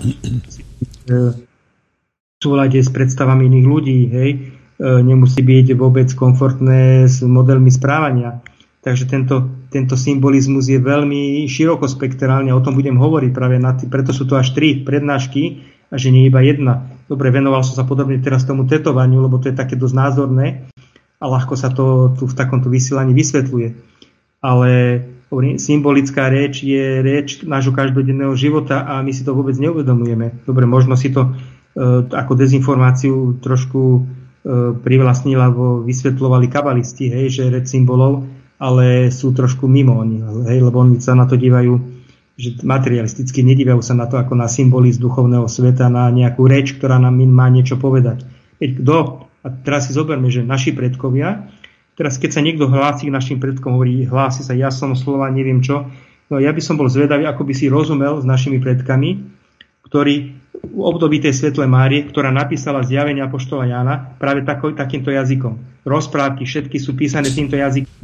v súlade s predstavami iných ľudí, hej, nemusí byť vôbec komfortné s modelmi správania. Takže tento, tento symbolizmus je veľmi širokospektrálny, o tom budem hovoriť práve na tý, preto sú to až tri prednášky, a že nie je iba jedna. Dobre, venoval som sa podobne teraz tomu tetovaniu, lebo to je také dosť názorné a ľahko sa to tu v takomto vysielaní vysvetľuje. Ale symbolická reč je reč nášho každodenného života a my si to vôbec neuvedomujeme. Dobre, možno si to e, ako dezinformáciu trošku e, privlastnila, lebo vysvetľovali kabalisti, hej, že reč symbolov, ale sú trošku mimo oni, hej, lebo oni sa na to dívajú že materialisticky, nedívajú sa na to ako na symboly z duchovného sveta, na nejakú reč, ktorá nám má niečo povedať. Veď kto, a teraz si zoberme, že naši predkovia, teraz keď sa niekto hlási k našim predkom, hovorí, hlási sa, ja som slova, neviem čo, no ja by som bol zvedavý, ako by si rozumel s našimi predkami, ktorí v období tej Svetlej Márie, ktorá napísala zjavenia apoštola Jána práve tako, takýmto jazykom. Rozprávky, všetky sú písané týmto jazykom.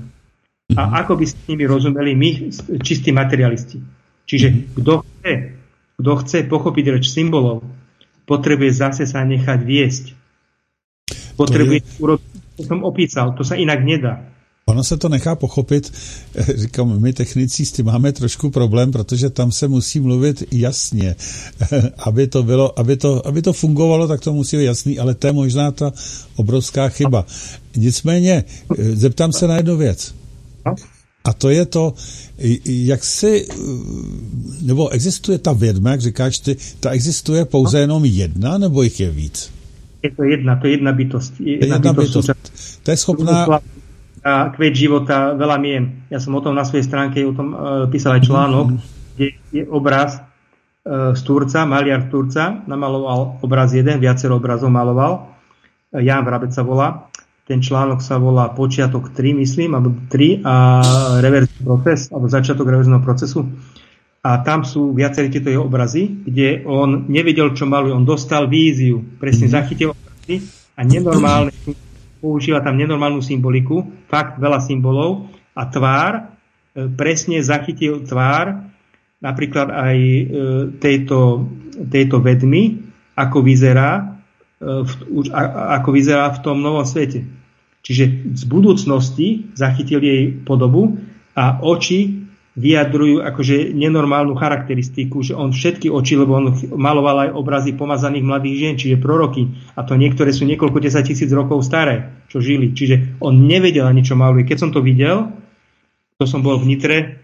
A ako by s nimi rozumeli my, čistí materialisti. Čiže kto chce, kto chce pochopiť reč symbolov, potrebuje zase sa nechať viesť. Potrebuje urobiť, to som opísal, to sa inak nedá. Ono se to nechá pochopit, říkám, my technici s tím máme trošku problém, protože tam se musí mluvit jasně, aby to bylo, aby to, aby to fungovalo, tak to musí být jasný, ale to je možná ta obrovská chyba. Nicméně, zeptám se na jednu věc. A to je to, jak si, nebo existuje ta vědma, jak říkáš ty, ta existuje pouze jenom jedna, nebo jich je víc? Je to jedna, to je jedna bytost. Jedna, jedna bytost. bytost. To je schopná... A kvet života, veľa mien. Ja som o tom na svojej stránke o tom uh, písal aj článok, mm-hmm. kde je obraz uh, z Turca, maliar z Turca, namaloval obraz jeden, viacero obrazov maloval. Uh, Ján Vrabec sa volá. Ten článok sa volá Počiatok tri, myslím, alebo tri a reverzný proces, alebo začiatok reverzného procesu. A tam sú viaceré tieto jeho obrazy, kde on nevedel, čo maluje. On dostal víziu, presne zachytil obrazy a nenormálne, používa tam nenormálnu symboliku, fakt veľa symbolov a tvár, e, presne zachytil tvár napríklad aj e, tejto, tejto vedmy, ako vyzerá, e, v, a, ako vyzerá v tom novom svete. Čiže z budúcnosti zachytil jej podobu a oči vyjadrujú akože nenormálnu charakteristiku, že on všetky oči, lebo on maloval aj obrazy pomazaných mladých žien, čiže proroky, a to niektoré sú niekoľko desať tisíc rokov staré, čo žili. Čiže on nevedel ani, čo maluje. Keď som to videl, to som bol v Nitre e,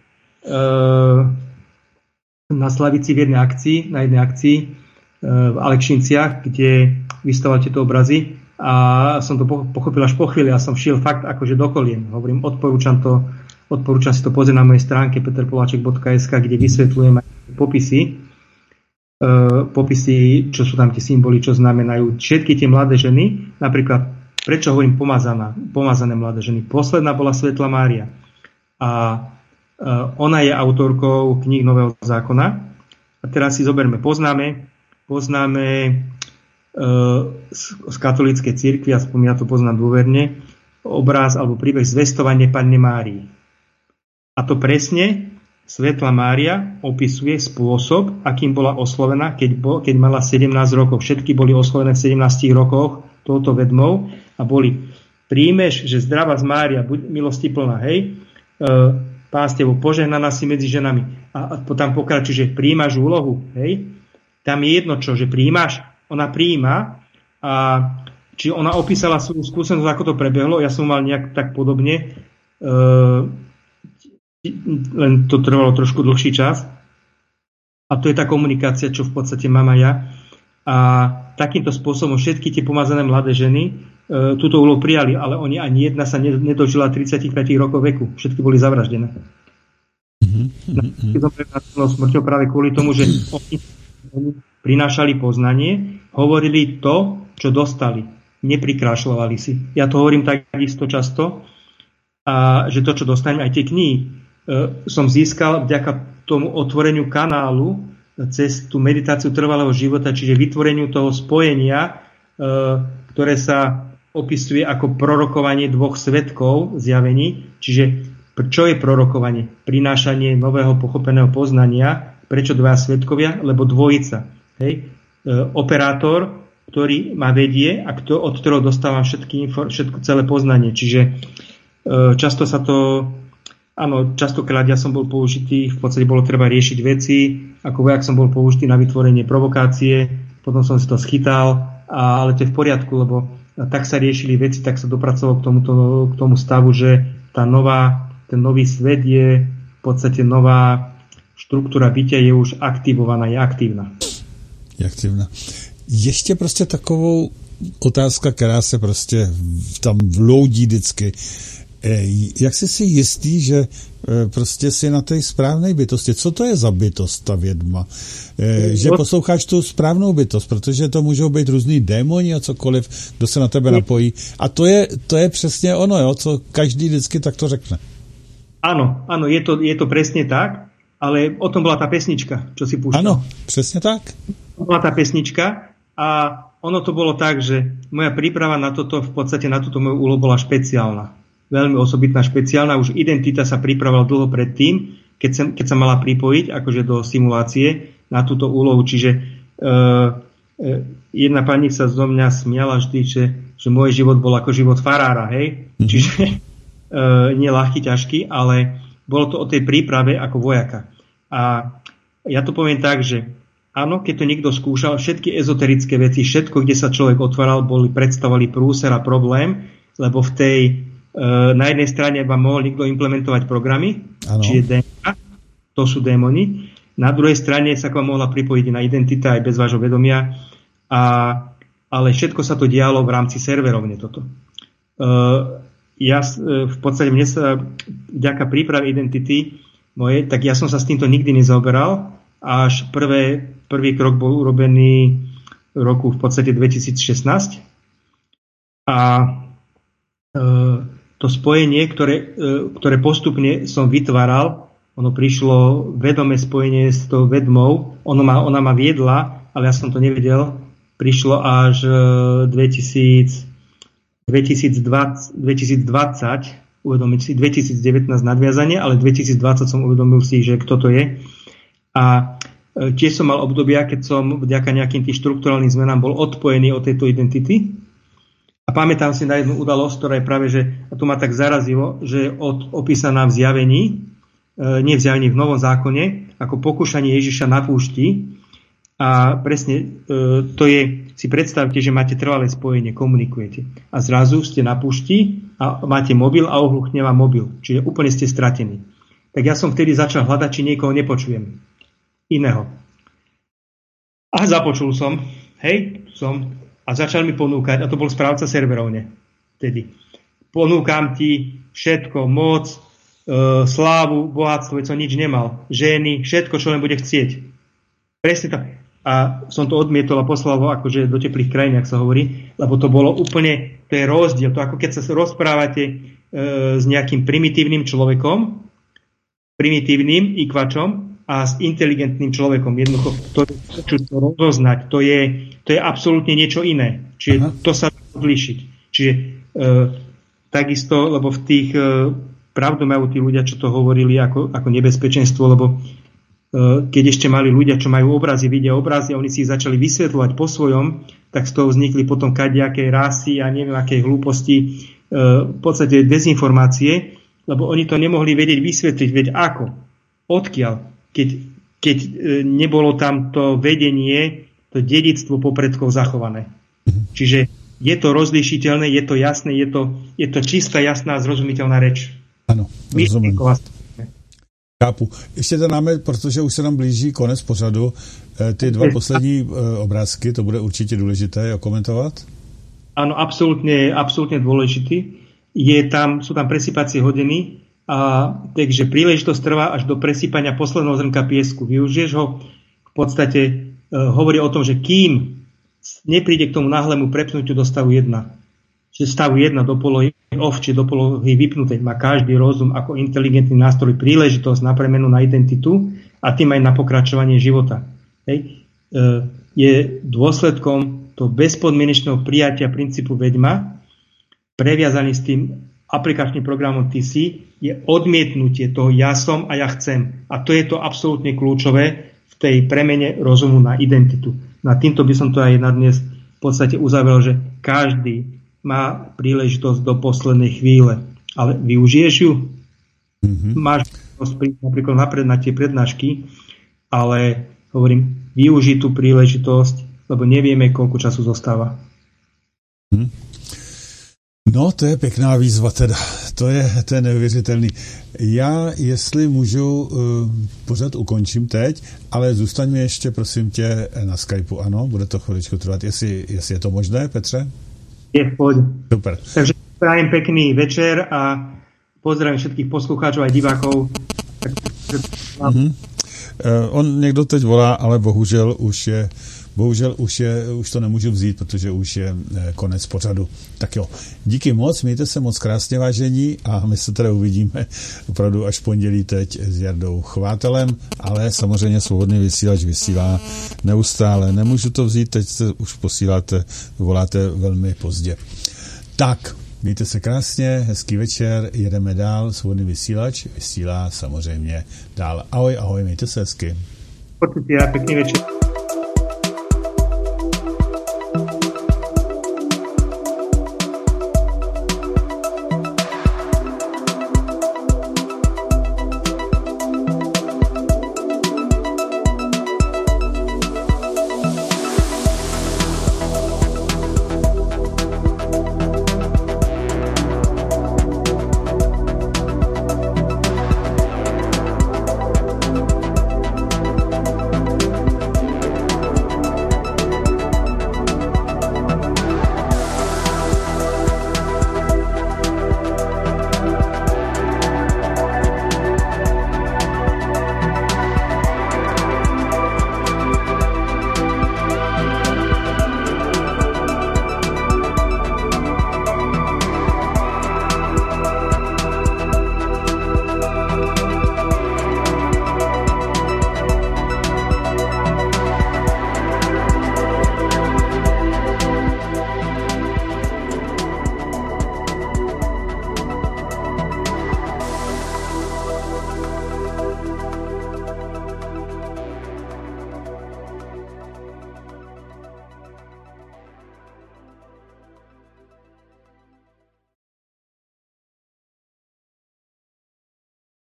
na Slavici v jednej akcii, na jednej akcii e, v Alekšinciach, kde vystavovali tieto obrazy a som to pochopil až po chvíli a som šiel fakt akože do kolien. Hovorím, odporúčam to Odporúčam si to pozrieť na mojej stránke peter poláček bodka es ká, kde vysvetľujem aj popisy, e, popisy, čo sú tam tie symboly, čo znamenajú. Všetky tie mladé ženy, napríklad, prečo hovorím pomazaná, pomazané mladé ženy. Posledná bola Svetla Mária. A e, ona je autorkou kníh Nového zákona. A teraz si zoberme, poznáme, poznáme e, z, z katolíckej cirkvi, aspoň ja to poznám dôverne, obráz alebo príbeh Zvestovanie Panny Márii. A to presne Svetla Mária opisuje spôsob, akým bola oslovená, keď, bol, keď mala sedemnásť rokov. Všetky boli oslovené v sedemnástich rokoch touto vedmou a boli: príjmeš, že zdravá z Mária, buď milostiplná, hej, e, Pán s tebou, požehnaná si medzi ženami. A, a tam pokračuje, že príjmaš úlohu, hej. Tam je jedno čo, že príjmaš, ona príjma a či ona opísala svoju skúsenosť, ako to prebehlo, ja som mal nejak tak podobne, e, len to trvalo trošku dlhší čas. A to je tá komunikácia, čo v podstate mám aj ja. A takýmto spôsobom všetky tie pomazané mladé ženy e, túto úlohu prijali, ale oni ani jedna sa nedožila tridsaťpäť rokov veku. Všetky boli zavraždené. Mm-hmm. Smrťou práve kvôli tomu, že oni, oni prinášali poznanie, hovorili to, čo dostali. Neprikrášľovali si. Ja to hovorím takisto často, a že to, čo dostanem, aj tie knihy, som získal vďaka tomu otvoreniu kanálu cez tú meditáciu trvalého života, čiže vytvoreniu toho spojenia, ktoré sa opisuje ako prorokovanie dvoch svedkov zjavení. Čiže čo je prorokovanie? Prinášanie nového pochopeného poznania. Prečo dvaja svedkovia? Lebo dvojica. Hej? Operátor, ktorý ma vedie a kto, od ktorého dostávam všetky, všetko, celé poznanie. Čiže často sa to Áno, častokrát ja som bol použitý, v podstate bolo treba riešiť veci, ako vojak som bol použitý na vytvorenie provokácie, potom som si to schytal, a, ale to je v poriadku, lebo tak sa riešili veci, tak sa dopracovalo k tomuto, k tomu stavu, že tá nová, ten nový svet je v podstate nová štruktúra bytia je už aktivovaná, je aktívna. Je aktivná. Ještě prostě takovou otázka, která se prostě tam vloudí vždycky. Jak jsi si jistý, že prostě si na té správné bytosti? Co to je za bytost, ta vědma? Že posloucháš tu správnou bytost, protože to můžou být různý démoni a cokoliv, kdo se na tebe napojí. A to je, to je přesně ono, jo, co každý vždycky takto řekne. Áno, áno, je to, je to presne tak, ale o tom bola tá pesnička, čo si púšťal. Áno, presne tak. Bola tá pesnička a ono to bolo tak, že moja príprava na toto, v podstate na túto moju úlohu bola špeciálna. Veľmi osobitná, špeciálna. Už identita sa pripravovala dlho predtým, keď sa, keď sa mala pripojiť akože do simulácie na túto úlohu. Čiže e, e, jedna pani sa zo mňa smiala vždy, že, že môj život bol ako život farára, hej? Mm-hmm. Čiže e, nie ľahký, ťažký, ale bolo to o tej príprave ako vojaka. A ja to poviem tak, že áno, keď to niekto skúšal, všetky ezoterické veci, všetko, kde sa človek otváral, boli, predstavovali prúser a problém, lebo v tej, e, na jednej strane vám mohol niekto implementovať programy, ano. Čiže dé en á, to sú démoni, na druhej strane sa k vám mohla pripojiť na identita aj bez vášho vedomia, a, ale všetko sa to dialo v rámci serverovne toto. E, ja v podstate mne sa vďaka príprave identity mojej, tak ja som sa s týmto nikdy nezaoberal, až prvé, prvý krok bol urobený v roku v podstate dvetisícšestnásť a e, to spojenie, ktoré, e, ktoré postupne som vytváral, ono prišlo vedomé spojenie s tou vedmou, ono ma, ona ma viedla, ale ja som to nevedel, prišlo až e, dvetisíc, dvetisícdvadsať, dvetisícdvadsať, uvedomiť si, dvetisícdevätnásť nadviazanie, ale dvetisícdvadsať som uvedomil si, že kto to je. A tiež som mal obdobia, keď som vďaka nejakým tým štrukturálnym zmenám bol odpojený od tejto identity. A pamätám si na jednu udalosť, ktorá je práve, že, a to ma tak zarazilo, že od opísaná v zjavení, nie v zjavení, v Novom zákone, ako pokúšanie Ježiša na púšti. A presne to je, si predstavte, že máte trvalé spojenie, komunikujete. A zrazu ste na púšti a máte mobil a ohluchne vám mobil. Čiže úplne ste stratení. Tak ja som vtedy začal hľadať, či niekoho nepočujem. Iného. A započul som, hej, som, a začal mi ponúkať, a to bol správca serverovne vtedy. Ponúkam ti všetko, moc, e, slávu, bohatstvo, veď som nič nemal. Ženy, všetko, čo len bude chcieť. Presne tak. A som to odmietol a poslal ho akože do teplých krajín, ak sa hovorí, lebo to bolo úplne, to je rozdiel. To ako keď sa rozprávate e, s nejakým primitívnym človekom, primitívnym ikvačom a s inteligentným človekom. Jednoducho to, čo to rozoznať, to je, to je absolútne niečo iné. Čiže Aha. to sa dá odlíšiť. Čiže e, takisto, lebo v tých e, pravdu majú tí ľudia, čo to hovorili ako, ako nebezpečenstvo, lebo keď ešte mali ľudia, čo majú obrazy, vidia obrazy a oni si ich začali vysvetľovať po svojom, tak z toho vznikli potom kadejaké rasy a neviem aké hlúposti, v podstate dezinformácie, lebo oni to nemohli vedieť vysvetliť, veď ako, odkiaľ, keď, keď nebolo tam to vedenie, to dedičstvo po predkov zachované. Čiže je to rozlišiteľné, je to jasné, je to, je to čistá, jasná, zrozumiteľná reč. Áno, rozumiem. Chápu. Ještě to máme, protože už se nám blíží konec pořadu, ty dva poslední obrázky, to bude určitě důležité komentovat? Áno, absolútne, absolútne dôležitý. Je tam, sú tam presypacie hodiny, a takže príležitosť trvá až do presypania posledného zrnka piesku. Využiješ ho, v podstate e, hovorí o tom, že kým nepríde k tomu náhlemu prepnutiu do stavu jedna, že stavu jedna do polohy off, či do polohy vypnutej, má každý rozum ako inteligentný nástroj príležitosť na premenu na identitu a tým aj na pokračovanie života. Hej. E, je dôsledkom toho bezpodmienečného prijatia princípu veďma, previazaný s tým aplikačným programom té cé, je odmietnutie toho ja som a ja chcem. A to je to absolútne kľúčové v tej premene rozumu na identitu. Na týmto by som to aj na dnes v podstate uzavrel, že každý má príležitosť do poslednej chvíle. Ale využiješ ju? Mm-hmm. Máš príležitosť napríklad napred na tie prednášky, ale hovorím, využij tú príležitosť, lebo nevieme, koľko času zostáva. Hmm. No, to je pěkná výzva teda. To je, to je neuvěřitelný. Já, jestli můžu, pořád ukončím teď, ale zůstaň mi ještě, prosím tě, na Skypeu, ano? Bude to chviličku trvat. Jestli, jestli je to možné, Petře? Je, poď. Super. Takže prajem pekný večer a pozdravím všetkých poslucháčov a divákov. Mm-hmm. Uh, on někdo teď volá, ale bohužel už je Bohužel už, je, už to nemůžu vzít, protože už je konec pořadu. Tak jo, díky moc, mějte se moc krásně, vážení, a my se teda uvidíme opravdu až v pondělí teď s Jardou Chvátelem, ale samozřejmě Svobodný vysílač vysílá neustále. Nemůžu to vzít, teď se už posíláte, voláte velmi pozdě. Tak, mějte se krásně, hezký večer, jedeme dál, Svobodný vysílač vysílá samozřejmě dál. Ahoj, ahoj, mějte se hezky. Počutia, pekný večer.